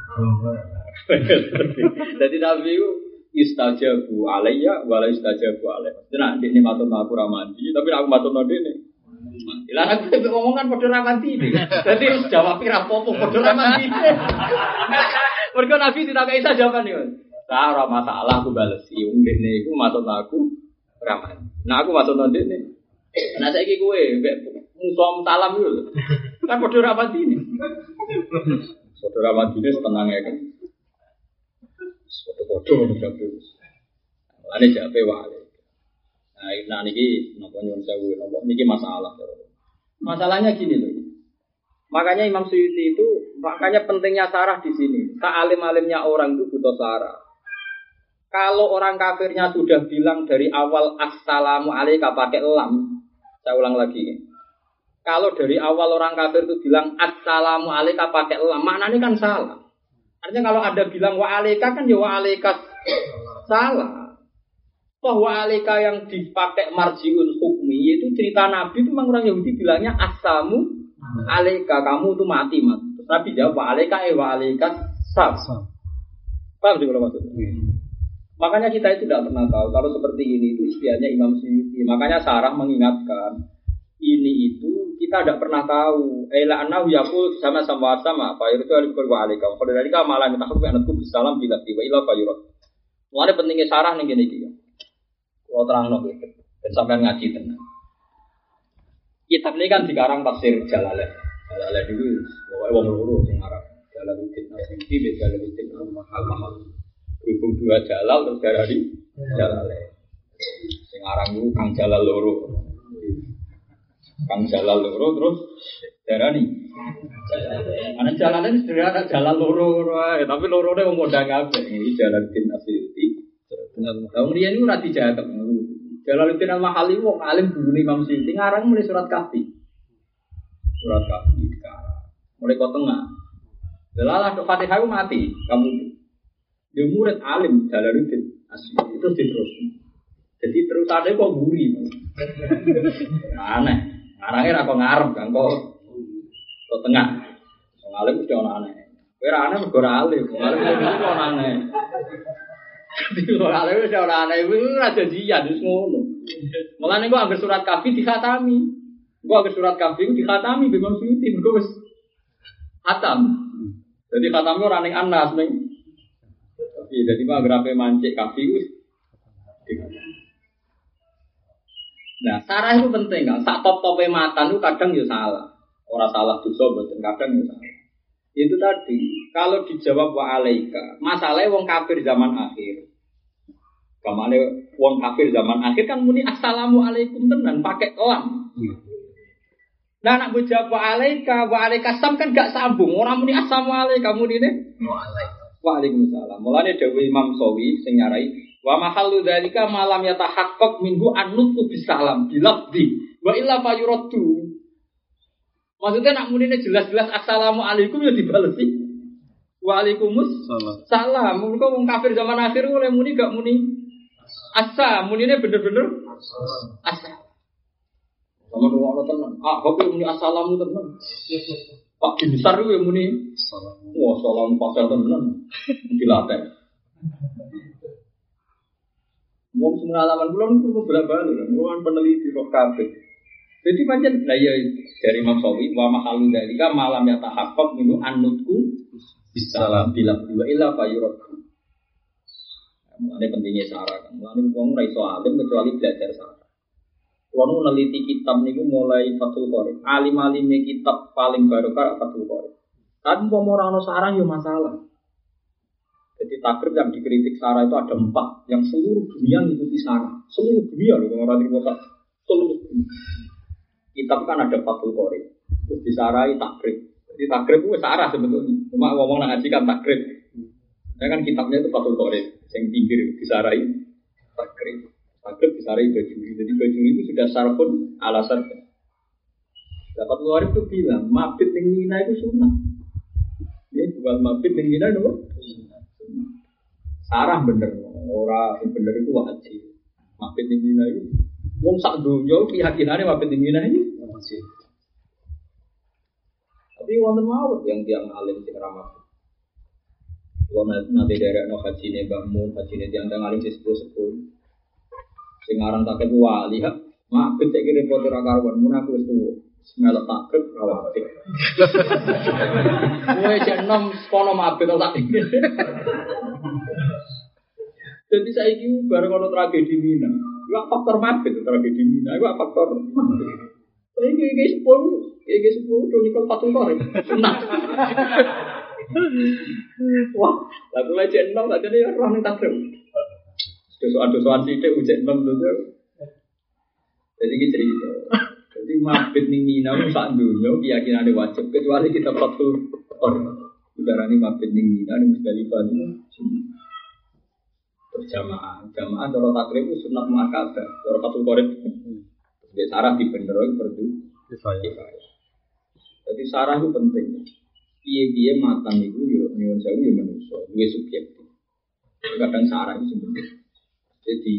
Jadi nabi ku istajabu alayya wala istajabu alayya. Nah, ini maksud aku ramandi, tapi aku maksud ndene. Lah aku ngomong kan padha ramandi iki. Dadi wis jawab ora apa-apa padha ramandi. Mergo Nabi tidak isa jawaban yo. Lah ora masalah aku balesi. Wong ndene iku maksud aku ramandi. Nah aku maksud ndene. Nah saiki kowe musom salam yo. Kan padha ramandi iki. Padha ramandi wis tenang ya kan. Foto-foto jape. Ane jape wae. Nah niki napa nyuwun sewu napa niki masalah. Masalahnya gini loh. Makanya Imam Suyuti itu makanya pentingnya sarah di sini. Sealim-alimnya orang itu butuh sarah. Kalau orang kafirnya sudah bilang dari awal assalamu alayka pakai lam. Saya ulang lagi. kalau dari awal orang kafir itu bilang assalamu alaika pakai lam, maknanya kan salah. Artinya kalau ada bilang wa alaika kan ya wa alaika salah. Toh wa alaika yang dipakai marjiun hukmi itu cerita Nabi itu memang orang Yahudi bilangnya assamu alaika, kamu itu mati. Terus Nabi jawab wa alaika wa alaika sab. Paham sih kalau maksudnya? Makanya kita itu tidak pernah tahu kalau seperti ini itu istilahnya Imam Suyuti. Makanya Sarah mengingatkan ini itu kita tidak pernah tahu. Ela anahu yaqul sama-sama apa itu alaikum wa alaikum. Kalau dari kamu malah minta hukum anakku bisalam bila tiba ila fayurat. Mulane pentingnya Sarah ning ngene iki. Kalau terangno iki ben sampean ngaji tenan. Kitab ini kan dikarang tafsir Jalalain. Jalalain itu wong loro sing arep Jalaluddin Asy'ari be Jalaluddin Al-Mahal. Berhubung dua Jalal terus dari Jalalain. Sing aran iku Kang Jalal loro. Kang Jalal loro terus darani ana Jalalain sederhana Jalal loro tapi lorone wong modang kabeh iki Jalaluddin Asy'ari. Tahun riyen niku ora dijaket. Jalaluddin Al-Mahali wong alim gurune Imam Suyuti ngarang mulai surat Kahfi. Surat Kahfi dikarang. Mulai kok tengah. Delalah tok Fatihah mati kamu. Dia murid alim Jalaluddin Asy'ari itu terus. Jadi terus ada kok guri. Aneh. Ngarangnya ra kok ngarep kan kok tengah. Wong alim mesti ono aneh. Kowe ra aneh mergo ra alim. Alim itu ono aneh. Wong alim mesti ono aneh iku ra janjian wis ngono. Mulane kok anggere surat Kahfi dikhatami. Kok anggere surat Kahfi dikhatami Imam Suyuti mergo wis khatam. Jadi khatami ora ning Anas ning. Tapi dadi mah anggere mancik Kahfi wis. Nah, Sarah itu penting kan. Sak top-tope matan itu kadang ya salah. Orang salah dosa mboten kadang ya salah. Itu tadi, kalau dijawab wa alaika, masalahnya wong kafir zaman akhir. Kamane wong kafir zaman akhir kan muni assalamu alaikum tenan pakai lam. Nah, nak jawab wa alaika sam kan gak sambung. Orang muni assalamu alaikum muni ne wa alaika. Waalaikumsalam. Mulane dawuh Imam Sawi sing nyarai wa mahallu dzalika malam yatahaqqaq minhu an-nutqu bisalam bilafdi wa illa fayuraddu. Maksudnya nak munine jelas-jelas assalamu alaikum ya dibalesi. Waalaikumsalam. Mergo wong kafir zaman akhir oleh muni gak muni asa, munine bener-bener asa. Sama ngono tenan. Ah, kok muni assalamu tenan. Pak Binsar itu yang muni wah salam pasal tenan dilatih. Wong pengalaman kula niku bolak-balik, kula peneliti roh kabeh. Jadi pancen lah ya dari Imam Sawi wa mahalu dalika malam ya tahaqqaq minu annutku bisalam bila illa fayurat. Mulane pentingnya Sarah kan. Mulane wong ora iso alim kecuali belajar Sarah. Kalau meneliti kitab niku mulai Fathul Qorib. Alim-alime kitab paling barokah Fathul Qorib. Tapi mau ora ono sarang yo masalah. Jadi takrib yang dikritik Sarah itu ada 4 yang seluruh dunia ngikuti Sarah. Seluruh dunia loh orang Timur seluruh dunia. Kitab kan ada Fathul Qorib. Terus disarai takrib. Jadi takrib itu Sarah sebetulnya. Cuma ngomong nak ngaji kan takrib. Ya kan kitabnya itu Fathul Qorib. Yang pinggir disarai takrib. Takrib disarai Bajuri. Jadi Bajuri itu sudah sarfun ala sarfun. Dapat luar itu bilang mabit ning Mina itu sunnah. Ya bukan mabit ning Mina itu sunnah. Sarah bener, orang yang bener itu wajib. Mabit ning Mina itu wong sak donya keyakinane mabit ning Mina itu wajib. Tapi wonten mawon yang tiang alim sing ramah. Kalau nanti dari haji ne bangun, haji ne tiang alim sing sepuluh. Sing aran taket wali ha mabit iki repot ora karuan mun aku wis tuwa semelok takrib rawate kowe jeneng kono mabit tak dadi saiki bareng ono tragedi Mina iku faktor mabit tragedi Mina iku faktor iki sepuluh do nikel Fathul Qorib sunah wah lha kowe jeneng tak jane ora ning takrib dosa-dosa sithik ujek nom lho. Jadi iki cerita. Jadi mabit ning Mina sak donya keyakinane wajib kecuali kita Fathul Qorib. Udarane mabit ning Mina ning Musdalifah niku berjamaah. Jamaah cara takrib itu sunat muakkadah, cara Fathul Qorib. Wis arah dibenero perdu kifayah. Jadi sarah itu penting. Piye-piye matang itu yo nyuwun sewu yo manusa, duwe subjektif. Kadang sarah itu sebenarnya jadi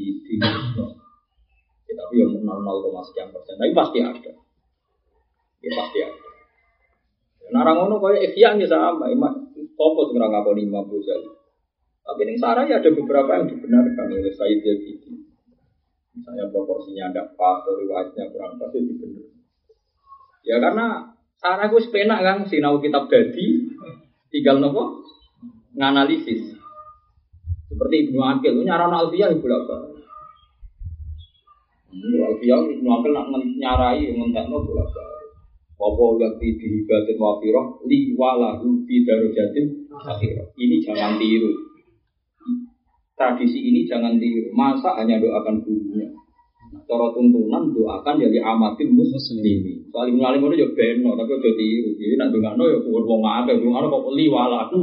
tapi yang 0,sekian%, tapi pasti ada. Ya pasti ada. Narang ngono kaya ikhya ya sama, apa sing ora ngakoni Imam Ghazali. Tapi ning sarah ya ada beberapa yang dibenarkan oleh Said Zabidi. Misalnya proporsinya tidak pas, atau riwayatnya kurang pas itu dibener. Ya karena sarah gue sepenak kan, sinau kitab dadi, tinggal nopo nganalisis. Seperti Ibnu Aqil, nyaran Alfiyah ibu laba. Alfiyah Ibnu Aqil nak nyarai ngentekno bolak. Apa yang dihibatin wafirah li walahu fi darajatin akhirah. Ini jangan tiru. Tradisi ini jangan tiru. Masa hanya doakan gurunya. Cara tuntunan doakan jadi amatin muslimin. Soal Ibnu Alim itu ya beno, tapi aja tiru. Jadi nak dongano ya kuwat wong akeh, dongano kok li walahu.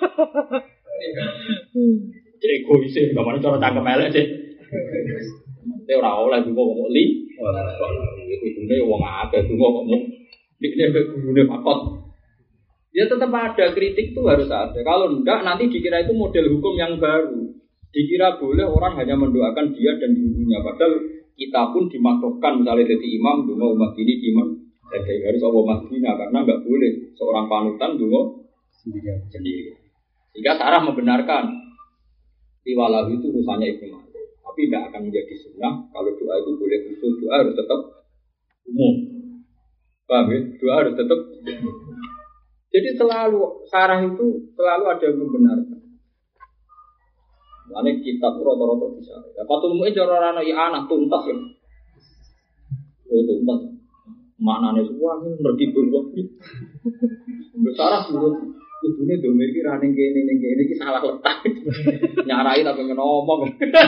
Cek egois e, gamane cara cangkem elek sih. Mesti ora oleh dungo kok li. Iku dune wong akeh dungo kok mung dikne gurune fakot. Ya tetap ada kritik itu harus ada. Kalau enggak nanti dikira itu model hukum yang baru. Dikira boleh orang hanya mendoakan dia dan gurunya. Padahal kita pun dimakruhkan misalnya jadi imam dungo umat ini imam. Jadi harus Allah Madinah karena enggak boleh seorang panutan dungo sendiri. Jika Sarah membenarkan tiwalahu itu urusannya Ibnu Malik. Tapi tidak akan menjadi sunnah kalau doa itu boleh khusus, doa harus tetap umum. Paham ya? Doa harus tetap umum. Jadi selalu Sarah itu selalu ada yang membenarkan. Lainnya kitab rata-rata bisa. Fatul Mu'in cara anak ya anak tuntas ya. Oh tuntas. Maknanya semua ini ngerti berbuat. Sarah menurut kudune domir iki ra ning kene iki salah letak. Nyarai tapi ngomong.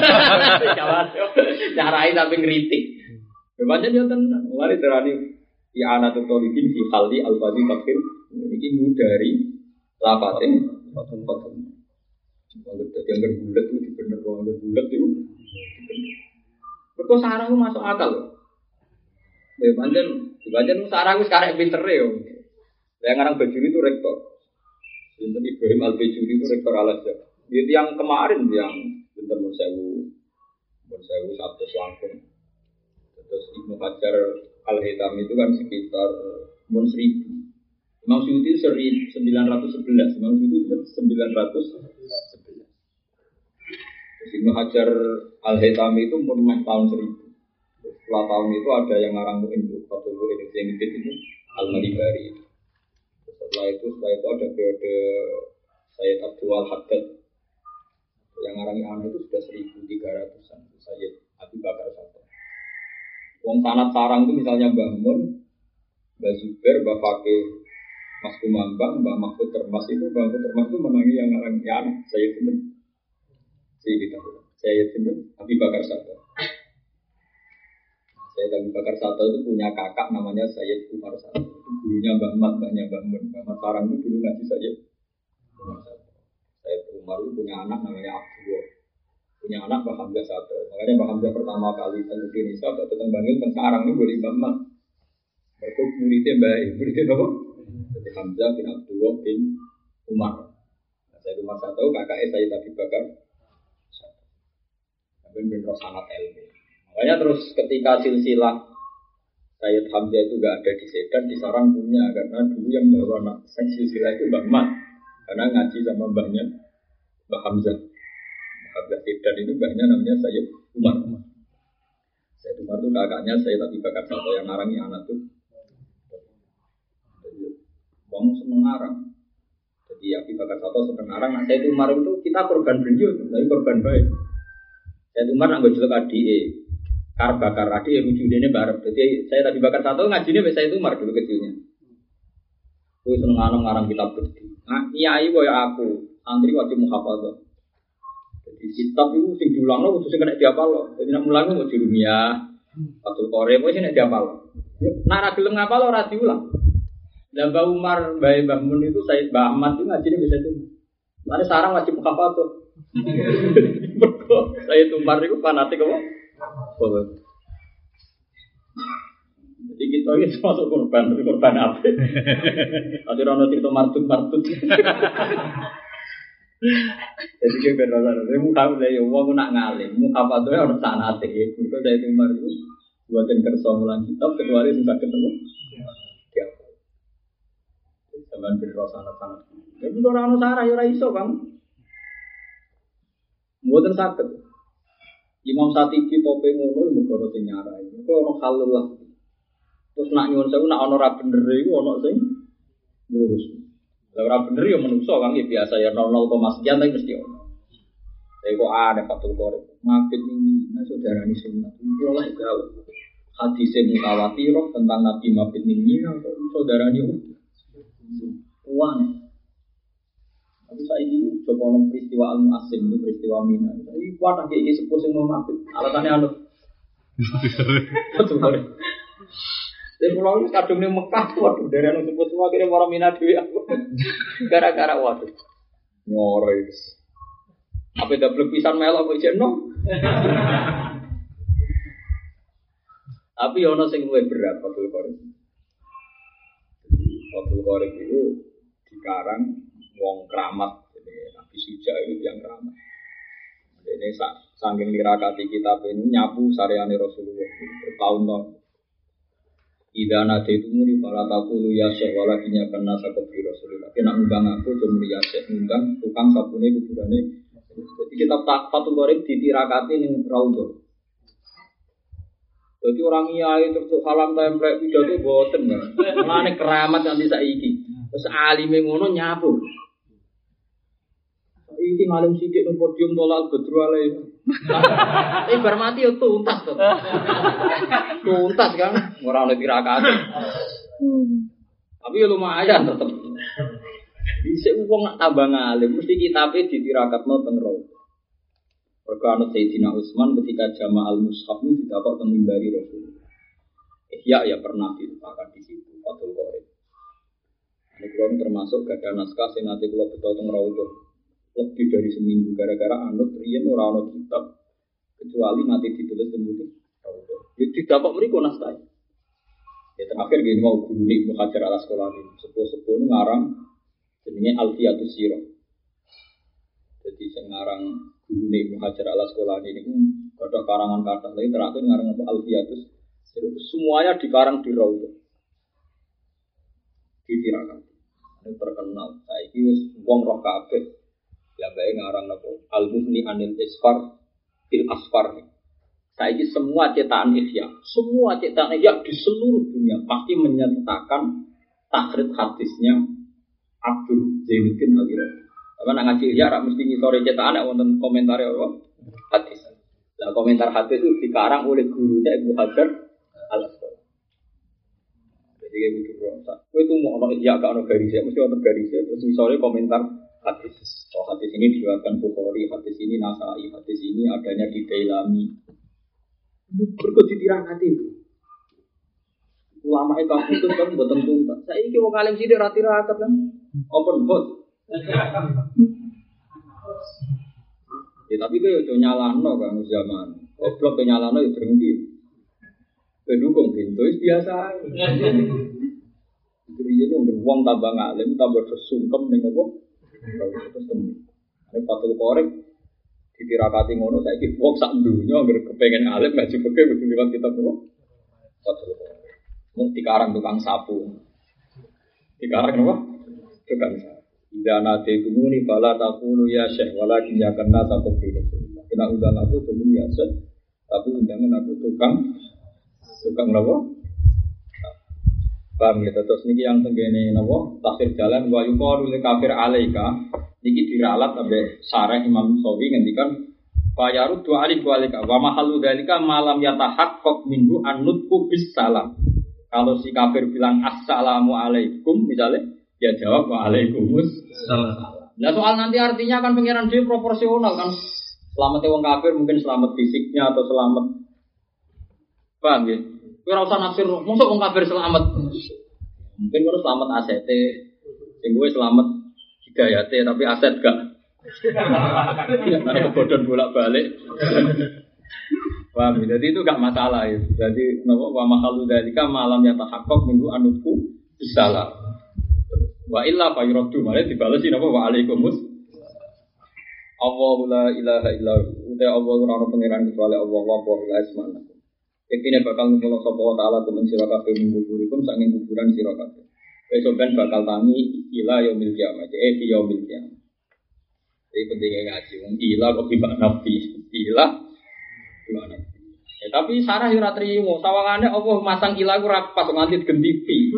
Nyarai tapi ngritik. Bebasnya dia tenan. Mulai terani ya anak tutolikin fi khaldi al-fadhi tafsir. Iki ngudari lafatin fatun. Kalau yang berbulat itu bener orang berbulat itu. Kok sarang itu masuk akal. Bebasnya sarang itu sekarang pinter ya. Yang ngarang Bajuri itu rektor. Binten Ibrahim Al-Bajuri itu rektor Al-Azhar. Itu yang kemarin yang Binten Monsewu satu langsung. Terus Ibnu Hajar Al-Haytami itu kan sekitar 1000. Imam Suyuti 1911. Imam Suyuti itu 1911. Terus Ibnu Hajar Al-Haytami itu umur tahun 1000. Setelah tahun itu ada yang ngarang Mu'in Fatul Mu'in itu Al-Malibari. Setelah itu ada periode Sayyid Abdul Haddad yang ngarang anak itu sudah 1300-an. Sayyid Abu Bakar Sato. Wong sanad sarang itu misalnya Mbah Mun, Mbah Zubair, Mbah Fakih, Mas Kumambang, Mbah Mahfud Termas itu menangi yang ngarang anak Sayyid Sinten. Sayyid Sinten Abu Bakar Sato. Sayyid Abu Bakar Sato itu punya kakak namanya Sayyid Umar Sato. Itu gurunya Mbah Mat, Mbahnya Mbah Mun. Mbah Mat Sarang itu dulu ngaji Sayyid Umar Sato. Sayyid Umar itu punya anak namanya Abdullah. Punya anak Mbah Hamzah Sato. Makanya Mbah Hamzah pertama kali ke Indonesia atau datang Bangil dan Sarang itu boleh Mbah Mat. Mereka muridnya muridnya apa? Jadi Hamzah bin Abdullah bin Umar. Sayyid Umar Sato kakaknya Sayyid Abu Bakar Sato. Tapi benar sangat ilmu. Makanya terus ketika silsilah Sayyid Hamzah itu enggak ada di Sedan, di Sarang punya karena dulu yang bawa anak silsilah itu Mbah Mat. Karena ngaji sama mbahnya Mbah Hamzah. Mbah Hamzah Sedan itu mbahnya namanya Sayyid Umar. Sayyid Umar itu kakaknya Sayyid Abu Bakar Sato yang ngarangi anak itu. Wong seneng ngarang. Jadi Abu Bakar Sato seneng ngarang. Nah, Sayyid Umar itu kita korban beliau, tapi korban baik. Sayyid Umar nak ngejlek adike. Bakar adik wujudnya bareng. Jadi saya tadi bakar satu ngajinya saya itu Umar dulu kecilnya. Aku seneng ngarang kitab berdiri. Nah, kiai boy aku santri wajib muhafadzah. Jadi kitab itu sing diulangno kudu sing kena diapal. Jadi nek mulang mau dirumia. Fatul Qori wis nek diapal. Nek ra gelem ngapal ora diulang. Lah Mbah Umar, Mbah Mun itu Said Mbah Ahmad itu ngajinya bisa itu. Mane sarang wajib muhafadzah. Mergo Said Umar itu fanatik apa? Jadi Iki to iki masuk korban apa? Ati rono cerita martut. Jadi ke beneran, saya muka udah ya, uang nak ngalim, muka apa tuh ya orang sanate, mereka dari Umar itu buatin kerso mulan kitab, kecuali sudah ketemu, ya, zaman beri rasa sanat. Tapi orang sarah ya raiso bang, buatin sakit. Imam Satibi tope ngono, mereka orang senyara, mereka orang halal lah. Terus nak nyuwun saya, nak orang bener itu orang sing lurus. Lah ora bener ya menungso Kang ya biasa ya 0,0 sekian tapi mesti ono. Tapi kok ada Fathul Qorib. Ngapit ning Mina saudarane sunat. Kulo lah gawe. Hadis mutawatir tentang Nabi mabit ning Mina kok saudarane uang. Tapi saiki coba ono peristiwa Al-Mu'assim itu peristiwa Mina. Iki kuat iki sepuh sing mau mabit. Alatane anu. Fathul Qorib. Saya pulang kadung di Mekah, waduh dari anu sebut semua kira orang Mina dewi aku, gara-gara waduh nyoroy. Apa double pisan melok kok jeno? Tapi ono sing luwih berat Fathul Qorib. Fathul Qorib itu dikarang wong keramat, jadi Nabi Suja itu yang keramat. Ini saking dirakati kitab ini nyapu sareane Rasulullah bertahun-tahun. Ida nate itu muni para takulu ya syekh walakinya karena sakopi Rasulullah. Kena undang aku cuma ya syekh undang tukang sabune kuburane. Jadi kita Fathul Qorib ditirakati ning raudhah. Jadi orang iya terus salam template pidato boten kan. Mulane keramat nanti saiki. Terus alime ngono nyapu. Iki ngalim sithik nang podium tolak Badru alaih. Bar mati yo tuntas to. Tuntas kan ora ono tirakate. Tapi yo lumayan tetep. Dhisik wong nak tambah ngalim mesti kitabe ditirakatno teng raudhah. Mergo ana Sayyidina Utsman ketika Jama' al-Mushaf ini didapat teng mimbari Rasulullah. Ya pernah diletakkan di situ Fathul Qorib. Ini kula termasuk gadah naskah sing nate kula beto teng raudhah. Lebih dari seminggu gara-gara anut riyen ora ana kitab kecuali nanti ditulis tembung raudhah. Ya didapat mriku naskah. Ya terakhir gini mau guru Ibnu Hajar Al-Asqalani sepuh-sepuh ngarang jenenge Alfiyatus Sirah. Jadi sing ngarang guru Ibnu Hajar Al-Asqalani niku ada karangan kata lagi terakhir ngarang apa Alfiyatus Sirah. Semuanya dikarang di raudhah. Ditirakan. Ini terkenal. Saiki wis wong roh kabeh. Ya bae ngarang napa Al-Mughni Anil Isfar fil Asfar. Saiki semua cetakan Ihya, semua cetakan Ihya di seluruh dunia pasti menyertakan takhrij hadisnya Abdul Zainuddin Al-Irabi. Apa nak ngaji Ihya rak mesti ngisore cetakan nek wonten komentar apa hadis. Lah komentar hadis itu dikarang oleh gurunya Ibnu Hajar Al-Asqalani. Jadi kayak gitu bro. Kowe itu mau ono Ihya gak ono garisnya, mesti ono garisnya terus ngisore komentar hadis. So, hadis ini diriwayatkan Bukhari, hadis ini Nasai, hadis ini adanya di Dailami. Berikut ditirakati itu. Ulama itu kan mboten tuntas. Saiki wong alim sithik ra tirakat kan. Open book. Ya tapi kowe yo nyalahno Kang zaman. Goblok kowe nyalahno yo drengki. Pendukung pintu biasa. Jadi itu wong tambah ngalim tambah sesungkem ning opo? Terus temu. Nek Fathul Qorib ditirakati ngono saiki wong sak dunya anggere kepengin alim ngaji fikih kudu liwat kitab nopo? Fathul Qorib. Mung dikarang tukang sapu. Dikarang apa? Tukang sapu. Idana tegumuni fala taqulu ya syekh walakin ya kana taqulu Rasulullah. Kena undang aku cuma ya syekh, tapi undangan aku tukang nopo? Paham ya, terus niki yang tenggene napa tafsir jalan wa yuqalu lil kafir alaika niki diralat sampai sarah Imam Sawi ngendikan fayarud wa alif walika wa mahallu dalika malam yatahaqqaq minhu annutku bis salam. Kalau si kafir bilang assalamu alaikum misalnya dia jawab wa alaikumus salam. Nah soal nanti artinya kan pengiran dia proporsional kan. Selamat wong kafir mungkin selamat fisiknya atau selamat paham ya? Kowe ora usah nafsir, mosok wong kafir selamat. Mungkin kowe selamat aset, sing kowe selamat hidayate tapi aset gak. Ana kebodhon bolak-balik. Paham? Jadi itu gak masalah itu. Jadi napa wa mahalu dzalika malam yatahaqqaq minggu anutku bisalah. Wa illa fa yuraddu male dibalesi napa wa alaikumus. Allahu la ilaha illa hu. Uta Allah ora ono pangeran kecuali Allah wa la ismana. Iktine bakal ngumpul sapa wa taala kumen sira kabeh minggu-minggu saking kuburan sira kabeh. Besok ben bakal tangi ila yaumil kiamat. Fi yaumil kiamat. Jadi pentingnya ngaji. Ila kok gimana nabi? Ila gimana? Ya, tapi Sarah ora trimo. Sawangane Allah masang ila ku ra pas nganti gentipi.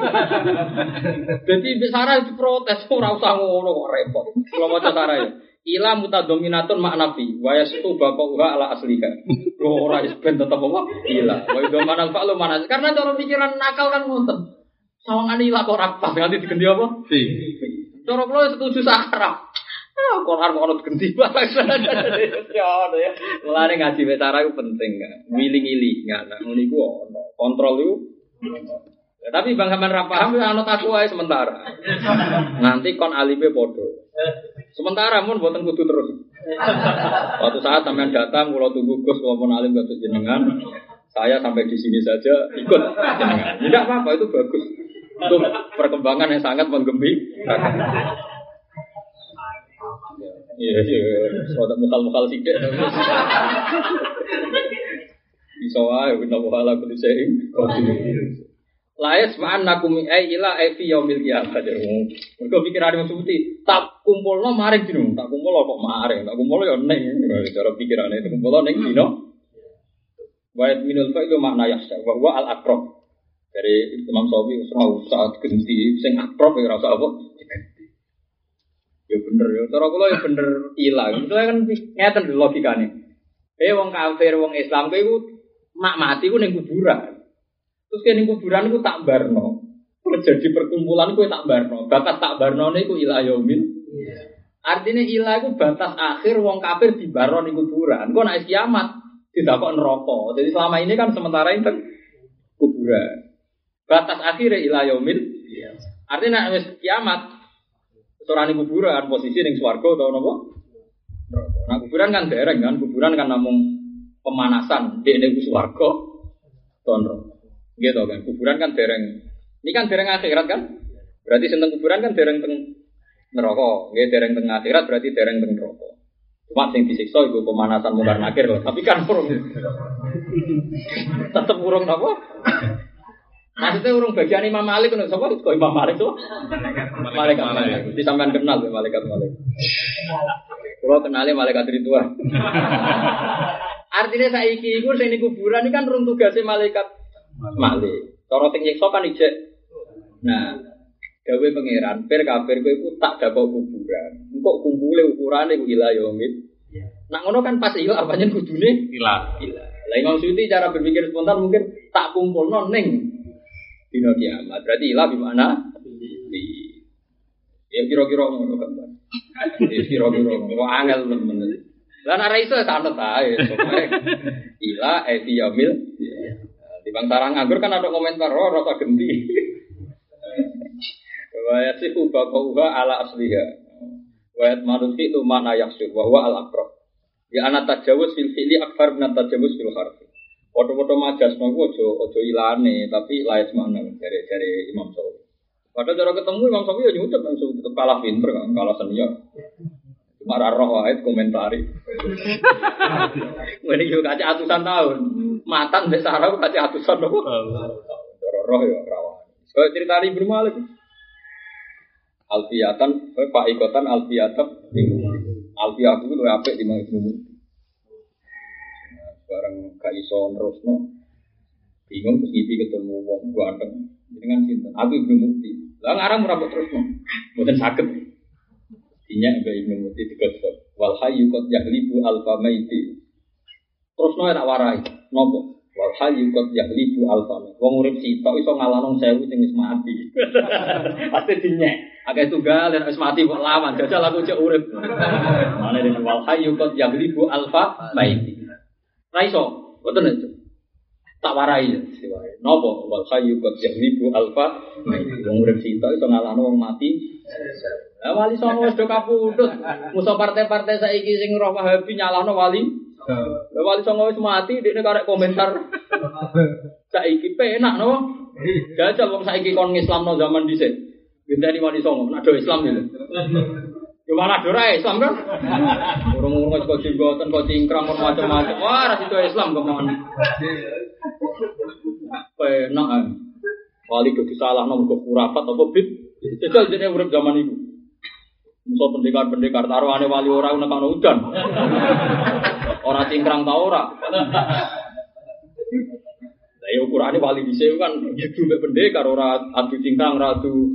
Jadi Sarah diprotes ora usah ngono kok repot. Kalau maca Sarah ya. Ila mutadominatun maknafi wa yastu baqauha ala asliha. Ora ben tetep apa? Ila. Wa idomanal fa'lu mana? Karena cara pikiran nakal kan ngoten. Sawangane ila kok ora pas nganti digenti apa? Fi. Cara kula setuju Sarah. Quran ono ganti balas. Ya ono ya. Mulane ngaji cara iku penting kan. Ngili-ngili ngono niku ono. Kontrol iku. Ya, tapi Bang sampean ra paham ya ana takwa ae sementara. Nanti kon alibe padha. Sementara mun mboten kudu terus. Suatu saat sampean datang kula tunggu Gus kula alim kados jenengan. Saya sampai di sini saja ikut jenengan. Tidak apa-apa itu bagus. Untuk perkembangan yang sangat menggembirakan. Iya, soalnya mukal-mukal sidik. Bisa wae kita muhala kudu sing. Laes ma'an nakum ila fi yaumil qiyamah. Mergo pikirane mesti tak kumpulno maring dino, tak kumpul kok maring, tak kumpul yo ning cara pikirane itu kumpul ning dino. Wa minul fa'ilu makna yahsa wa huwa al-aqrab. Dari Imam Syafi'i saat ganti sing aqrab ora usah apa. Ya bener ya, cara kula ya bener ilang. Itu kan ngeten logikane. Wong kafir, wong Islam kuwi iku mak mati ku ning kuburan. Terus ning kuburan iku tak barno. Terjadi perkumpulan kuwi tak barno. Batas tak barnone iku ila yaumil. Artinya ila iku batas akhir wong kafir dibarno ning kuburan. Engko nek kiamat didakok neraka. Jadi selama ini kan sementara itu kuburan. Batas akhir ila yaumil. Artinya nek wis kiamat Sorani kuburan posisi ning swarga utawa napa? Nah kuburan kan dereng kan, kuburan kan namung pemanasan di ning swarga tono. Gitu kan, kuburan kan dereng. Ini kan dereng akhirat kan? Berarti sing teng kuburan kan dereng teng neraka. Nggih dereng teng akhirat berarti dereng teng neraka. Cuma sing disiksa iku pemanasan mungkar nakir lho, tapi kan urung. Tetep urung napa? Maksudnya urung bagian Imam Malik kan sapa kok Imam Malik to? Malaikat. Mesti sampean kenal ya malaikat. Kalau kenale malaikat Ridwan. Artinya saiki iku sing ning kuburan iki kan rung tugase malaikat Malik. Cara sing nyiksa kan ijek. Nah, gawe pangeran kafir kowe iku tak dakok kuburan. Engko kumpule ukurane iku ila yaumil. Nah ngono kan pas iku apane kudune ila. Lah Imam Suyuti cara berpikir spontan mungkin tak kumpulno ning dino kiamat. Berarti ilah di mana? Ya kira-kira ngono kan. Ya kira-kira ngono. Kok angel temen. Lah nek ra iso santet ae. Ilah fi yaumil. Di bang sarang nganggur kan ada komentar rasa genti. Wa yasifu baqauha ala asliha. Wa yatmarufi tu mana yaksuf wa huwa al-aqrab. Ya ana tajawuz fil fi'li akthar min tajawuz fil harfi. Foto-foto majas nopo ojo ilane tapi laes mana dari Imam Syafi'i. Padahal cara ketemu Imam Syafi'i ya nyucap langsung tetep kalah pinter kan, kalah senior. Cuma roh wae komentari. Ngene yo kaca atusan tahun. Matan mbek Sarah kaca atusan nopo? Cara roh yo rawan. Kaya cerita Ibnu Malik. Alfiyatan, Pak Ikotan Alfiyatan Alfiyah itu luwih apik timbang Ibnu Muti. Barang gak iso nerusno bingung terus ngipi ketemu wong ganteng dengan sinten aku Ibnu Muti lah ngarang ora mbok terusno mboten saged dinyak mbek Ibnu Muti digosok wal hayyu qad yahlibu alfa maiti terusno tak warai nopo wal hayyu qad yahlibu alfa maiti wong urip sitok iso ngalahno 1000 sing wis mati pasti dinyak akeh tunggal nek wis mati kok lawan jajal aku cek urip mane wal hayyu qad yahlibu alfa maiti raiso, betul itu. Tak warai siwae. Napa wal khayyu qad yahlibu alfa wong urip sita iso ngalahno wong mati. Lah wali songo wis do kapundhut. Musa partai-partai saiki sing roh Wahabi nyalahno wali Lah Wali Songo wis mati dekne karek komentar. Saiki penak no. Jajal wong saiki kon ngislamno zaman dhisik. Gendani Wali Songo nek do Islam lho. Yo malah do ra Islam kan. Urung-urung kok jenggoten kok cingkrang kok macam-macam. Wah, ra itu Islam kemon. Penak. Wali kok disalahno kok kurafat apa bid. Jajal jenenge urip zaman iku. Musa pendekar-pendekar taruhane wali ora nekano udan. Ora cingkrang ta ora. Lah ya ukurane wali dhisik kan gitu mek pendekar ora adu cingkrang ora adu.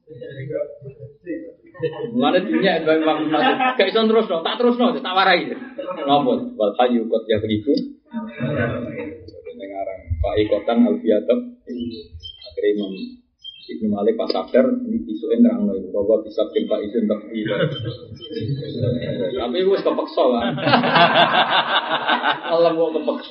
Mulane dunya memang gak iso terusno, tak terusno, tak warai. Napa? Wal hayyu qad yaghlibu. Dengaran Pak Ikotan Alfiatab. Akhire Imam Ibnu Malik pas sadar ini isuke nerangno iku bahwa bisa Pak izin tak iya. Tapi wis kepeksa kan. Allah mau kepeksa.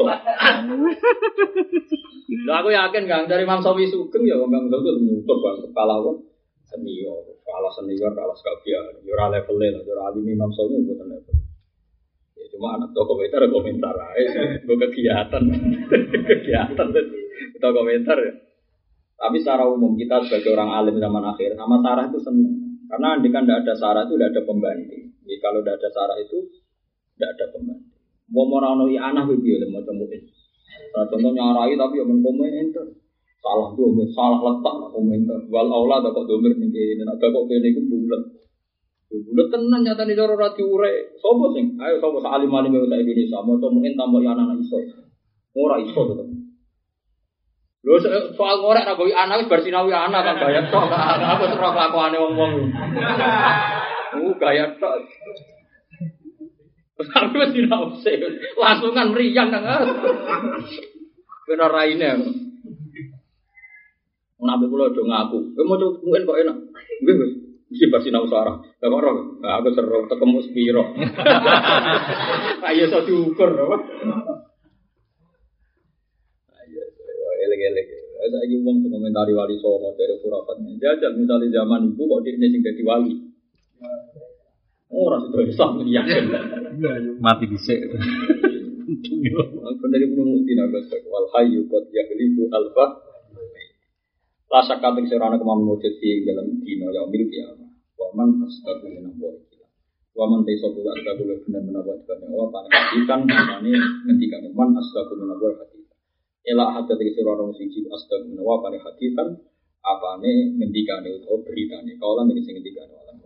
Lah aku yakin Kang dari Imam Sawi Sugeng ya Imam Sawi nyutup kan kepala kok senior, kalah senior kalah sekalian. Yo ora level-e lah, ora alim Imam Sawi mboten level. Ya cuma anak toko komentar ae, gue kegiatan. Kegiatan itu komentar ya. Tapi secara umum kita sebagai orang alim zaman akhir sama sarah itu senang. Karena andikan tidak ada sarah itu tidak ada pembanding. Jadi kalau tidak ada sarah itu tidak ada pembanding. Mau morano anak video mau temuin. Contohnya nyarai tapi yang menkomentar salah domir, salah letak komentar. Wal aula ada kok domir nih, ada kok kene itu bulat. Bulat tenan nyata nih cara radio ure. Sopo sing, ayo sopo alim alim yang saya Indonesia mau temuin tambah anak iso. Ora iso tetap. Lho soal ngorek ra gawe anak wis bar sinau anak kan gaya tok. Aku terus kelakuane wong-wong. Gaya tok. Tapi wis sinau sih. Langsungan mriyang nang. Bener raine. Nabi kula do ngaku. Kowe mau mungkin kok enak. Nggih wis mesti bar sinau sarah. Lah kok ora. Aku seru tekemu sepiro. Ayo iso diukur apa. Elek-elek. Saiki wong komentari Wali Songo dari khurafatnya. Jajal misalnya zaman ibu kok dhekne sing dadi wali. Ora sido Islam yakin. Mati dhisik. Dari Ibnu Mutin agak wal hayyu qad yaghlibu alfa. Rasa kating serana kemam mujud di dalam dino yaumil qiyamah. Wa man astaqu min Allah. Wa man taisabu astaqu benar-benar buat Allah panitikan mane ngendikan man astaqu min Allah. Ela hadat iki sira rong siji astagfirullah wa pane hadisan apane ngendikane utawa beritane kaulan iki sing ngendikane